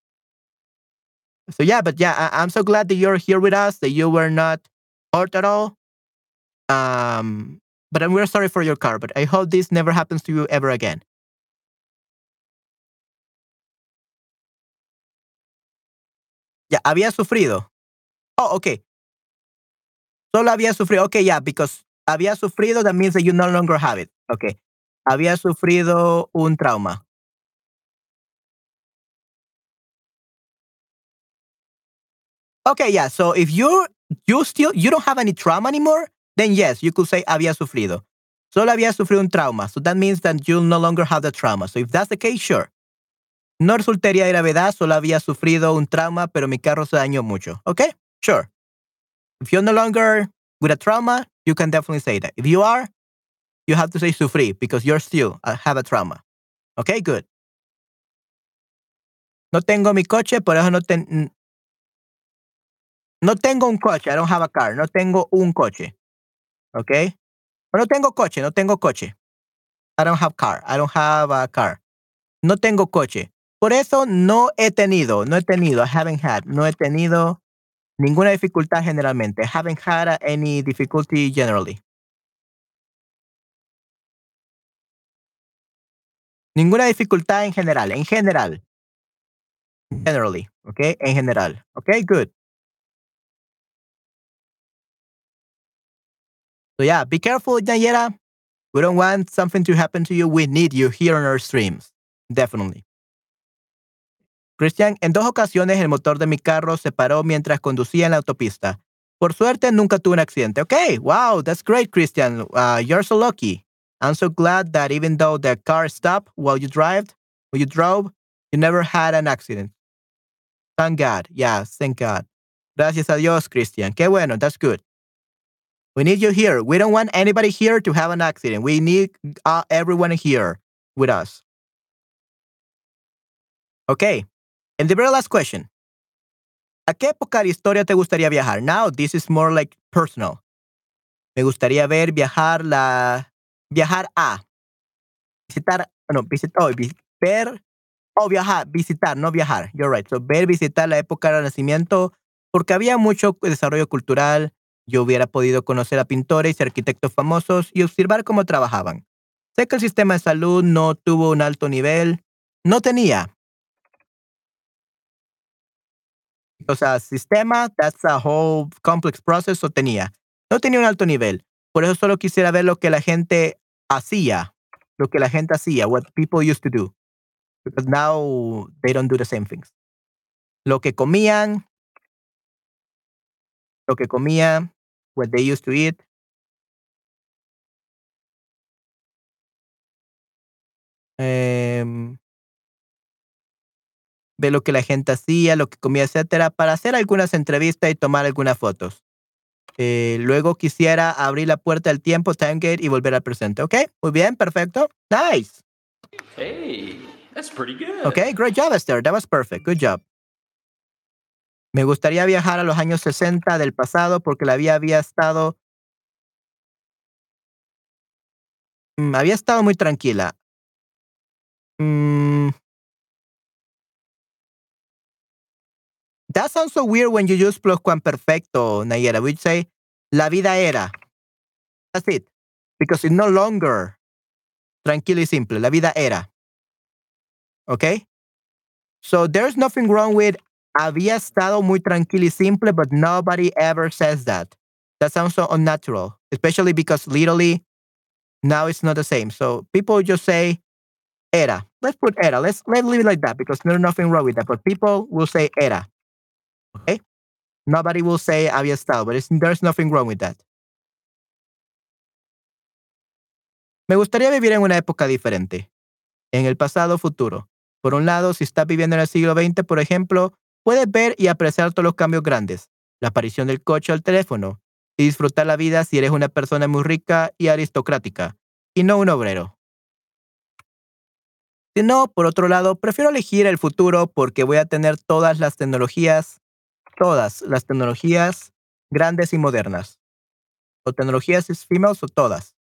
So yeah, but yeah, I- I'm so glad that you're here with us, that you were not hurt at all. Um, but I'm really sorry for your car, but I hope this never happens to you ever again. Ya, había sufrido. Oh, okay. Solo había sufrido. Okay, yeah, because había sufrido, that means that you no longer have it. Okay. Había sufrido un trauma. Okay, yeah. So if you you still you don't have any trauma anymore, then yes, you could say había sufrido. Solo había sufrido un trauma. So that means that you no longer have the trauma. So if that's the case, sure. No resultaría de gravedad, solo había sufrido un trauma, pero mi carro se dañó mucho. Okay? Sure. If you're no longer with a trauma, you can definitely say that. If you are, you have to say sufrí because you're still uh, have a trauma. Okay, good. No tengo mi coche, por eso no ten, no tengo un coche. I don't have a car. No tengo un coche. Okay? No tengo coche, no tengo coche. I don't have car. I don't have a car. No tengo coche. Por eso no he tenido, no he tenido, I haven't had, no he tenido ninguna dificultad generalmente. I haven't had uh, any difficulty generally. Ninguna dificultad en general, en general. Generally, okay? En general. Okay, good. So yeah, be careful, Nayera. We don't want something to happen to you. We need you here on our streams. Definitely. Christian, en dos ocasiones el motor de mi carro se paró mientras conducía en la autopista. Por suerte, nunca tuve un accidente. Okay, wow, that's great, Christian. Uh, you're so lucky. I'm so glad that even though the car stopped while you drove, while you drove, you never had an accident. Thank God. Yeah, thank God. Gracias a Dios, Christian. Qué bueno, that's good. We need you here. We don't want anybody here to have an accident. We need uh, everyone here with us. Okay. And the very last question. ¿A qué época de historia te gustaría viajar? Now, this is more like personal. Me gustaría ver viajar la viajar a visitar, no, visitar, oh, vis- ver o viajar, visitar, no viajar. You're right. So, ver, visitar la época del Renacimiento porque había mucho desarrollo cultural. Yo hubiera podido conocer a pintores y arquitectos famosos y observar cómo trabajaban. Sé que el sistema de salud no tuvo un alto nivel, no tenía. O sea, sistema, that's a whole complex process, so tenía. No tenía un alto nivel. Por eso solo quisiera ver lo que la gente hacía, lo que la gente hacía, what people used to do. Because now they don't do the same things. Lo que comían, lo que comían, what they used to eat. em, Ver lo que la gente hacía, lo que comía, etcétera, para hacer algunas entrevistas y tomar algunas fotos. Eh, luego quisiera abrir la puerta del tiempo, time gate, y volver al presente. ¿Ok? Muy bien, perfecto. Nice. Hey, that's pretty good. Okay, great job, Esther. That was perfect. Good job. Me gustaría viajar a los años sesenta del pasado porque la vida había estado, mm, había estado muy tranquila. Mm, that sounds so weird when you use pluscuamperfecto, Nayera. We'd say, la vida era. That's it. Because it's no longer tranquilo y simple. La vida era. Okay? So there's nothing wrong with había estado muy tranquilo y simple, but nobody ever says that. That sounds so unnatural, especially because literally now it's not the same. So people just say era. Let's put era. Let's let's leave it like that because there's nothing wrong with that. But people will say era. Okay? Nobody will say había estado, but it's, there's nothing wrong with that. Me gustaría vivir en una época diferente, en el pasado o futuro. Por un lado, si estás viviendo en el siglo veinte, por ejemplo, puedes ver y apreciar todos los cambios grandes, la aparición del coche o el teléfono, y disfrutar la vida si eres una persona muy rica y aristocrática, y no un obrero. Si no, por otro lado, prefiero elegir el futuro porque voy a tener todas las tecnologías, todas las tecnologías grandes y modernas. O tecnologías females o todas.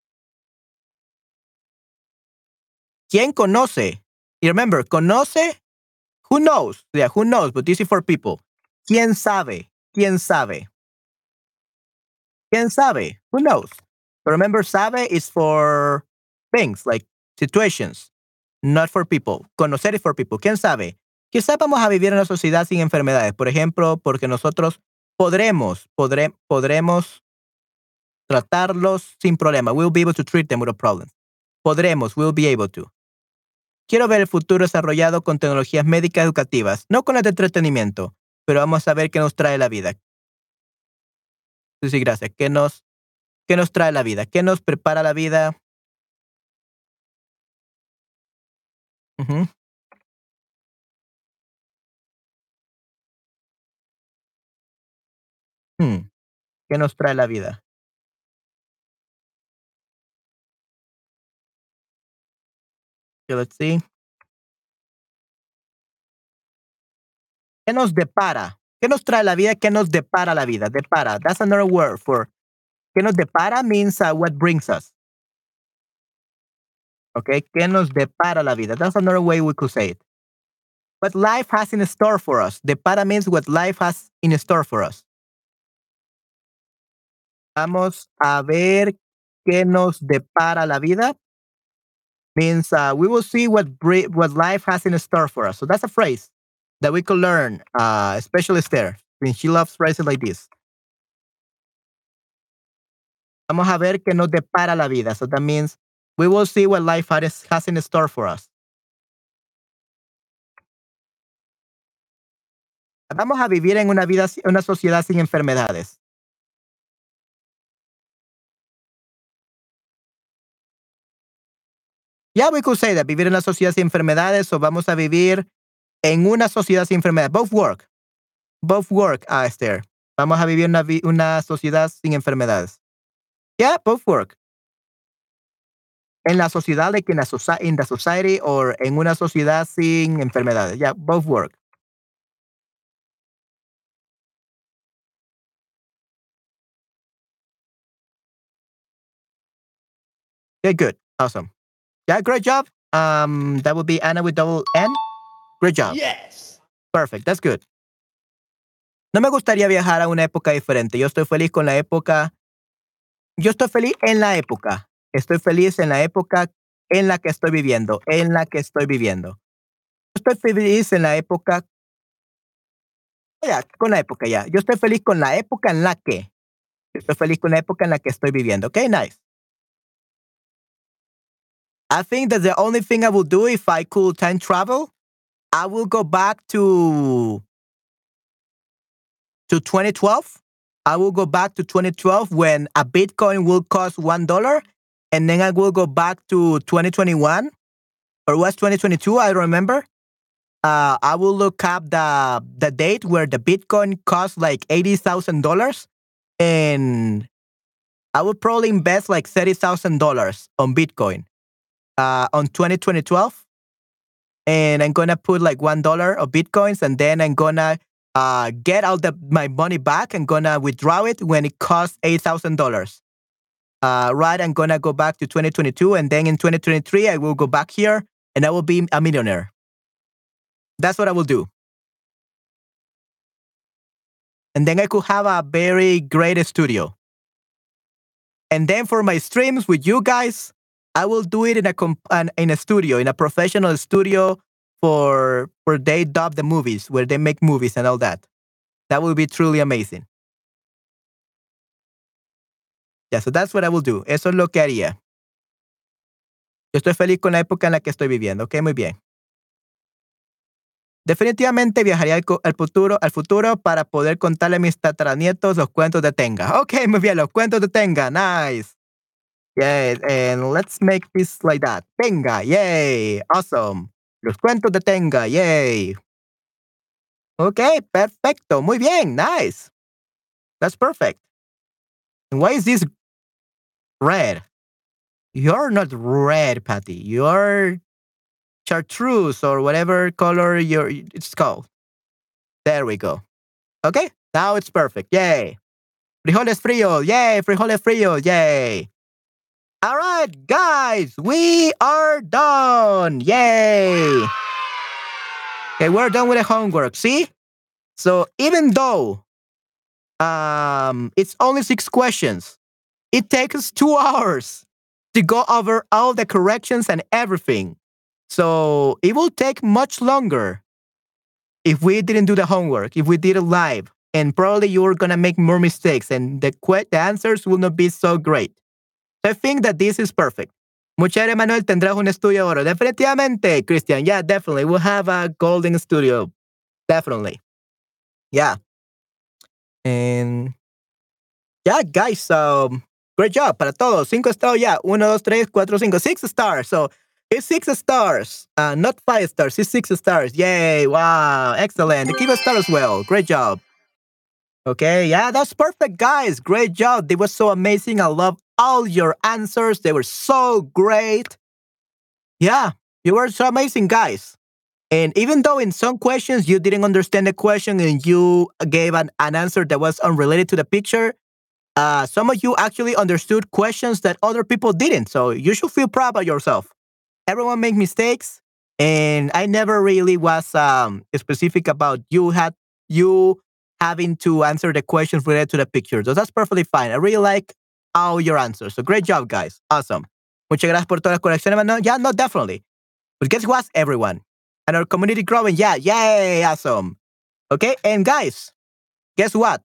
¿Quién conoce? Y remember, conoce, who knows? Yeah, who knows, but this is for people. ¿Quién sabe? ¿Quién sabe? ¿Quién sabe? Who knows? But remember, sabe is for things, like situations, not for people. Conocer is for people. ¿Quién sabe? Quizá vamos a vivir en una sociedad sin enfermedades, por ejemplo, porque nosotros podremos, podré, podremos tratarlos sin problema. We'll be able to treat them without problems. Podremos, we'll be able to. Quiero ver el futuro desarrollado con tecnologías médicas educativas, no con las de entretenimiento, pero vamos a ver qué nos trae la vida. Sí, sí, gracias. ¿Qué nos, qué nos trae la vida? ¿Qué nos prepara la vida? Ujú. Hmm, ¿Qué nos trae la vida? Okay, let's see. ¿Qué nos depara? ¿Qué nos trae la vida? ¿Qué nos depara la vida? Depara. That's another word for ¿qué nos depara means uh, what brings us. Okay, ¿qué nos depara la vida? That's another way we could say it. What life has in store for us. Depara means what life has in store for us. Vamos a ver qué nos depara la vida. Means uh, we will see what bri- what life has in store for us. So that's a phrase that we could learn, uh, especially Esther, since she loves phrases like this. Vamos a ver qué nos depara la vida. So that means we will see what life has, has in store for us. Vamos a vivir en una vida, una sociedad sin enfermedades. Yeah, we could say that. Vivir en una sociedad sin enfermedades o vamos a vivir en una sociedad sin enfermedades. Both work. Both work, uh, Esther. Vamos a vivir una, vi una sociedad sin enfermedades. Yeah, both work. En la sociedad, like in, a soci in the society, or en una sociedad sin enfermedades. Yeah, both work. Okay, good. Awesome. Yeah, great job. Um, that would be Anna with double N. Great job. Yes. Perfect. That's good. No me gustaría viajar a una época diferente. Yo estoy feliz con la época. Yo estoy feliz en la época. Estoy feliz en la época en la que estoy viviendo. En la que estoy viviendo. Estoy feliz en la época. Ya, con la época ya. Yo estoy feliz con la época en la que. Estoy feliz con la época en la que estoy viviendo. Okay, nice. I think that the only thing I would do if I could time travel, I will go back to to twenty twelve. I will go back to twenty twelve when a Bitcoin will cost one dollar, and then I will go back to twenty twenty-one, or was twenty twenty-two? I don't remember. Uh, I will look up the the date where the Bitcoin cost like eighty thousand dollars, and I would probably invest like thirty thousand dollars on Bitcoin uh, on twenty twelve, and I'm gonna put like one dollar of Bitcoins, and then I'm gonna uh, get all the my money back. I'm gonna withdraw it when it costs eight thousand dollars. Uh, right, I'm gonna go back to twenty twenty-two, and then in twenty twenty-three I will go back here, and I will be a millionaire. That's what I will do. And then I could have a very great studio. And then for my streams with you guys, I will do it in a comp- in a studio, in a professional studio for where they dub the movies, where they make movies and all that. That will be truly amazing. Yeah, so that's what I will do. Eso es lo que haría. Yo estoy feliz con la época en la que estoy viviendo. Ok, muy bien. Definitivamente viajaría al, al, futuro, al futuro para poder contarle a mis tataranietos los cuentos de Tenga. Ok, muy bien, los cuentos de Tenga. Nice. Yeah, and let's make this like that. Tenga, yay. Awesome. Los cuentos de Tenga, yay. Ok, perfecto. Muy bien, nice. That's perfect. And why is this red? You're not red, Patty. You're chartreuse or whatever color you're, it's called. There we go. Okay, now it's perfect. Yay. Frijoles fríos. Yay, frijoles fríos. Yay. All right, guys, we are done. Yay. Okay, we're done with the homework. See? So even though um, it's only six questions, it takes us two hours to go over all the corrections and everything. So it will take much longer if we didn't do the homework, if we did it live, and probably you're going to make more mistakes and the, que- the answers will not be so great. So I think that this is perfect. Mujer Manuel, tendrás un estudio oro. Definitivamente, Christian. Yeah, definitely. We'll have a golden studio. Definitely. Yeah. And yeah, guys, um, great job para todos. Cinco stars, yeah. Uno, dos, tres, cuatro, cinco. Six stars. So it's six stars. Uh, not five stars. It's six stars. Yay. Wow. Excellent. Give a star as well. Great job. Okay. Yeah, that's perfect, guys. Great job. They were so amazing. I love all your answers. They were so great. Yeah, you were so amazing, guys. And even though in some questions you didn't understand the question and you gave an, an answer that was unrelated to the picture, uh, some of you actually understood questions that other people didn't. So you should feel proud of yourself. Everyone makes mistakes, and I never really was um, specific about you had you having to answer the questions related to the picture. So that's perfectly fine. I really like all your answers. So great job, guys. Awesome. Muchas gracias por todas las correcciones. No, yeah, no, definitely. But guess what? Everyone. And our community growing. Yeah, yay. Awesome. Okay. And guys, guess what?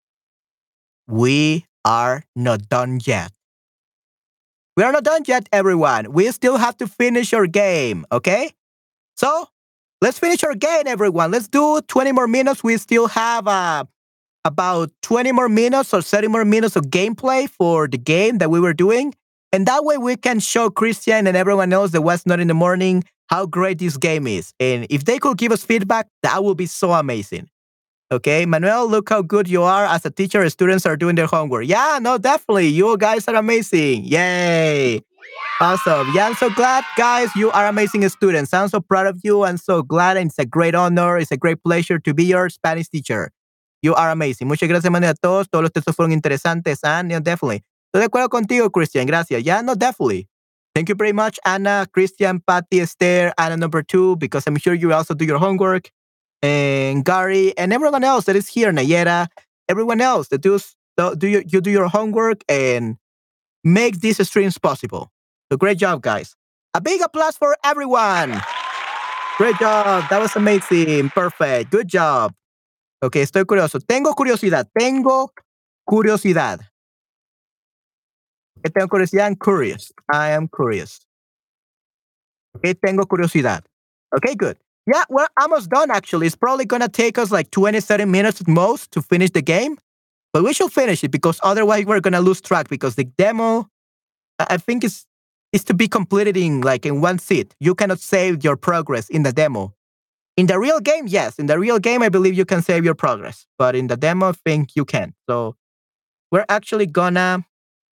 We are not done yet. We are not done yet, everyone. We still have to finish our game. Okay. So let's finish our game, everyone. Let's do twenty more minutes. We still have uh, about twenty more minutes or thirty more minutes of gameplay for the game that we were doing. And that way we can show Christian and everyone else that was not in the morning how great this game is. And if they could give us feedback, that would be so amazing. Okay, Manuel, look how good you are as a teacher. Students are doing their homework. Yeah, no, definitely. You guys are amazing. Yay. Awesome. Yeah, I'm so glad, guys. You are amazing students. I'm so proud of you. I'm so glad. And it's a great honor. It's a great pleasure to be your Spanish teacher. You are amazing. Muchas gracias, Manuel, a todos. Todos los textos fueron interesantes. And yeah, definitely. Estoy de acuerdo contigo, Christian. Gracias. Yeah, no, definitely. Thank you very much, Anna, Christian, Patty, Esther, Anna number two, because I'm sure you also do your homework. And Gary, and everyone else that is here, Nayera, everyone else that does, do you, you do your homework and make these streams possible. So great job, guys. A big applause for everyone. Great job. That was amazing. Perfect. Good job. Ok, estoy curioso. Tengo curiosidad. Tengo curiosidad. Okay, tengo curiosidad. I'm curious. I am curious. Ok, tengo curiosidad. Okay, good. Yeah, we're almost done, actually. It's probably going to take us like twenty, thirty minutes at most to finish the game. But we should finish it because otherwise we're going to lose track because the demo, I think, is, is to be completed in like in one sit. You cannot save your progress in the demo. In the real game, yes. In the real game, I believe you can save your progress. But in the demo, I think you can. So we're actually going to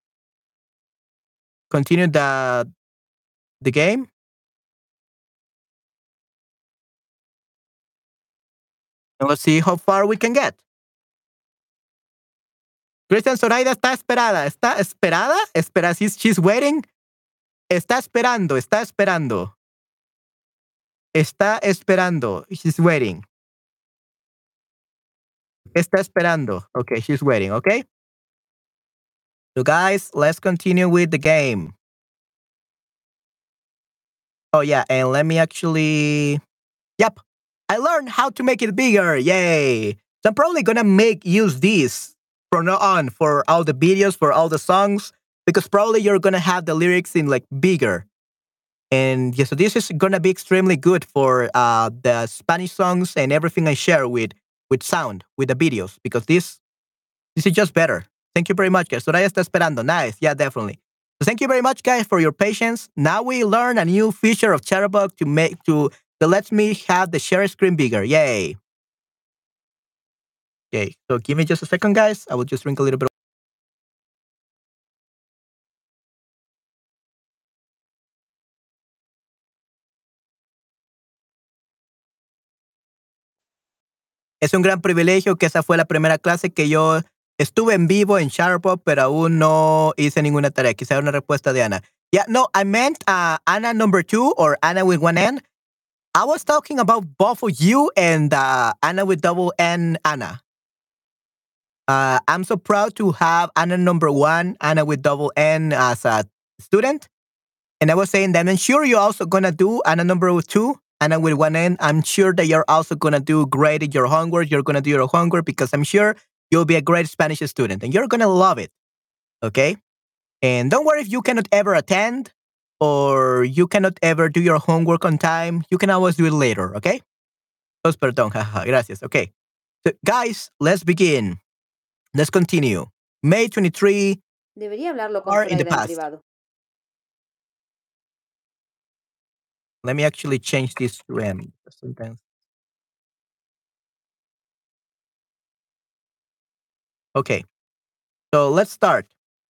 continue the, the game. And let's see how far we can get. Christian Zoraida está esperada. ¿Está esperada? Espera, she's, she's waiting. Está esperando, está esperando. Está esperando. She's waiting. Está esperando. Okay, she's waiting, okay? So guys, let's continue with the game. Oh yeah, and let me actually... Yep, I learned how to make it bigger. Yay! So I'm probably gonna make use this from now on for all the videos, for all the songs, because probably you're gonna have the lyrics in like bigger. And yeah, so this is gonna be extremely good for uh, the Spanish songs and everything I share with with sound, with the videos, because this this is just better. Thank you very much, guys. Soraya está esperando. Nice. Yeah, definitely. So thank you very much, guys, for your patience. Now we learn a new feature of Chatterbug to make to that lets me have the share screen bigger. Yay. Okay, so give me just a second, guys. I will just drink a little bit. Es un gran privilegio que esa fue la primera clase que yo estuve en vivo en Chatterbug, pero aún no hice ninguna tarea. Quizá una respuesta de Ana. Yeah, no, I meant uh, Anna number two or Anna with one N. I was talking about both of you and uh, Anna with double N, Anna. Uh, I'm so proud to have Anna number one, Anna with double N as a student. And I was saying that I'm sure you're also going to do Anna number two, Anna with one N. I'm sure that you're also going to do great in your homework. You're going to do your homework because I'm sure you'll be a great Spanish student and you're going to love it. Okay? And don't worry if you cannot ever attend or you cannot ever do your homework on time. You can always do it later. Okay? Oh, perdón. Gracias. Okay. So, guys, let's begin. Let's continue. May twenty-third. Debería hablarlo con Or in the Zoraida en past. privado. Let me actually change this to M. Sometimes. Okay. So let's start.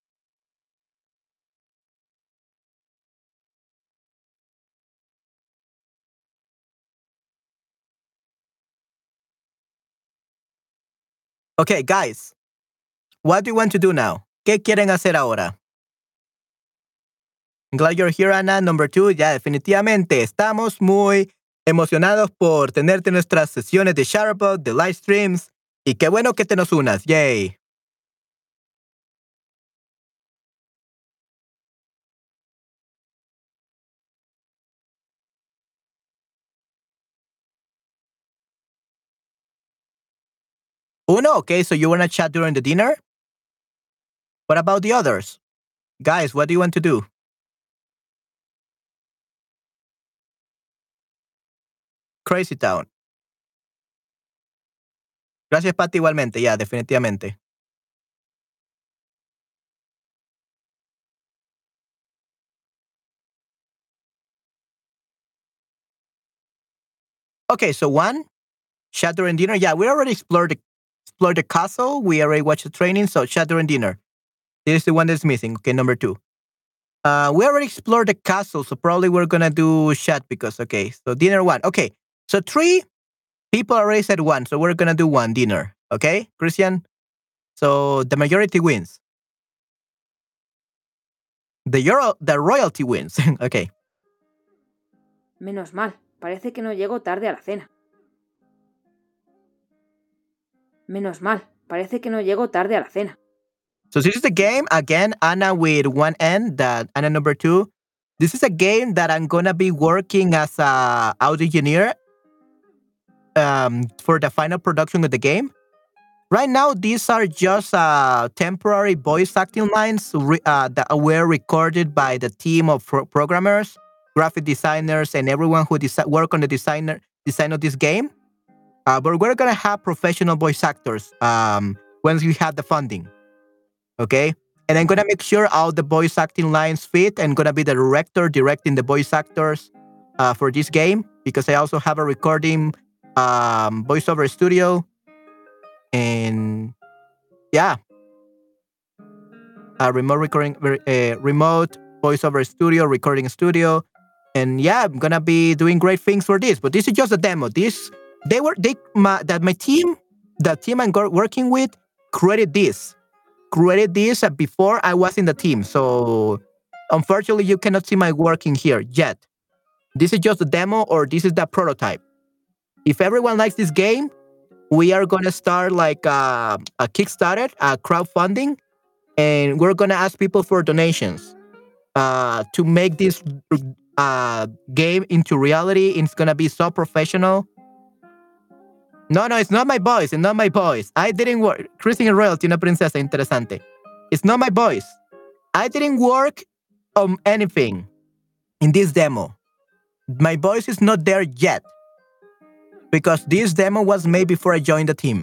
Okay, guys. What do you want to do now? ¿Qué quieren hacer ahora? I'm glad you're here, Ana. Number two, ya definitivamente estamos muy emocionados por tenerte en nuestras sesiones de Chatterbug, de live streams. Y qué bueno que te nos unas. Yay. Uno, okay, so you want to chat during the dinner? What about the others? Guys, what do you want to do? Crazy Town. Gracias, Patty, igualmente. Ya, definitivamente. Okay, so one, Shadow and Dinner. Yeah, we already explored the explored the castle. We already watched the training. So Shadow and Dinner. This is the one that's missing. Okay, number two. Uh, we already explored the castle, so probably we're gonna do chat because okay. So dinner one. Okay, so three people already said one, so we're gonna do one dinner. Okay, Christian. So the majority wins. The Euro, the royalty wins. Okay. Menos mal, parece que no llego tarde a la cena. Menos mal, parece que no llego tarde a la cena. So this is the game again, Anna with one N. That Anna number two. This is a game that I'm gonna be working as a audio engineer um, for the final production of the game. Right now, these are just uh, temporary voice acting lines re- uh, that were recorded by the team of pro- programmers, graphic designers, and everyone who desi- work on the designer design of this game. Uh, but we're gonna have professional voice actors um, once we have the funding. Okay, and I'm gonna make sure all the voice acting lines fit. And gonna be the director directing the voice actors uh, for this game because I also have a recording um, voiceover studio. And yeah, a remote recording, uh, remote voiceover studio, recording studio, and yeah, I'm gonna be doing great things for this. But this is just a demo. This they were they my, that my team, the team I'm go- working with, created this, created this uh, before I was in the team. So unfortunately, you cannot see my work in here yet. This is just a demo, or this is the prototype. If everyone likes this game, we are gonna start like uh, a Kickstarter, a crowdfunding, and we're gonna ask people for donations uh, to make this uh, game into reality. It's gonna be so professional. No, no, it's not my voice. It's not my voice. I didn't work. Christian Royalty, una princesa interesante. It's not my voice. I didn't work on anything in this demo. My voice is not there yet because this demo was made before I joined the team.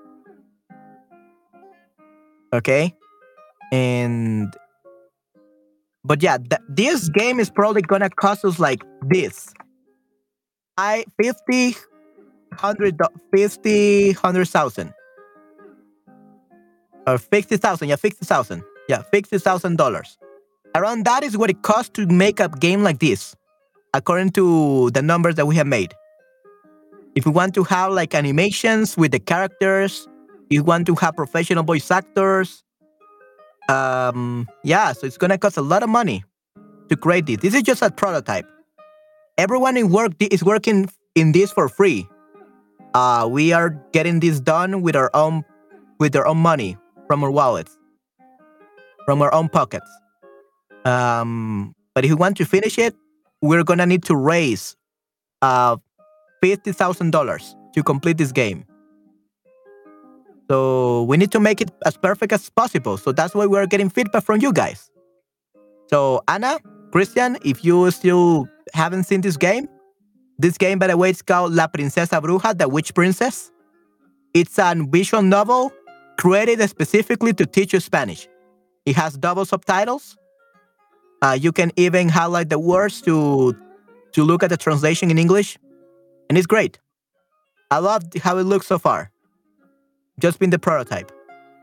Okay, and but yeah, th- this game is probably gonna cost us like this. I fifty hundred fifty hundred thousand or fifty thousand. Yeah, fifty thousand. Yeah, fifty thousand dollars. Around that is what it costs to make a game like this, according to the numbers that we have made. If you want to have like animations with the characters, you want to have professional voice actors. Um, yeah, so it's gonna cost a lot of money to create this. This is just a prototype. Everyone in work is working in this for free. Uh, we are getting this done with our own with our own money from our wallets, from our own pockets. Um, but if we want to finish it, we're gonna need to raise uh fifty thousand dollars to complete this game. So we need to make it as perfect as possible. So that's why we're getting feedback from you guys. So Anna, Christian, if you still haven't seen this game, this game, by the way, it's called La Princesa Bruja, the Witch Princess. It's a visual novel created specifically to teach you Spanish. It has double subtitles. Uh, you can even highlight the words to to look at the translation in English, and it's great. I love how it looks so far. Just been the prototype.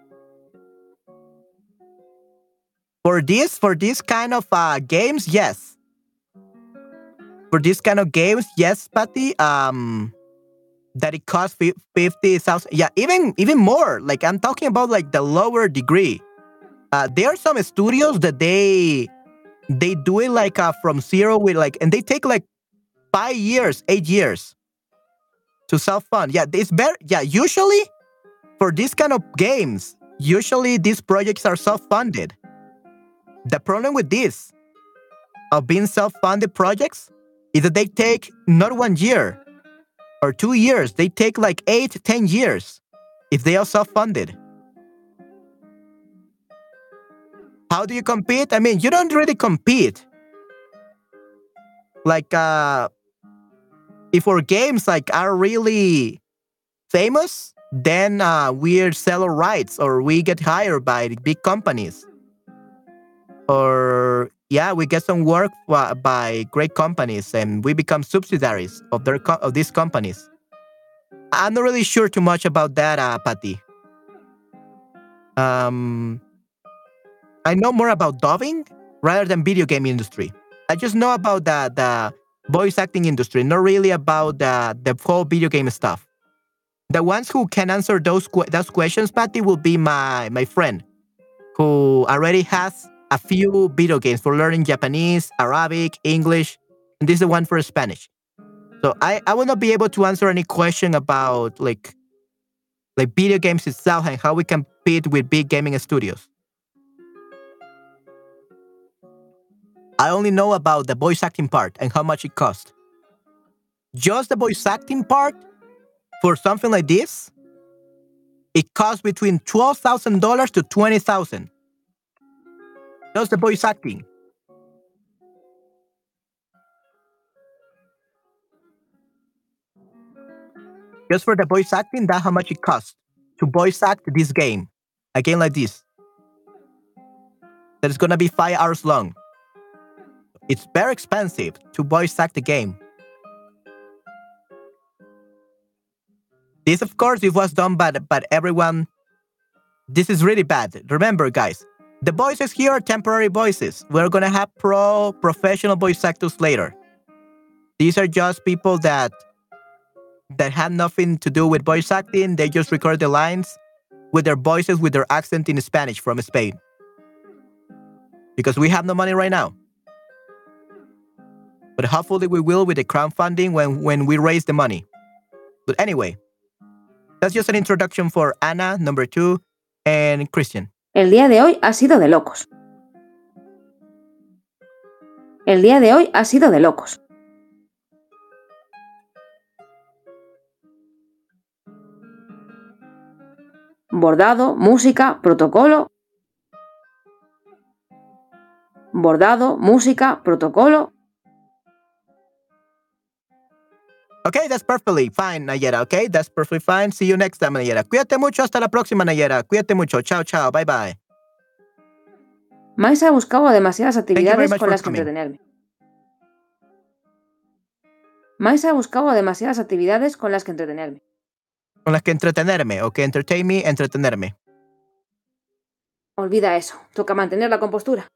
For this, for this kind of uh, games, yes. For this kind of games, yes, Patty. Um, that it costs fifty thousand. Yeah, even even more. Like I'm talking about like the lower degree. Uh, there are some studios that they they do it like uh, from zero with like, and they take like five years, eight years to self fund. Yeah, it's better. Yeah, usually for this kind of games, usually these projects are self funded. The problem with this of being self funded projects is that they take not one year or two years. They take like eight, ten years if they are self funded. How do you compete? I mean, you don't really compete. Like, uh, if our games like are really famous, then uh, we sell our rights or we get hired by big companies. Or yeah, we get some work uh, by great companies, and we become subsidiaries of their co- of these companies. I'm not really sure too much about that, uh, Patty. Um, I know more about dubbing rather than video game industry. I just know about the the voice acting industry, not really about the the whole video game stuff. The ones who can answer those que- those questions, Patty, will be my my friend who already has a few video games for learning Japanese, Arabic, English, and this is the one for Spanish. So I, I will not be able to answer any question about like like video games itself and how we compete with big gaming studios. I only know about the voice acting part and how much it costs. Just the voice acting part for something like this, it costs between twelve thousand dollars to twenty thousand. Just the voice acting. Just for the voice acting, that's how much it costs to voice act this game. A game like this. That is gonna be five hours long. It's very expensive to voice act the game. This, of course, it was done by, by everyone. This is really bad. Remember, guys, the voices here are temporary voices. We're gonna have pro professional voice actors later. These are just people that that have nothing to do with voice acting. They just record the lines with their voices, with their accent in Spanish from Spain. Because we have no money right now. But hopefully we will with the crowdfunding when, when we raise the money. But anyway, that's just an introduction for Anna, number two, and Christian. El día de hoy ha sido de locos. El día de hoy ha sido de locos. Bordado, música, protocolo. Bordado, música, protocolo. Okay, that's perfectly fine, Nayera. Okay, that's perfectly fine. See you next time, Nayera. Cuídate mucho. Hasta la próxima, Nayera. Cuídate mucho. Chao, chao. Bye, bye. Mais ha buscado demasiadas very actividades much con for las que coming. entretenerme. Mais ha buscado demasiadas actividades con las que entretenerme. Con las que entretenerme. Ok, entertain me, entretenerme. Olvida eso. Toca mantener la compostura.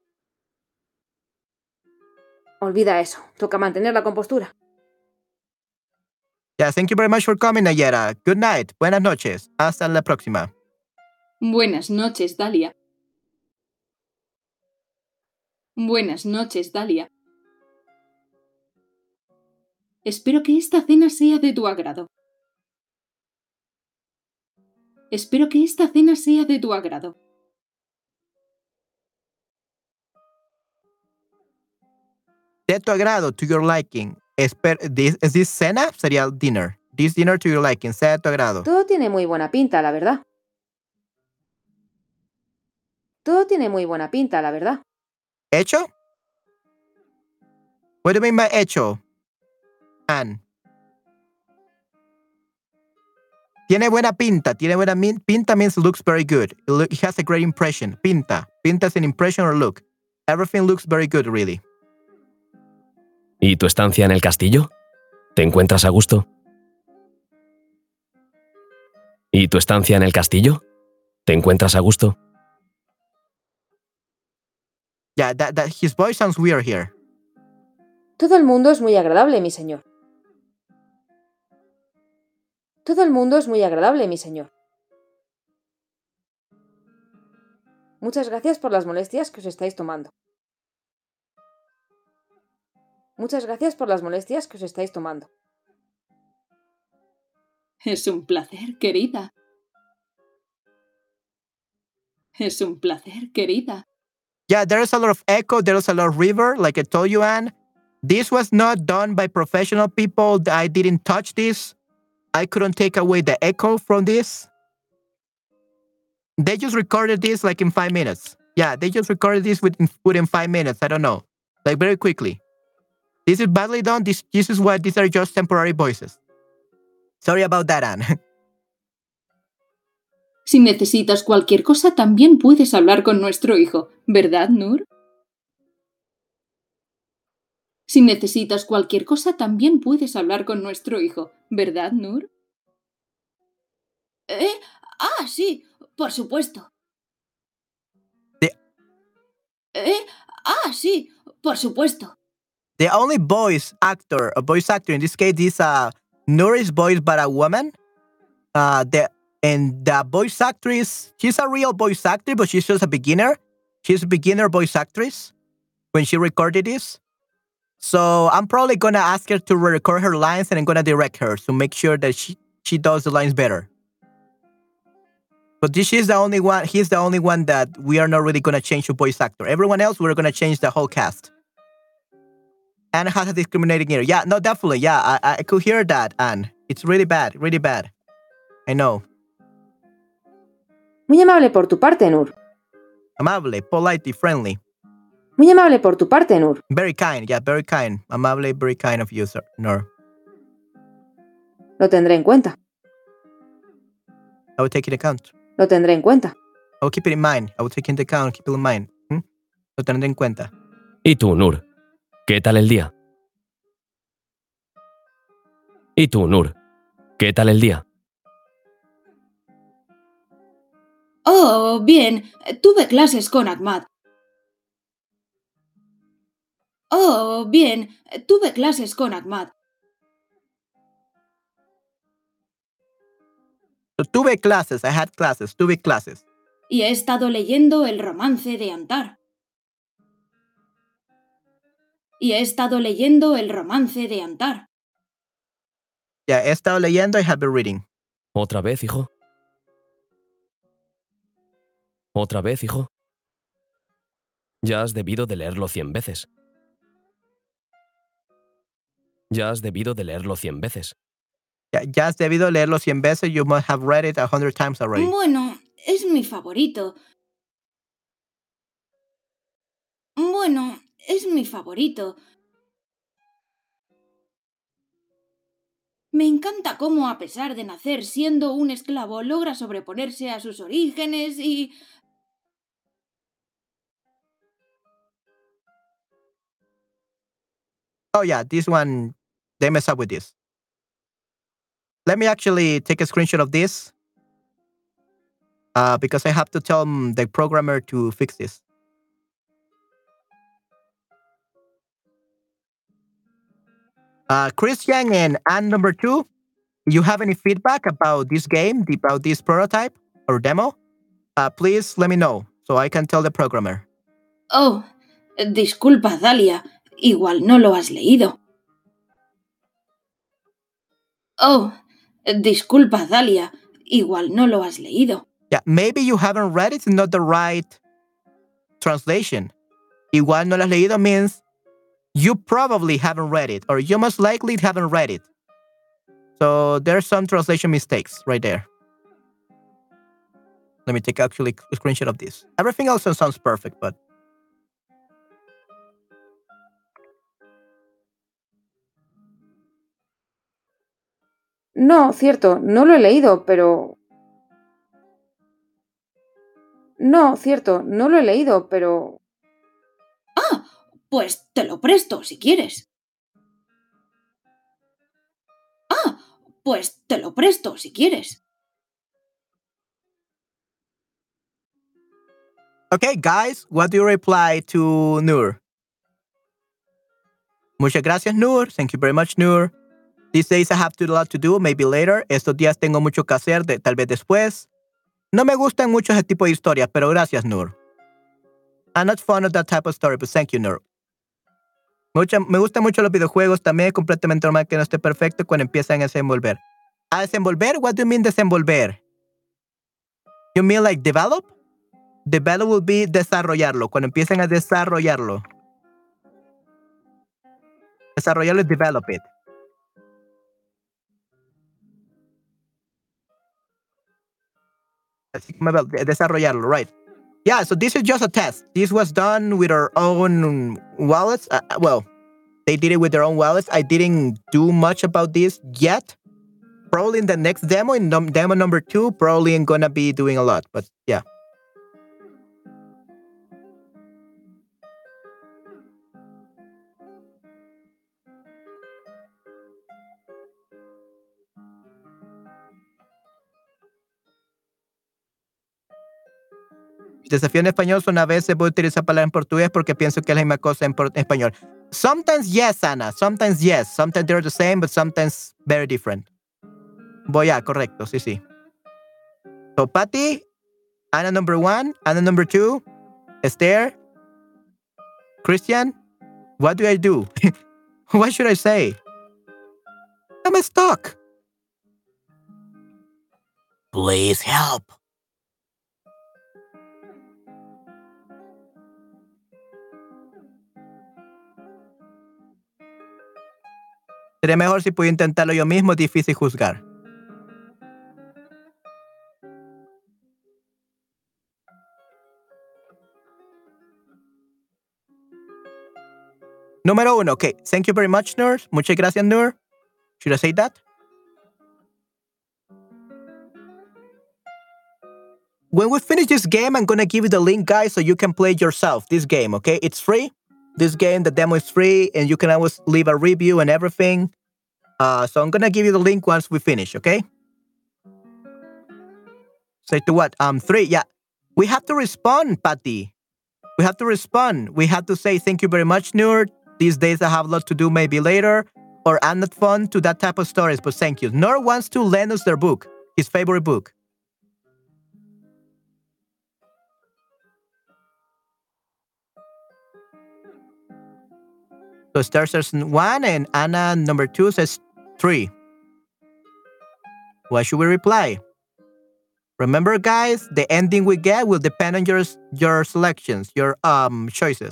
Olvida eso. Toca mantener la compostura. Yeah, thank you very much for coming, Nayera. Good night. Buenas noches. Hasta la próxima. Buenas noches, Dalia. Buenas noches, Dalia. Espero que esta cena sea de tu agrado. Espero que esta cena sea de tu agrado. De tu agrado, to your liking. Esper this, ¿Es this cena? Sería dinner. This dinner to your liking. Sea de tu agrado. Todo tiene muy buena pinta, la verdad. Todo tiene muy buena pinta, la verdad. ¿Hecho? What do you mean by hecho? Ann. Tiene buena pinta. Tiene buena min pinta means looks very good. It, look, it has a great impression. Pinta. Pinta is an impression or look. Everything looks very good, really. ¿Y tu estancia en el castillo? ¿Te encuentras a gusto? ¿Y tu estancia en el castillo? ¿Te encuentras a gusto? Yeah, that, that, his voice sounds weird here. Todo el mundo es muy agradable, mi señor. Todo el mundo es muy agradable, mi señor. Muchas gracias por las molestias que os estáis tomando. Muchas gracias por las molestias que os estáis tomando. Es un placer, querida. Es un placer, querida. Yeah, there's a lot of echo. There's a lot of river, like I told you, Anne. This was not done by professional people. I didn't touch this. I couldn't take away the echo from this. They just recorded this like in five minutes. Yeah, they just recorded this within, within five minutes. I don't know. Like very quickly. This is badly done. This, this is why these are just temporary voices. Sorry about that, Anne. Si necesitas cualquier cosa, también puedes hablar con nuestro hijo, ¿verdad, Nur? Si necesitas cualquier cosa, también puedes hablar con nuestro hijo, ¿verdad, Nur? ¿Eh? Ah, sí, por supuesto. The, ¿Eh? Ah, sí, por supuesto. the only voice actor, a voice actor in this case is uh, Nur is voiced by a woman. Uh, the and the voice actress, she's a real voice actor, but she's just a beginner. She's a beginner voice actress when she recorded this. So I'm probably gonna ask her to record her lines, and I'm gonna direct her to make sure that she she does the lines better. But this is the only one. He's the only one that we are not really gonna change the voice actor. Everyone else, we're gonna change the whole cast. Anne has a discriminating ear. Yeah, no, definitely. Yeah, I I could hear that, Anne. It's really bad, really bad. I know. Muy amable por tu parte, Nur. Amable, polite, y friendly. Muy amable por tu parte, Nur. Very kind, yeah, very kind. Amable, very kind of you, sir. Nur. Lo tendré en cuenta. I will take it into account. Lo tendré en cuenta. I will keep it in mind. I will take it into account, keep it in mind. ¿Mm? Lo tendré en cuenta. ¿Y tú, Nur? ¿Qué tal el día? ¿Y tú, Nur? ¿Qué tal el día? Oh, bien. Tuve clases con Ahmad. Oh, bien. Tuve clases con Ahmad. So, tuve clases. I had classes. Tuve clases. Y he estado leyendo el romance de Antar. Y he estado leyendo el romance de Antar. Yeah, he estado leyendo. I have been reading. ¿Otra vez, hijo? ¿Otra vez, hijo? Ya has debido de leerlo cien veces. Ya has debido de leerlo cien veces. Ya, ya has debido leerlo cien veces. You must have read it a hundred times already. Bueno, es mi favorito. Bueno, es mi favorito. Me encanta cómo, a pesar de nacer siendo un esclavo, logra sobreponerse a sus orígenes y... Oh, yeah, this one, they mess up with this. Let me actually take a screenshot of this uh, because I have to tell the programmer to fix this. Uh, Christian and Anne number two, you have any feedback about this game, about this prototype or demo? Uh, please let me know so I can tell the programmer. Oh, disculpa, Dalia. Igual no lo has leído. Oh, disculpa, Dalia. Igual no lo has leído. Yeah, maybe you haven't read it, it's not the right translation. Igual no lo has leído means you probably haven't read it, or you most likely haven't read it. So there's some translation mistakes right there. Let me take actually a screenshot of this. Everything else sounds perfect, but No, cierto, no lo he leído, pero... No, cierto, no lo he leído, pero... Ah, pues te lo presto si quieres. Ah, pues te lo presto si quieres. okay, guys, what do you reply to Nur? Muchas gracias, Nur. Thank you very much, Nur. These days I have a lot to do, maybe later. Estos días tengo mucho que hacer, de, tal vez después. No me gustan mucho ese tipo de historias, pero gracias, Nur. I'm not fond of that type of story, but thank you, Nur. Mucha, me gustan mucho los videojuegos, también es completamente normal que no esté perfecto cuando empiezan a desenvolver. ¿A desenvolver? What do you mean desenvolver? You mean like develop? Develop will be desarrollarlo, cuando empiezan a desarrollarlo. Desarrollarlo es develop it. Así como desarrollarlo, right? Yeah, so this is just a test. This was done with our own wallets. Uh, well, they did it with their own wallets. I didn't do much about this yet. Probably in the next demo, in num demo number two, probably I'm gonna be doing a lot. But yeah. Desafío en español son a veces voy a utilizar palabras en portugués porque pienso que es la misma cosa en, por- en español. Sometimes yes, Ana. Sometimes yes. Sometimes they're the same, but sometimes very different. Voy a, correcto, sí, sí. So, Patty, Ana number one, Ana number two, Esther, Christian, what do I do? What should I say? I'm stuck. Please help. Sería mejor si pudiera intentarlo yo mismo, es difícil juzgar. Número uno, okay. Thank you very much, Nur. Muchas gracias, Nur. Should I say that? When we finish this game, I'm going to give you the link, guys, so you can play it yourself. This game, okay? It's free. This game, the demo is free, and you can always leave a review and everything. Uh, so I'm going to give you the link once we finish, okay? Say to what? Um, three, yeah. We have to respond, Patty. We have to respond. We have to say thank you very much, Nur. These days I have a lot to do, maybe later. Or I'm not fun to that type of stories, but thank you. Nur wants to lend us their book, his favorite book. So Star says one and Anna number two says three. What should we reply? Remember, guys, the ending we get will depend on your your selections, your um choices.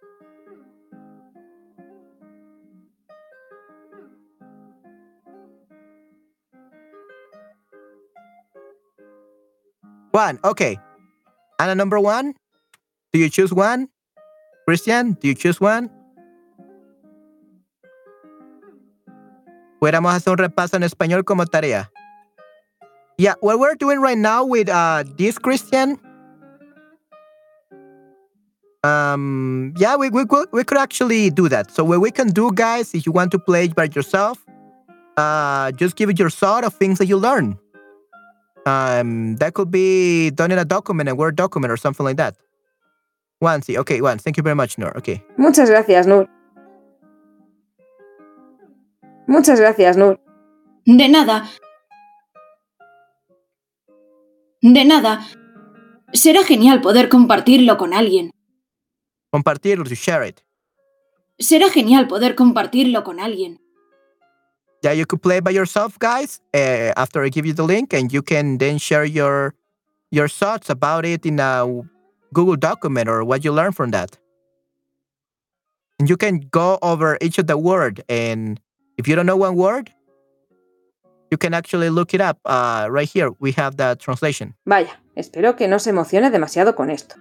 One, okay. Anna number one, do you choose one? Christian, do you choose one? Pudiéramos hacer un repaso en español como tarea. Yeah, what we're doing right now with uh, this Christian, um, yeah, we, we, could, we could actually do that. So what we can do, guys, if you want to play it by yourself, uh, just give it your thought of things that you learn. Um, that could be done in a document, a Word document or something like that. Wansi, okay, Wans, thank you very much, Nur. Okay. Muchas gracias, Nur. Muchas gracias, Nur. De nada. De nada. Será genial poder compartirlo con alguien. Compartirlo, to share it. Será genial poder compartirlo con alguien. Yeah, you could play by yourself, guys, uh, after I give you the link, and you can then share your your thoughts about it in a Google document or what you learned from that. And you can go over each of the word, and if you don't know one word, you can actually look it up. Uh, right here, we have the translation. Vaya, espero que no se emocione demasiado con esto.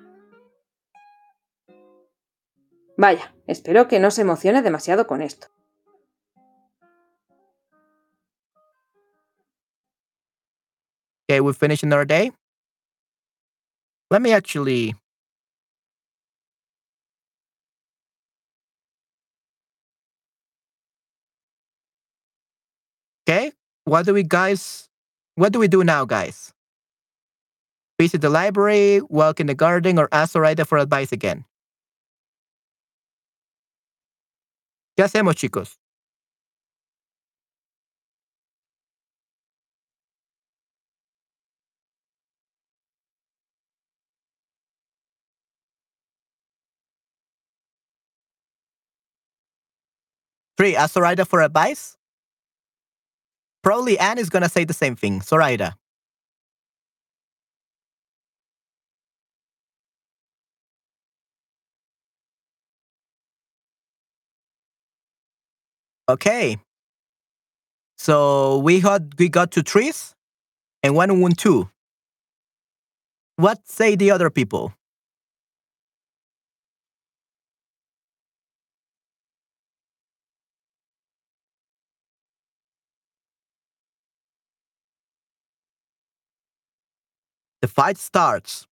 Vaya, espero que no se emocione demasiado con esto. Okay, we finished another day. Let me actually... Okay, what do we guys... What do we do now, guys? Visit the library, walk in the garden, or ask Zoraida for advice again. ¿Qué hacemos, chicos? Three, ask Zoraida for advice? Probably Anne is going to say the same thing. Zoraida. Okay. So we got we got two trees and one won two. What say the other people? The fight starts.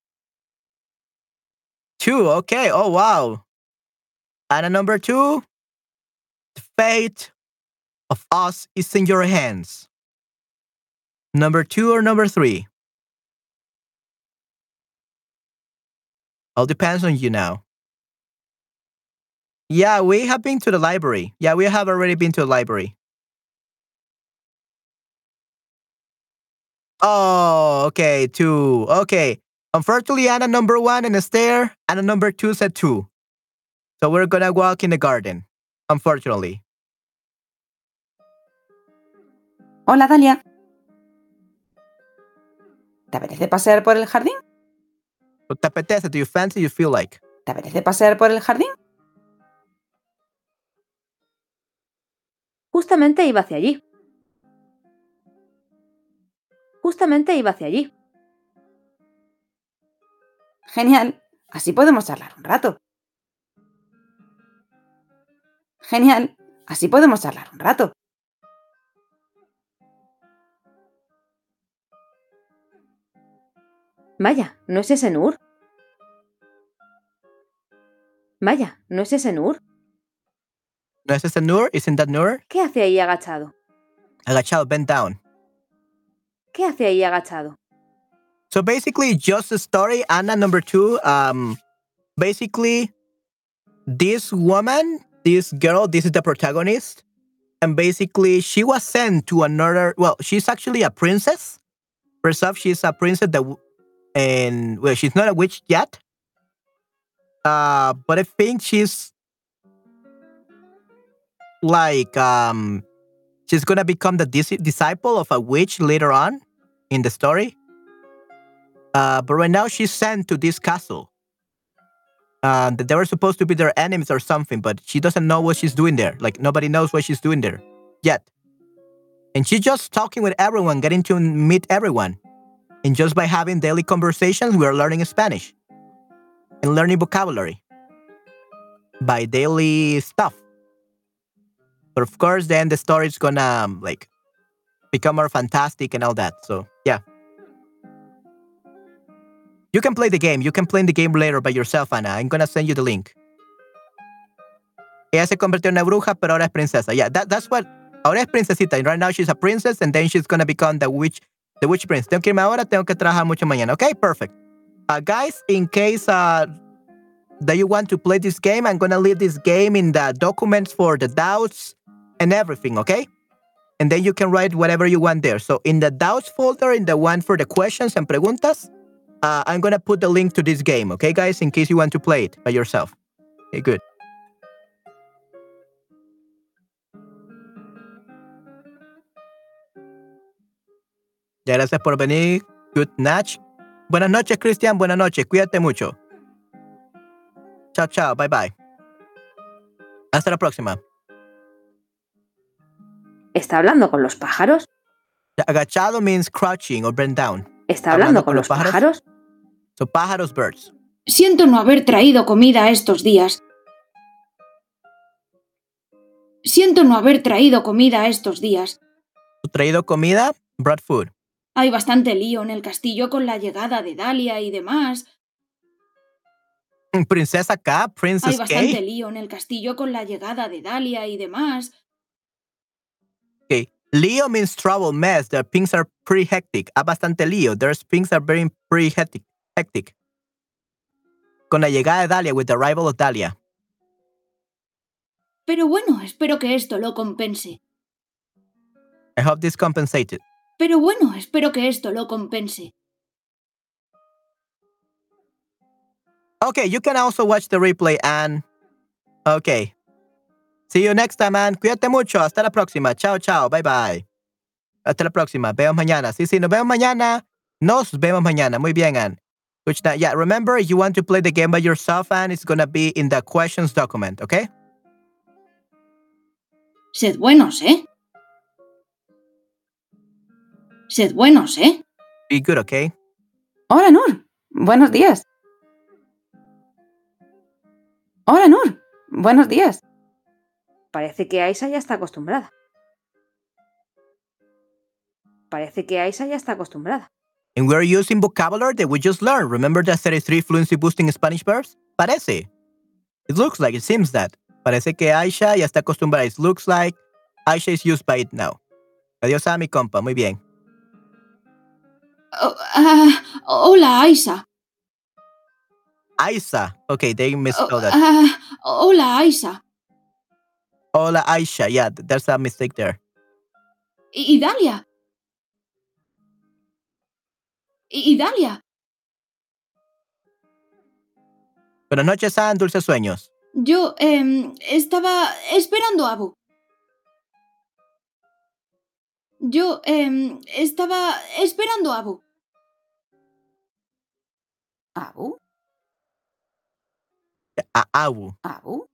Two, okay. Oh, wow. And number two, the fate of us is in your hands. Number two or number three? All depends on you now. Yeah, we have been to the library. Yeah, we have already been to the library. Oh, okay, two. Okay. Unfortunately, Anna number one in the stair, Anna number two said two. So we're gonna walk in the garden. Unfortunately. Hola, Dalia. ¿Te apetece pasear por el jardín? ¿Te apetece? Do you fancy? You feel like? ¿Te apetece pasear por el jardín? Justamente iba hacia allí. Justamente iba hacia allí. Genial. Así podemos charlar un rato. Genial. Así podemos charlar un rato. Vaya, ¿no es ese Nur? Vaya, ¿no es ese Nur? ¿No es ese Nur? Isn't that Nur? ¿Qué hace ahí agachado? Agachado, bent down. ¿Qué hace ahí agachado? So basically, just a story, Anna number two. Um, basically, this woman, this girl, this is the protagonist. And basically, she was sent to another, well, she's actually a princess. First off, she's a princess that, and, well, she's not a witch yet. Uh, but I think she's like, um, she's gonna become the dis- disciple of a witch later on in the story. Uh, but right now she's sent to this castle. Uh, that they were supposed to be their enemies or something, but she doesn't know what she's doing there. Like, nobody knows what she's doing there yet. And she's just talking with everyone, getting to meet everyone. And just by having daily conversations, we are learning Spanish. And learning vocabulary. By daily stuff. But of course, then the story is gonna, um, like, become more fantastic and all that. So, yeah. You can play the game. You can play the game later by yourself, Anna. I'm gonna send you the link. Ella se convirtió en una bruja, pero ahora es princesa. Yeah, that, that's what... Ahora es princesita. And right now she's a princess, and then she's gonna become the witch, the witch prince. Tengo que irme ahora, tengo que trabajar mucho mañana. Okay, perfect. Uh, guys, in case uh, that you want to play this game, I'm gonna leave this game in the documents for the doubts and everything, okay? And then you can write whatever you want there. So in the doubts folder, in the one for the questions and preguntas, Uh, I'm gonna put the link to this game, okay, guys, in case you want to play it by yourself. Okay, good. Ya, gracias por venir. Good night. Buenas noches, Cristian. Buenas noches. Cuídate mucho. Chao, chao. Bye, bye. Hasta la próxima. ¿Está hablando con los pájaros? Agachado means crouching or bent down. ¿Está hablando, hablando con, con los pájaros? pájaros? So, pájaros, birds. Siento no haber traído comida estos días. Siento no haber traído comida estos días. ¿Traído comida? Brought food. Hay bastante lío en el castillo con la llegada de Dalia y demás. Princesa K, Princess Hay bastante K. lío en el castillo con la llegada de Dalia y demás. Okay. Leo means trouble, mess. The things are pretty hectic. Hay bastante lío. There's things are very pretty hectic. hectic. Con la llegada de Dalia, with the arrival of Dalia. Pero bueno, espero que esto lo compense. I hope this compensated. Pero bueno, espero que esto lo compense. Okay, you can also watch the replay, and okay. See you next time, man. Cuídate mucho. Hasta la próxima. Chao, chao. Bye, bye. Hasta la próxima. Vemos mañana. Sí, sí, nos vemos mañana. Nos vemos mañana. Muy bien, Ann. Which now, yeah, remember, if you want to play the game by yourself, Ann, it's going to be in the questions document, okay? Sed buenos, ¿eh? Sed buenos, ¿eh? Be good, okay? Hola, Nur. Buenos días. Hola, Nur. Buenos días. Parece que Aisha ya está acostumbrada. Parece que Aisha ya está acostumbrada. And we're using vocabulary that we just learned. Remember the thirty-three fluency boosting Spanish verbs? Parece. It looks like, it seems that. Parece que Aisha ya está acostumbrada. It looks like Aisha is used by it now. Adiós a mi compa. Muy bien. Oh, uh, hola, Aisha. Aisa. Okay, they misspelled that. Ah, hola, Aisa. Hola, Aisha. Yeah, th- there's a mistake there. Y, y Dalia. Y, y Dalia. Buenas noches, San. Dulces sueños. Yo em, estaba esperando a Abu. Yo em, estaba esperando a Abu. ¿Abu? A Abu. ¿Abu?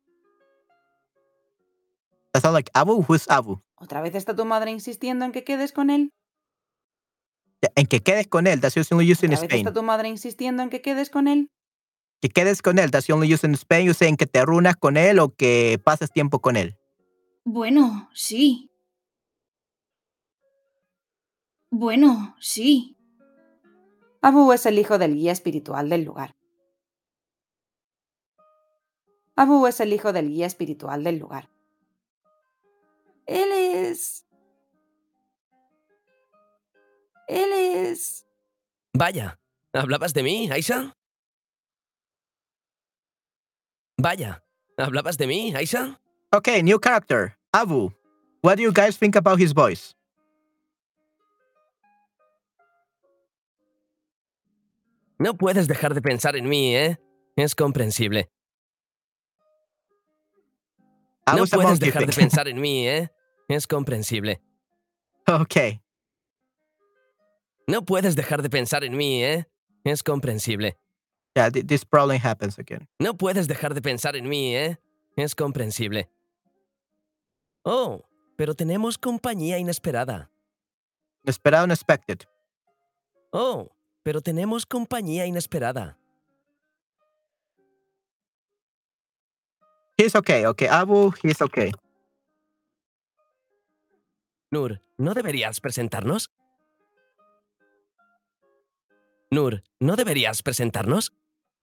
That sounds like Abu. Who's Abu? ¿Otra vez está tu madre insistiendo en que quedes con él? En que quedes con él. That's usually used in ¿Otra vez Spain. está tu madre insistiendo en que quedes con él? Que quedes con él. That's only used in Spain. You saying que te reúnas con él o que pases tiempo con él. Bueno, sí. Bueno, sí. Abu es el hijo del guía espiritual del lugar. Abu es el hijo del guía espiritual del lugar. Él es... Él es... Vaya, ¿hablabas de mí, Aisha? Vaya, ¿hablabas de mí, Aisha? Okay, new character. Abu. What do you guys think about his voice? No puedes dejar de pensar en mí, ¿eh? Es comprensible. No Abu's a puedes monkey dejar de thing. pensar en mí, ¿eh? Es comprensible. Okay. No puedes dejar de pensar en mí, ¿eh? Es comprensible. Yeah, th- this problem happens again. No puedes dejar de pensar en mí, ¿eh? Es comprensible. Oh, pero tenemos compañía inesperada. Esperado, unexpected. Oh, pero tenemos compañía inesperada. He's okay. Okay, Abu, he's okay. Nur, ¿no deberías presentarnos? Nur, ¿no deberías presentarnos?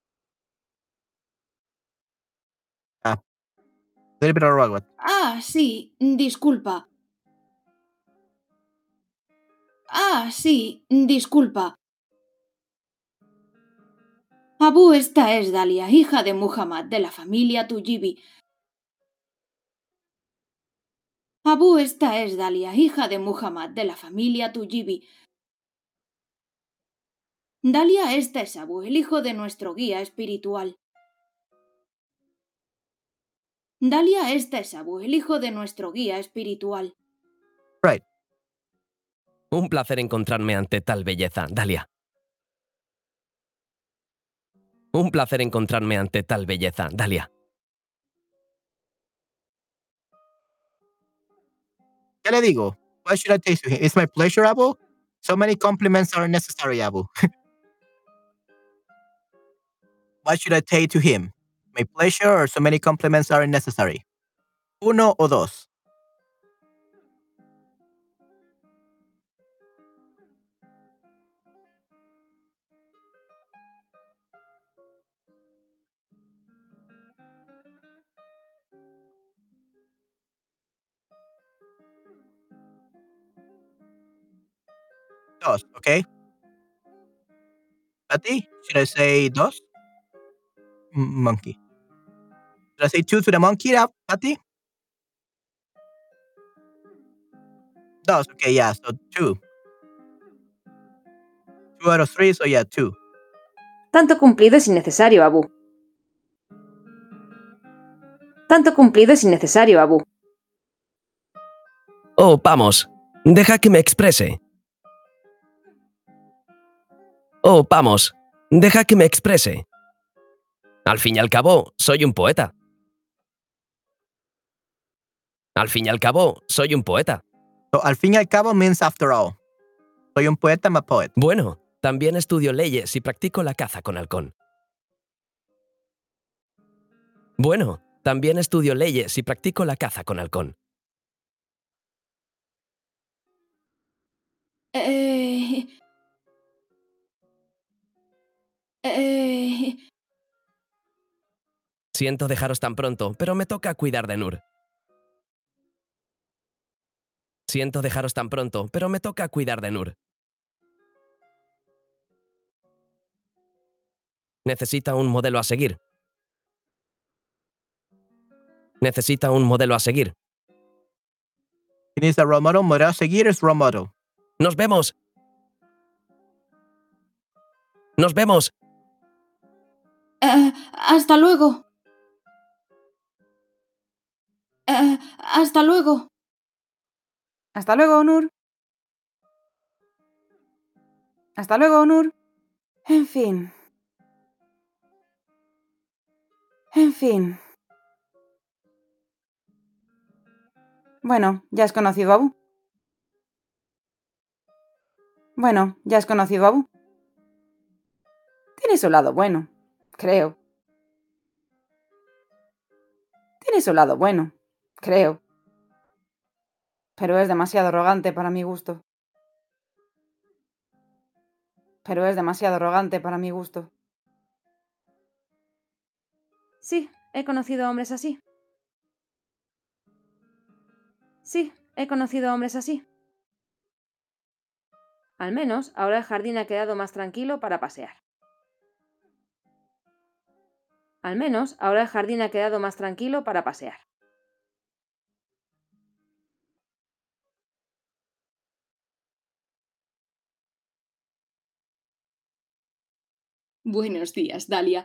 Ah. Little bit of robot. Ah, sí, disculpa. Ah, sí, disculpa. Abu, esta es Dalia, hija de Muhammad, de la familia Tujibi. Abu, esta es Dalia, hija de Muhammad, de la familia Tujibi. Dalia, esta es Abu, el hijo de nuestro guía espiritual. Dalia, esta es Abu, el hijo de nuestro guía espiritual. Right. Un placer encontrarme ante tal belleza, Dalia. Un placer encontrarme ante tal belleza, Dalia. ¿Qué le digo? What should I taste to him? It's my pleasure, Abu. So many compliments are necessary, Abu. What should I say to him? My pleasure or so many compliments are necessary? Uno o dos. Dos, okay? Patty, should I say dos? M- monkey. Should I say two to the monkey, uh, Patty? Dos, okay, yeah, so two. Two out of three, so yeah, two. Tanto cumplido es innecesario, Abu. Tanto cumplido es innecesario, Abu. Oh, vamos. Deja que me exprese. Oh, vamos. Deja que me exprese. Al fin y al cabo, soy un poeta. Al fin y al cabo, soy un poeta. So, al fin y al cabo means after all. Soy un poeta, I'm a poet. Bueno, también estudio leyes y practico la caza con halcón. Bueno, también estudio leyes y practico la caza con halcón. Eh... Eh... Siento dejaros tan pronto, pero me toca cuidar de Nur. Siento dejaros tan pronto, pero me toca cuidar de Nur. Necesita un modelo a seguir. Necesita un modelo a seguir. He needs a role model. Modelo a seguir es role model. Nos vemos. Nos vemos. Eh, hasta luego. Eh, hasta luego. Hasta luego, Onur. Hasta luego, Onur. En fin. En fin. Bueno, ¿ya has conocido a Abu? Bueno, ¿ya has conocido a Abu? Tiene su lado bueno, creo. Tiene su lado bueno, creo. Pero es demasiado arrogante para mi gusto. Pero es demasiado arrogante para mi gusto. Sí, he conocido a hombres así. Sí, he conocido a hombres así. Al menos ahora el jardín ha quedado más tranquilo para pasear. Al menos ahora el jardín ha quedado más tranquilo para pasear. Buenos días, Dalia.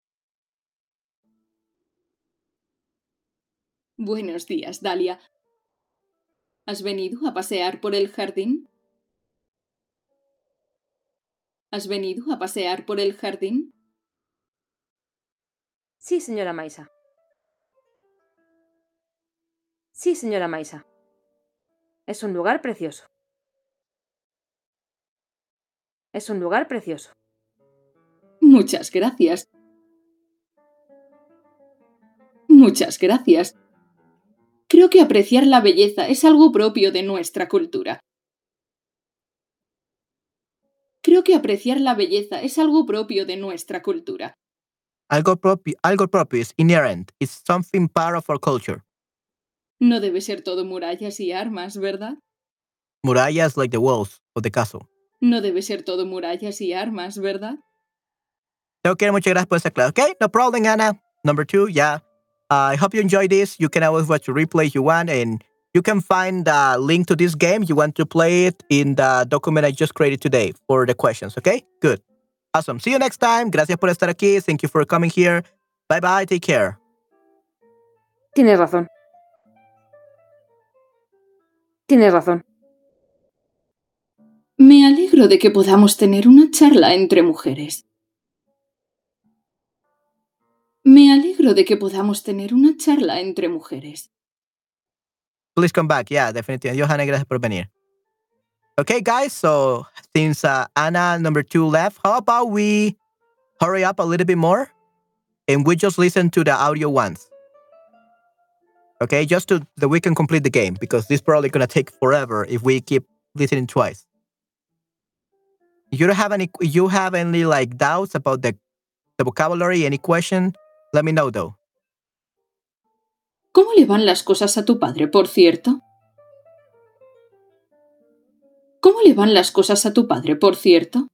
Buenos días, Dalia. ¿Has venido a pasear por el jardín? ¿Has venido a pasear por el jardín? Sí, señora Maisa. Sí, señora Maisa. Es un lugar precioso. Es un lugar precioso. Muchas gracias. Muchas gracias. Creo que apreciar la belleza es algo propio de nuestra cultura. Creo que apreciar la belleza es algo propio de nuestra cultura. Algo propio, algo propio is inherent. It's something part of our culture. No debe ser todo murallas y armas, ¿verdad? Murallas like the walls of the castle. No debe ser todo murallas y armas, ¿verdad? Okay, muchas gracias por esa clase. Okay, no problem, Anna. Number two, yeah. Uh, I hope you enjoy this. You can always watch a replay if you want, and you can find the link to this game. You want to play it in the document I just created today for the questions. Okay, good. Awesome. See you next time. Gracias por estar aquí. Thank you for coming here. Bye bye. Take care. Tienes razón. Tienes razón. Me alegro de que podamos tener una charla entre mujeres. Me alegro de que podamos tener una charla entre mujeres. Please come back. Yeah, definitivamente. Johanna, gracias por venir. Okay, guys. So since uh, Anna number two left, how about we hurry up a little bit more and we just listen to the audio once? Okay, just to that we can complete the game because this is probably gonna take forever if we keep listening twice. You don't have any? You have any like doubts about the the vocabulary? Any question? Let me know though. ¿Cómo le van las cosas a tu padre, por cierto? ¿Cómo le van las cosas a tu padre, por cierto?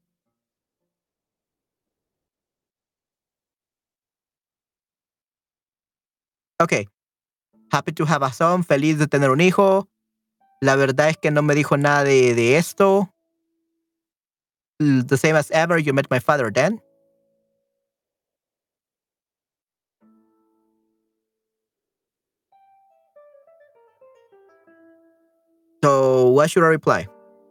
Okay. Happy to have a son. Feliz de tener un hijo. La verdad es que no me dijo nada de, de esto. The same as ever. You met my father then. So what should I reply?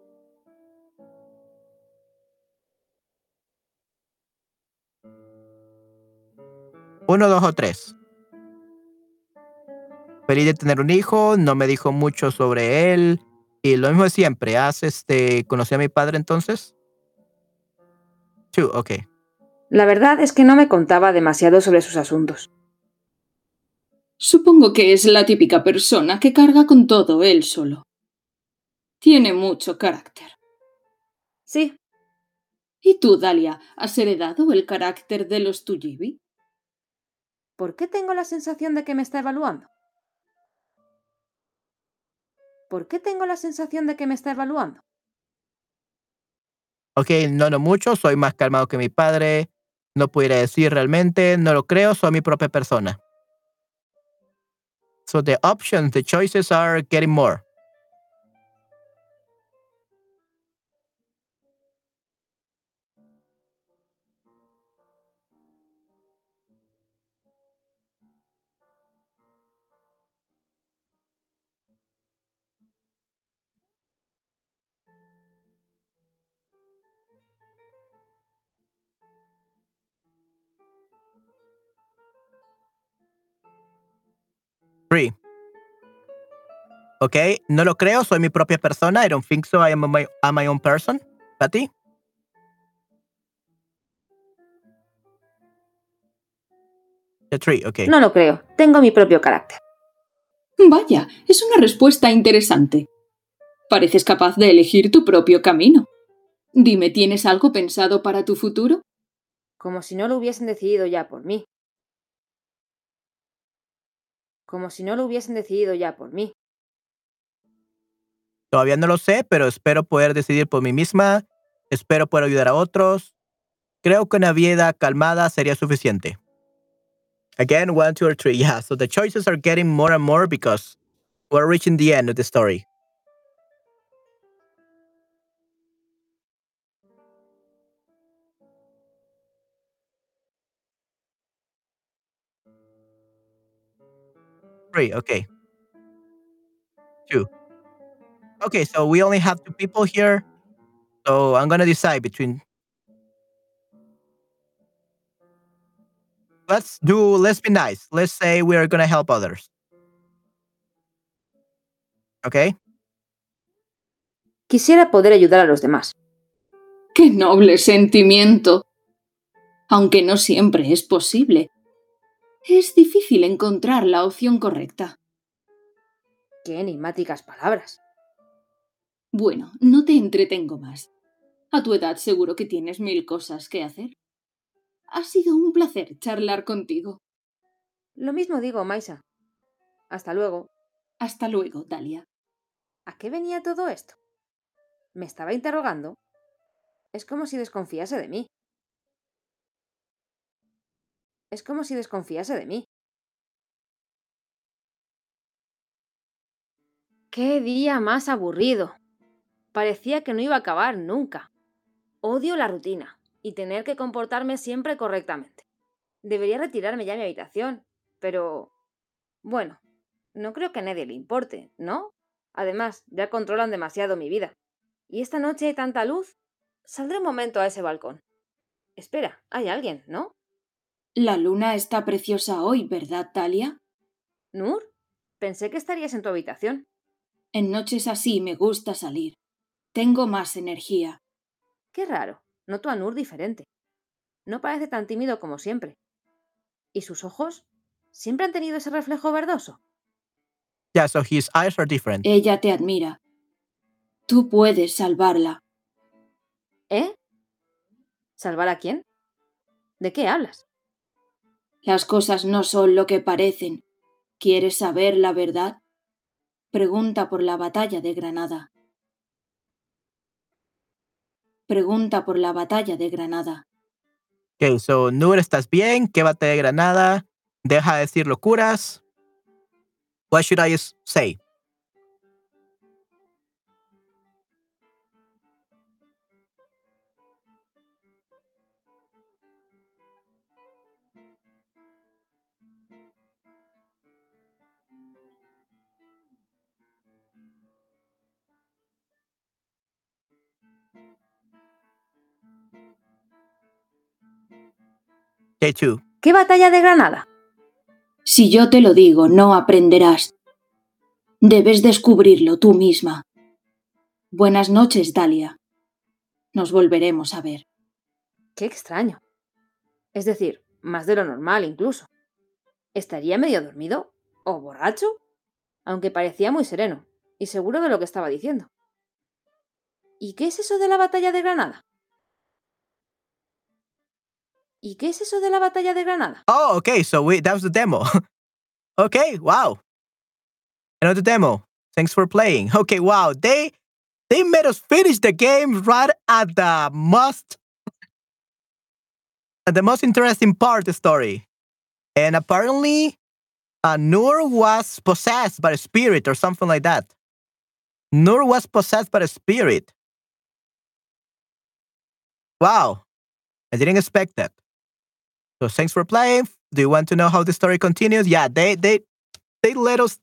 Uno, dos o tres. Feliz de tener un hijo, no me dijo mucho sobre él. Y lo mismo de siempre. ¿Has este, conocí a mi padre entonces? Two, ok. La verdad es que no me contaba demasiado sobre sus asuntos. Supongo que es la típica persona que carga con todo él solo. Tiene mucho carácter. Sí. ¿Y tú, Dalia, has heredado el carácter de los Tuyibi? ¿Por qué tengo la sensación de que me está evaluando? ¿Por qué tengo la sensación de que me está evaluando? Ok, no, no mucho. Soy más calmado que mi padre. No pudiera decir realmente, no lo creo, soy mi propia persona. So the options, the choices are getting more. Three. Ok, no lo creo, soy mi propia persona. I don't think so, I am my, I'm my own person. ¿Pati? The three, ok. No lo creo. Tengo mi propio carácter. Vaya, es una respuesta interesante. Pareces capaz de elegir tu propio camino. Dime, ¿tienes algo pensado para tu futuro? Como si no lo hubiesen decidido ya por mí. Como si no lo hubiesen decidido ya por mí. Todavía no lo sé, pero espero poder decidir por mí misma. Espero poder ayudar a otros. Creo que una vida calmada sería suficiente. Again, one, two, or three. Yeah, so the choices are getting more and more because we're reaching the end of the story. Three, okay. Two. Okay, so we only have two people here. So I'm gonna decide between. Let's do, let's be nice. Let's say we're gonna help others. Okay? Quisiera poder ayudar a los demás. ¡Qué noble sentimiento! Aunque no siempre es posible. Es difícil encontrar la opción correcta. Qué enigmáticas palabras. Bueno, no te entretengo más. A tu edad seguro que tienes mil cosas que hacer. Ha sido un placer charlar contigo. Lo mismo digo, Maisa. Hasta luego. Hasta luego, Dalia. ¿A qué venía todo esto? ¿Me estaba interrogando? Es como si desconfiase de mí. Es como si desconfiase de mí. ¡Qué día más aburrido! Parecía que no iba a acabar nunca. Odio la rutina y tener que comportarme siempre correctamente. Debería retirarme ya a mi habitación, pero... Bueno, no creo que a nadie le importe, ¿no? Además, ya controlan demasiado mi vida. Y esta noche hay tanta luz. Saldré un momento a ese balcón. Espera, hay alguien, ¿no? La luna está preciosa hoy, ¿verdad, Dalia? ¿Nur? Pensé que estarías en tu habitación. En noches así me gusta salir. Tengo más energía. Qué raro. Noto a Nur diferente. No parece tan tímido como siempre. ¿Y sus ojos? ¿Siempre han tenido ese reflejo verdoso? Yeah, so his eyes are different. Ella te admira. Tú puedes salvarla. ¿Eh? ¿Salvar a quién? ¿De qué hablas? Las cosas no son lo que parecen. ¿Quieres saber la verdad? Pregunta por la batalla de Granada. Pregunta por la batalla de Granada. Okay, so Nur, ¿estás bien? ¿Qué batalla de Granada? Deja de decir locuras. What should I say? Okay, two. ¿Qué batalla de Granada? Si yo te lo digo, no aprenderás. Debes descubrirlo tú misma. Buenas noches, Dalia. Nos volveremos a ver. Qué extraño. Es decir, más de lo normal incluso. ¿Estaría medio dormido? ¿O borracho? Aunque parecía muy sereno y seguro de lo que estaba diciendo. ¿Y qué es eso de la batalla de Granada? ¿Y qué es eso de la batalla de Granada? Oh, okay, so we, that was the demo. Okay, wow. I know the demo. Thanks for playing. Okay, wow. They they made us finish the game right at the most the most interesting part of the story. And apparently, uh, Noor was possessed by a spirit or something like that. Noor was possessed by a spirit. Wow. I didn't expect that. So thanks for playing. Do you want to know how the story continues? Yeah, they they they let us.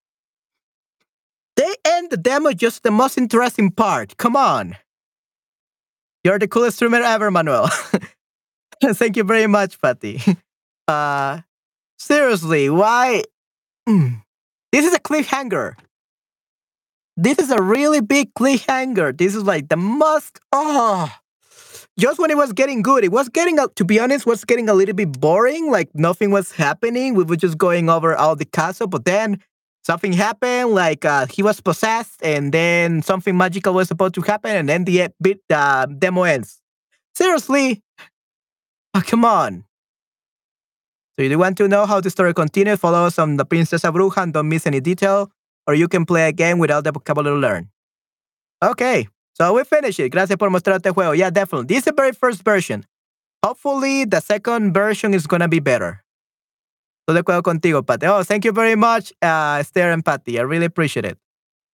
They end the demo just the most interesting part. Come on. You're the coolest streamer ever, Manuel. Thank you very much, Patty. Uh, seriously, why? Mm. This is a cliffhanger. This is a really big cliffhanger. This is like the most. Oh, just when it was getting good, it was getting, to be honest, was getting a little bit boring. Like nothing was happening. We were just going over all the castle, but then something happened. Like uh, he was possessed, and then something magical was supposed to happen, and then the bit uh, demo ends. Seriously, oh, come on. So if you want to know how the story continues, follow us on the Princesa Bruja and don't miss any detail, or you can play a game without the vocabulary learned. Okay. So we finished it. Gracias por mostrarte el juego. Yeah, definitely. This is the very first version. Hopefully, the second version is going to be better. Estoy de acuerdo contigo, Patty. Oh, thank you very much, uh, Esther and Patty. I really appreciate it.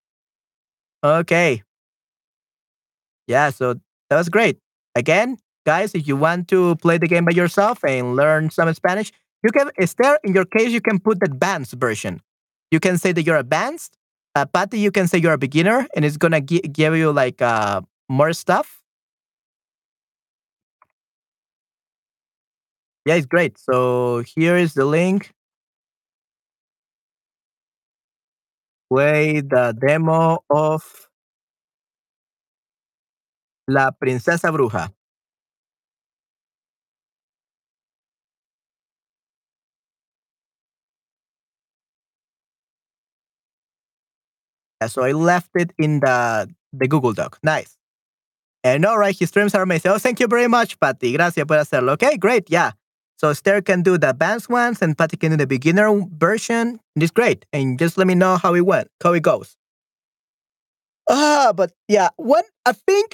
Okay. Yeah, so that was great. Again, guys, if you want to play the game by yourself and learn some Spanish, you can, Esther, in your case, you can put the advanced version. You can say that you're advanced. Uh, Patty, you can say you're a beginner, and it's gonna gi- give you like uh, more stuff. Yeah, it's great. So here is the link. Play the demo of La Princesa Bruja. Yeah, so I left it in the the Google Doc. Nice. And all right, his streams are amazing. Oh, thank you very much, Patty. Gracias por hacerlo. Okay, great. Yeah. So Esther can do the advanced ones and Patty can do the beginner version. It's great. And just let me know how it went, how it goes. Ah, but yeah, what I think,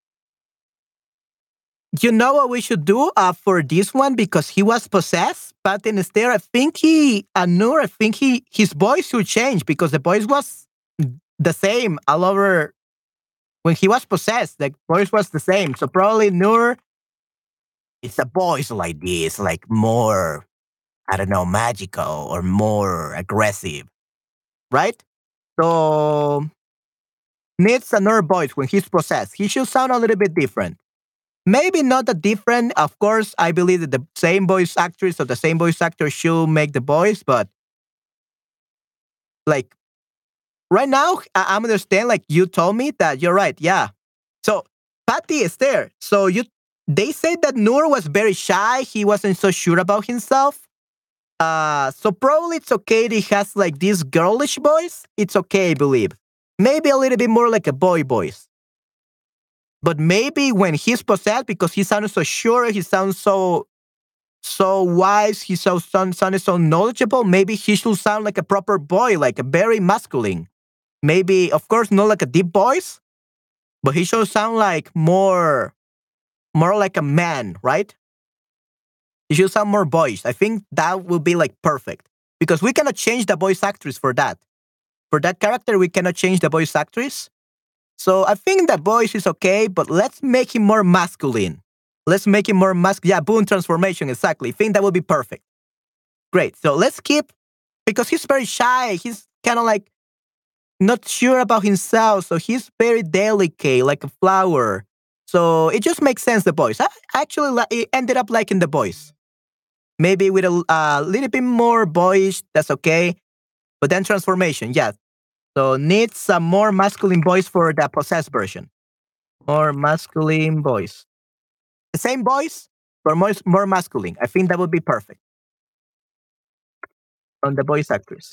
you know what we should do uh, for this one, because he was possessed, Patty and Esther, I think he, uh, Noor, I think he, his voice should change because the voice was the same all over. When he was possessed, the voice was the same. So probably Noor, it's a voice like this, like more, I don't know, magical or more aggressive, right? So needs a Noor voice when he's possessed. He should sound a little bit different. Maybe not that different. Of course, I believe that the same voice actress or the same voice actor should make the voice, but like right now, I I understand. Like you told me that you're right. Yeah. So Patty is there. So you, they said that Noor was very shy. He wasn't so sure about himself. Uh, so probably it's okay that he has like this girlish voice. It's okay, I believe. Maybe a little bit more like a boy voice. But maybe when he's possessed, because he sounded so sure, he sounds so so wise, he so sound, sounded so knowledgeable, maybe he should sound like a proper boy, like a very masculine. Maybe, of course, not like a deep voice, but he should sound like more, more like a man, right? He should sound more boyish. I think that will be like perfect because we cannot change the voice actress for that. For that character, we cannot change the voice actress. So I think the voice is okay, but let's make him more masculine. Let's make him more masculine. Yeah, Boone transformation, exactly. I think that would be perfect. Great. So let's keep, because he's very shy. He's kind of like not sure about himself. So he's very delicate, like a flower. So it just makes sense, the voice. I actually li- ended up liking the voice. Maybe with a uh, little bit more boyish, that's okay. But then transformation, yeah. So needs some more masculine voice for the possessed version. More masculine voice. The same voice, but more, more masculine. I think that would be perfect. On the voice actress.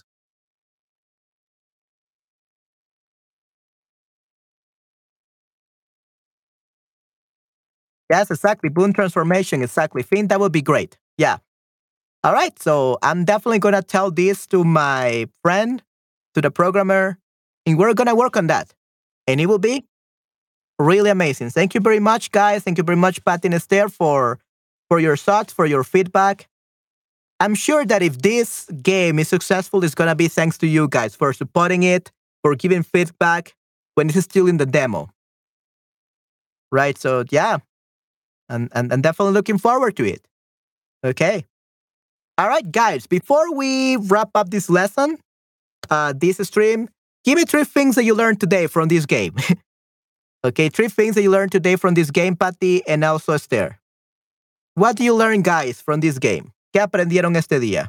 Yes, exactly. Boone transformation, exactly. I think that would be great. Yeah. All right. So I'm definitely going to tell this to my friend, to the programmer, and we're going to work on that. And it will be really amazing. Thank you very much, guys. Thank you very much, Patty and Esther, for for your thoughts, for your feedback. I'm sure that if this game is successful, it's going to be thanks to you guys for supporting it, for giving feedback when it's still in the demo. Right? So, yeah. And, and, and definitely looking forward to it. Okay. All right, guys. Before we wrap up this lesson, uh, this stream, give me three things that you learned today from this game. Okay, three things that you learned today from this game, Patty, and also Esther. What do you learn, guys, from this game? ¿Qué aprendieron este día?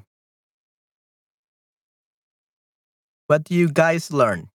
What do you guys learn?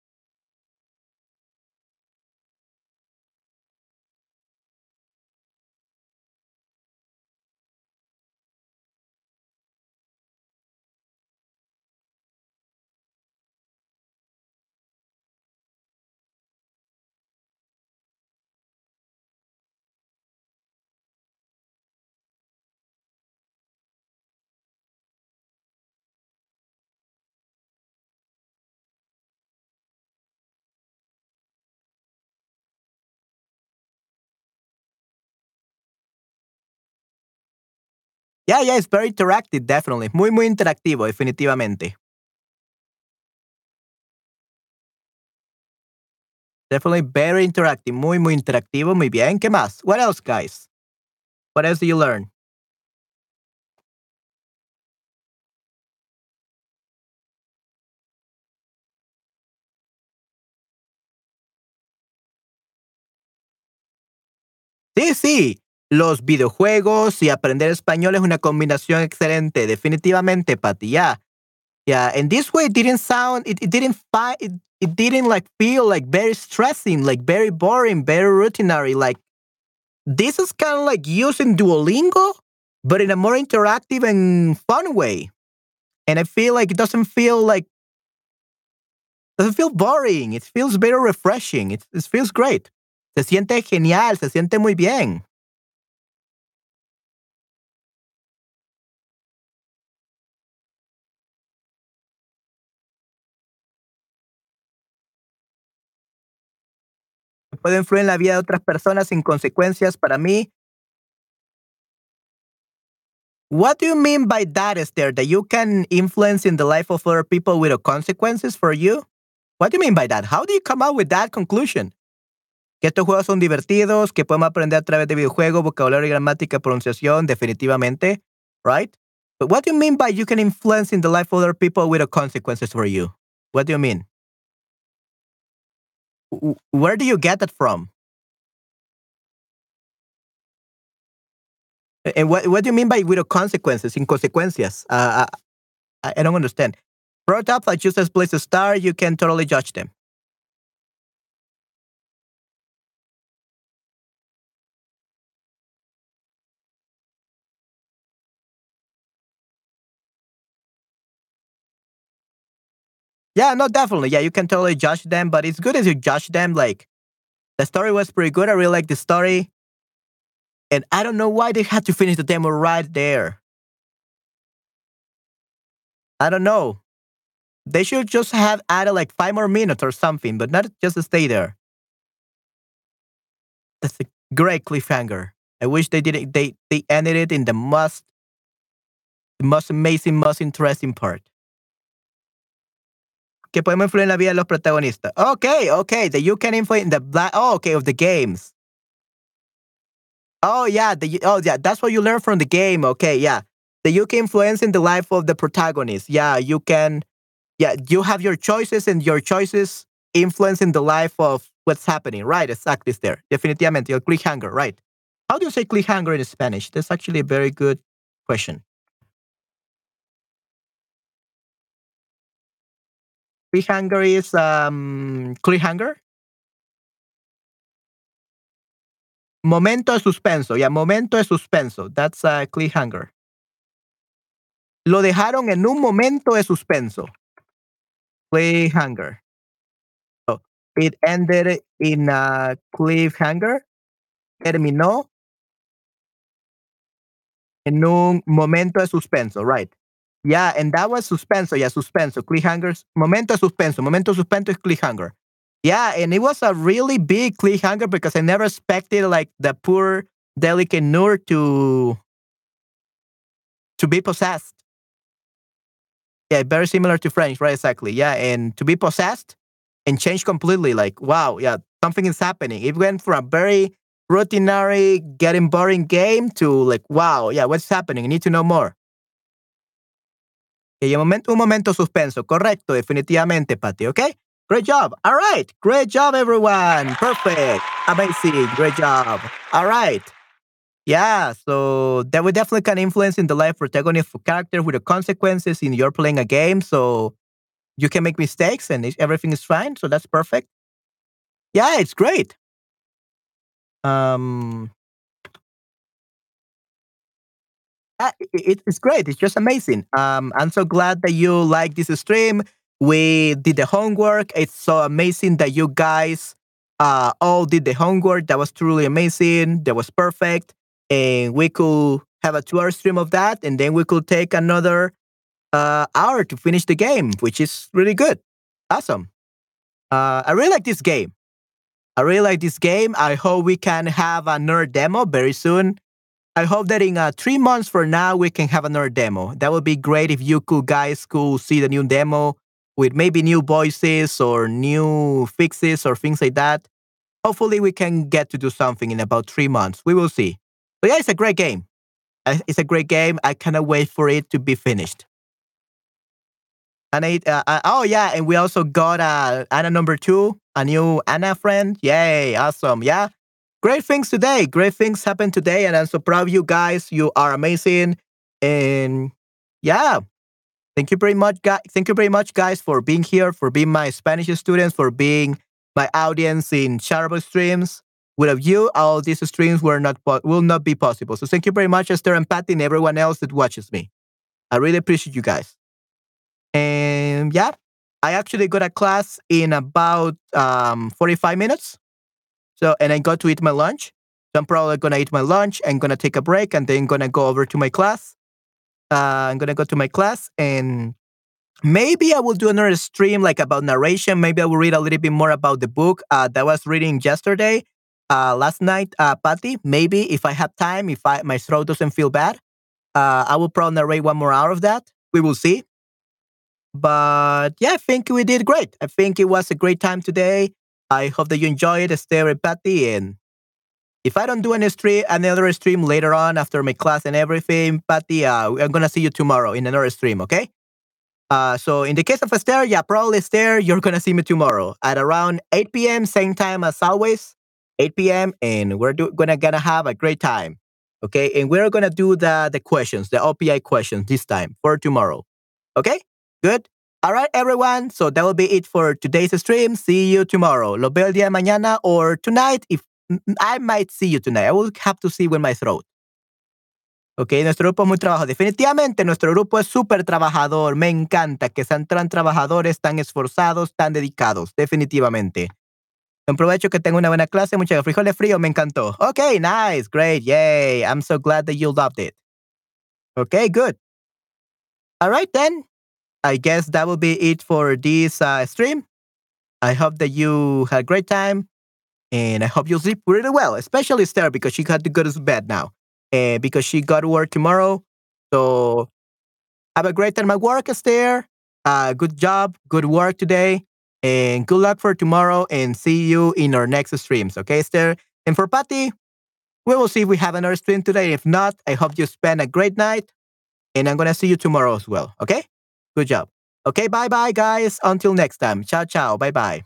Yeah, yeah, it's very interactive, definitely. Muy, muy interactivo, definitivamente. Definitely very interactive. Muy, muy interactivo. Muy bien. ¿Qué más? What else, guys? What else do you learn? Sí, sí. Los videojuegos y aprender español es una combinación excelente. Definitivamente, Patty. Yeah. Yeah. And this way it didn't sound, it, it didn't find, it, it didn't like feel like very stressing, like very boring, very routinary. Like this is kind of like using Duolingo, but in a more interactive and fun way. And I feel like it doesn't feel like, doesn't feel boring. It feels very refreshing. It, it feels great. Se siente genial. Se siente muy bien. Puede influir en la vida de otras personas sin consecuencias para mí. What do you mean by that, Esther? That you can influence in the life of other people without consequences for you? What do you mean by that? How do you come up with that conclusion? Que estos juegos son divertidos, que podemos aprender a través de videojuegos, vocabulario, gramática, pronunciación, definitivamente, right? But what do you mean by you can influence in the life of other people without consequences for you? What do you mean? Where do you get that from? And what, what do you mean by without consequences, sin consecuencias? Uh, I, I don't understand. Prototypes like just as place a star, you can totally judge them. Yeah, no, definitely. Yeah, you can totally judge them, but it's good as you judge them. Like, the story was pretty good. I really like the story. And I don't know why they had to finish the demo right there. I don't know. They should just have added like five more minutes or something, but not just stay there. That's a great cliffhanger. I wish they did it. They they ended it in the most, the most amazing, most interesting part. Que podemos influir en la vida de los protagonistas. Okay, okay. That you can influence in the black. Oh, okay, of the games. Oh yeah, the oh yeah. That's what you learn from the game. Okay, yeah. That you can influence in the life of the protagonist. Yeah, you can. Yeah, you have your choices, and your choices influence in the life of what's happening. Right, exactly. There, definitivamente. El cliffhanger. Right. How do you say cliffhanger in Spanish? That's actually a very good question. Cliffhanger is um, cliffhanger. Momento de suspenso. Yeah, momento de suspenso. That's a cliffhanger. Lo dejaron en un momento de suspenso. Cliffhanger. So, it ended in a cliffhanger. Terminó en un momento de suspenso. Right. Yeah, and that was suspenso. Yeah, suspenso. Cliffhangers. Momento de suspenso. Momento de suspenso is cliffhanger. Yeah, and it was a really big cliffhanger because I never expected like the poor delicate Noor to to be possessed. Yeah, very similar to French, right? Exactly. Yeah, and to be possessed and change completely. Like, wow, yeah, something is happening. It went from a very routinary, getting boring game to like, wow, yeah, what's happening? I need to know more. Y un momento, un momento suspenso. Correcto, definitivamente, Patty, okay? Great job. All right. Great job, everyone. Perfect. Amazing. Great job. All right. Yeah, so that would definitely can influence in the life protagonist of character with the consequences in you're playing a game. So you can make mistakes and everything is fine. So that's perfect. Yeah, it's great. Um, uh, it, it's great. It's just amazing. Um, I'm so glad that you like this stream. We did the homework. It's so amazing that you guys uh, all did the homework. That was truly amazing. That was perfect. And we could have a two-hour stream of that, and then we could take another uh, hour to finish the game, which is really good. Awesome. Uh, I really like this game. I really like this game. I hope we can have another demo very soon. I hope that in uh, three months from now, we can have another demo. That would be great if you could guys could see the new demo with maybe new voices or new fixes or things like that. Hopefully, we can get to do something in about three months. We will see. But yeah, it's a great game. It's a great game. I cannot wait for it to be finished. And I, uh, uh, oh yeah, and we also got uh, Anna number two, a new Anna friend. Yay, awesome. Yeah, great things today. Great things happened today, and I'm so proud of you guys. You are amazing. And yeah, thank you very much, guys. Thank you very much, guys, for being here, for being my Spanish students, for being my audience in Chatterbug streams. Without you, all these streams were not will not be possible. So thank you very much, Esther and Patty, and everyone else that watches me. I really appreciate you guys. And yeah, I actually got a class in about um, forty-five minutes. So, and I got to eat my lunch. So I'm probably going to eat my lunch and going to take a break and then going to go over to my class. Uh, I'm going to go to my class and maybe I will do another stream like about narration. Maybe I will read a little bit more about the book uh, that I was reading yesterday. Uh, last night, uh, Patty, maybe if I have time, if I my throat doesn't feel bad, uh, I will probably narrate one more hour of that. We will see. But yeah, I think we did great. I think it was a great time today. I hope that you enjoyed Esther and Patty. And if I don't do any stream, another stream later on after my class and everything, Patty, uh, I'm going to see you tomorrow in another stream, okay? Uh, so in the case of Esther, yeah, probably Esther, you're going to see me tomorrow at around eight p.m., same time as always. eight p.m. and we're do- gonna gonna have a great time, okay? And we're gonna do the the questions, the O P I questions this time for tomorrow, okay? Good. All right, everyone. So that will be it for today's stream. See you tomorrow. Lo veo el día de mañana or tonight. If I might see you tonight, I will have to see with my throat. Okay, nuestro grupo es muy trabajador. Definitivamente nuestro grupo es súper trabajador. Me encanta que sean tan trabajadores, tan esforzados, tan dedicados. Definitivamente. Un provecho, que tenga una buena clase. Muchas frijoles fríos, me encantó. Okay, nice, great, yay. I'm so glad that you loved it. Okay, good. All right, then. I guess that will be it for this uh, stream. I hope that you had a great time. And I hope you'll sleep really well, especially Esther, because she had to go to bed now. Uh, because she got to work tomorrow. So have a great time at work, Esther. Uh, good job, good work today. And good luck for tomorrow and see you in our next streams. Okay, Esther? And for Patty, we will see if we have another stream today. If not, I hope you spend a great night. And I'm going to see you tomorrow as well. Okay? Good job. Okay, bye-bye, guys. Until next time. Chao, chao. Bye-bye.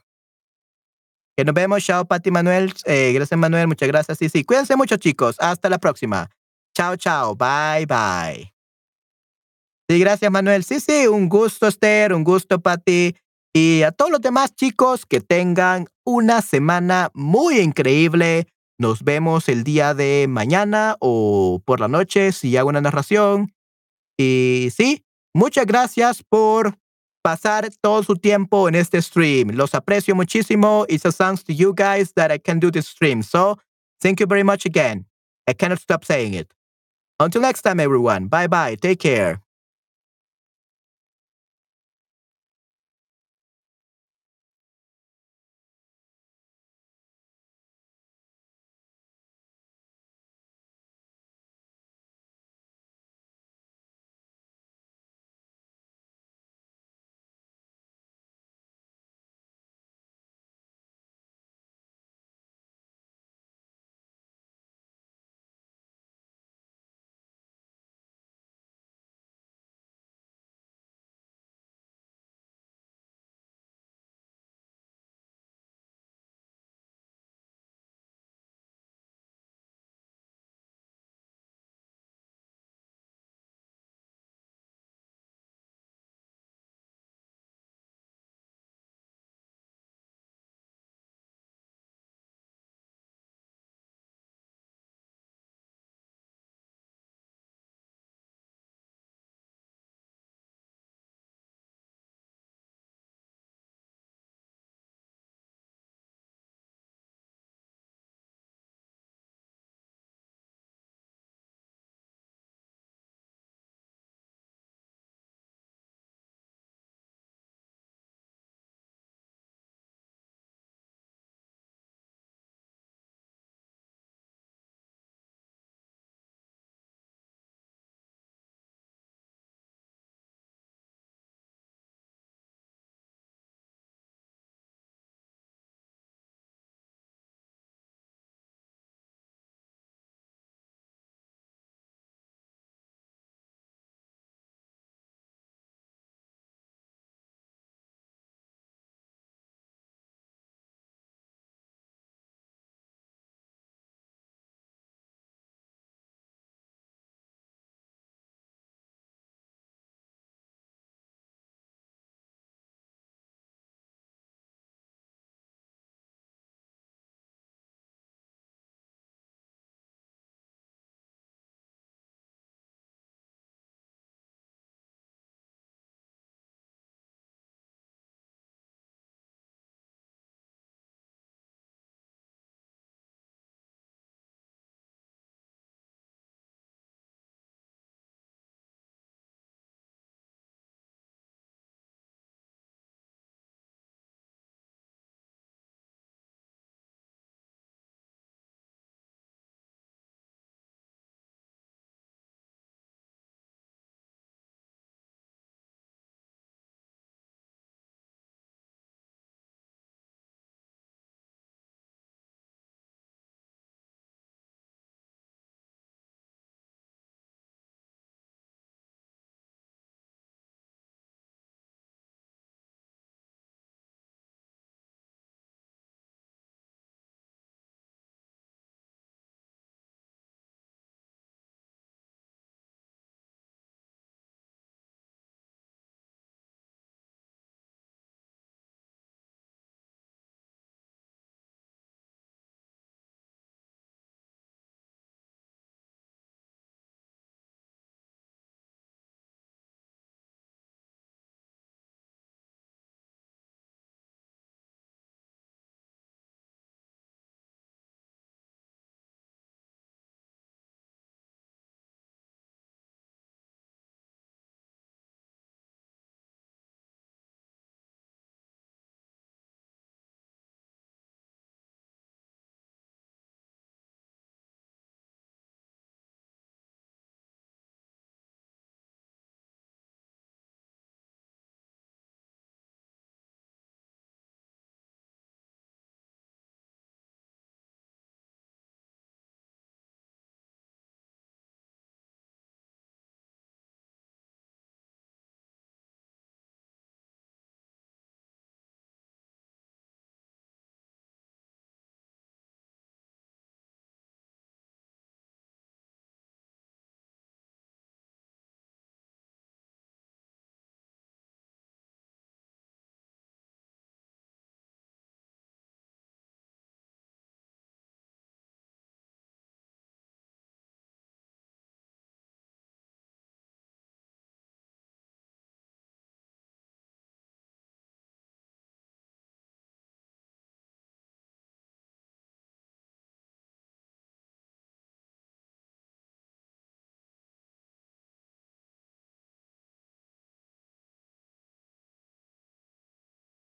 Que nos vemos. Chao, Patty, Manuel. Eh, gracias, Manuel. Muchas gracias. Sí, sí. Cuídense mucho, chicos. Hasta la próxima. Chao, chao. Bye-bye. Sí, gracias, Manuel. Sí, sí. Un gusto, Esther. Un gusto, Patty. Y a todos los demás chicos, que tengan una semana muy increíble. Nos vemos el día de mañana o por la noche si hago una narración. Y sí, muchas gracias por pasar todo su tiempo en este stream. Los aprecio muchísimo. It's a thanks to you guys that I can do this stream. So, thank you very much again. I cannot stop saying it. Until next time, everyone. Bye-bye. Take care.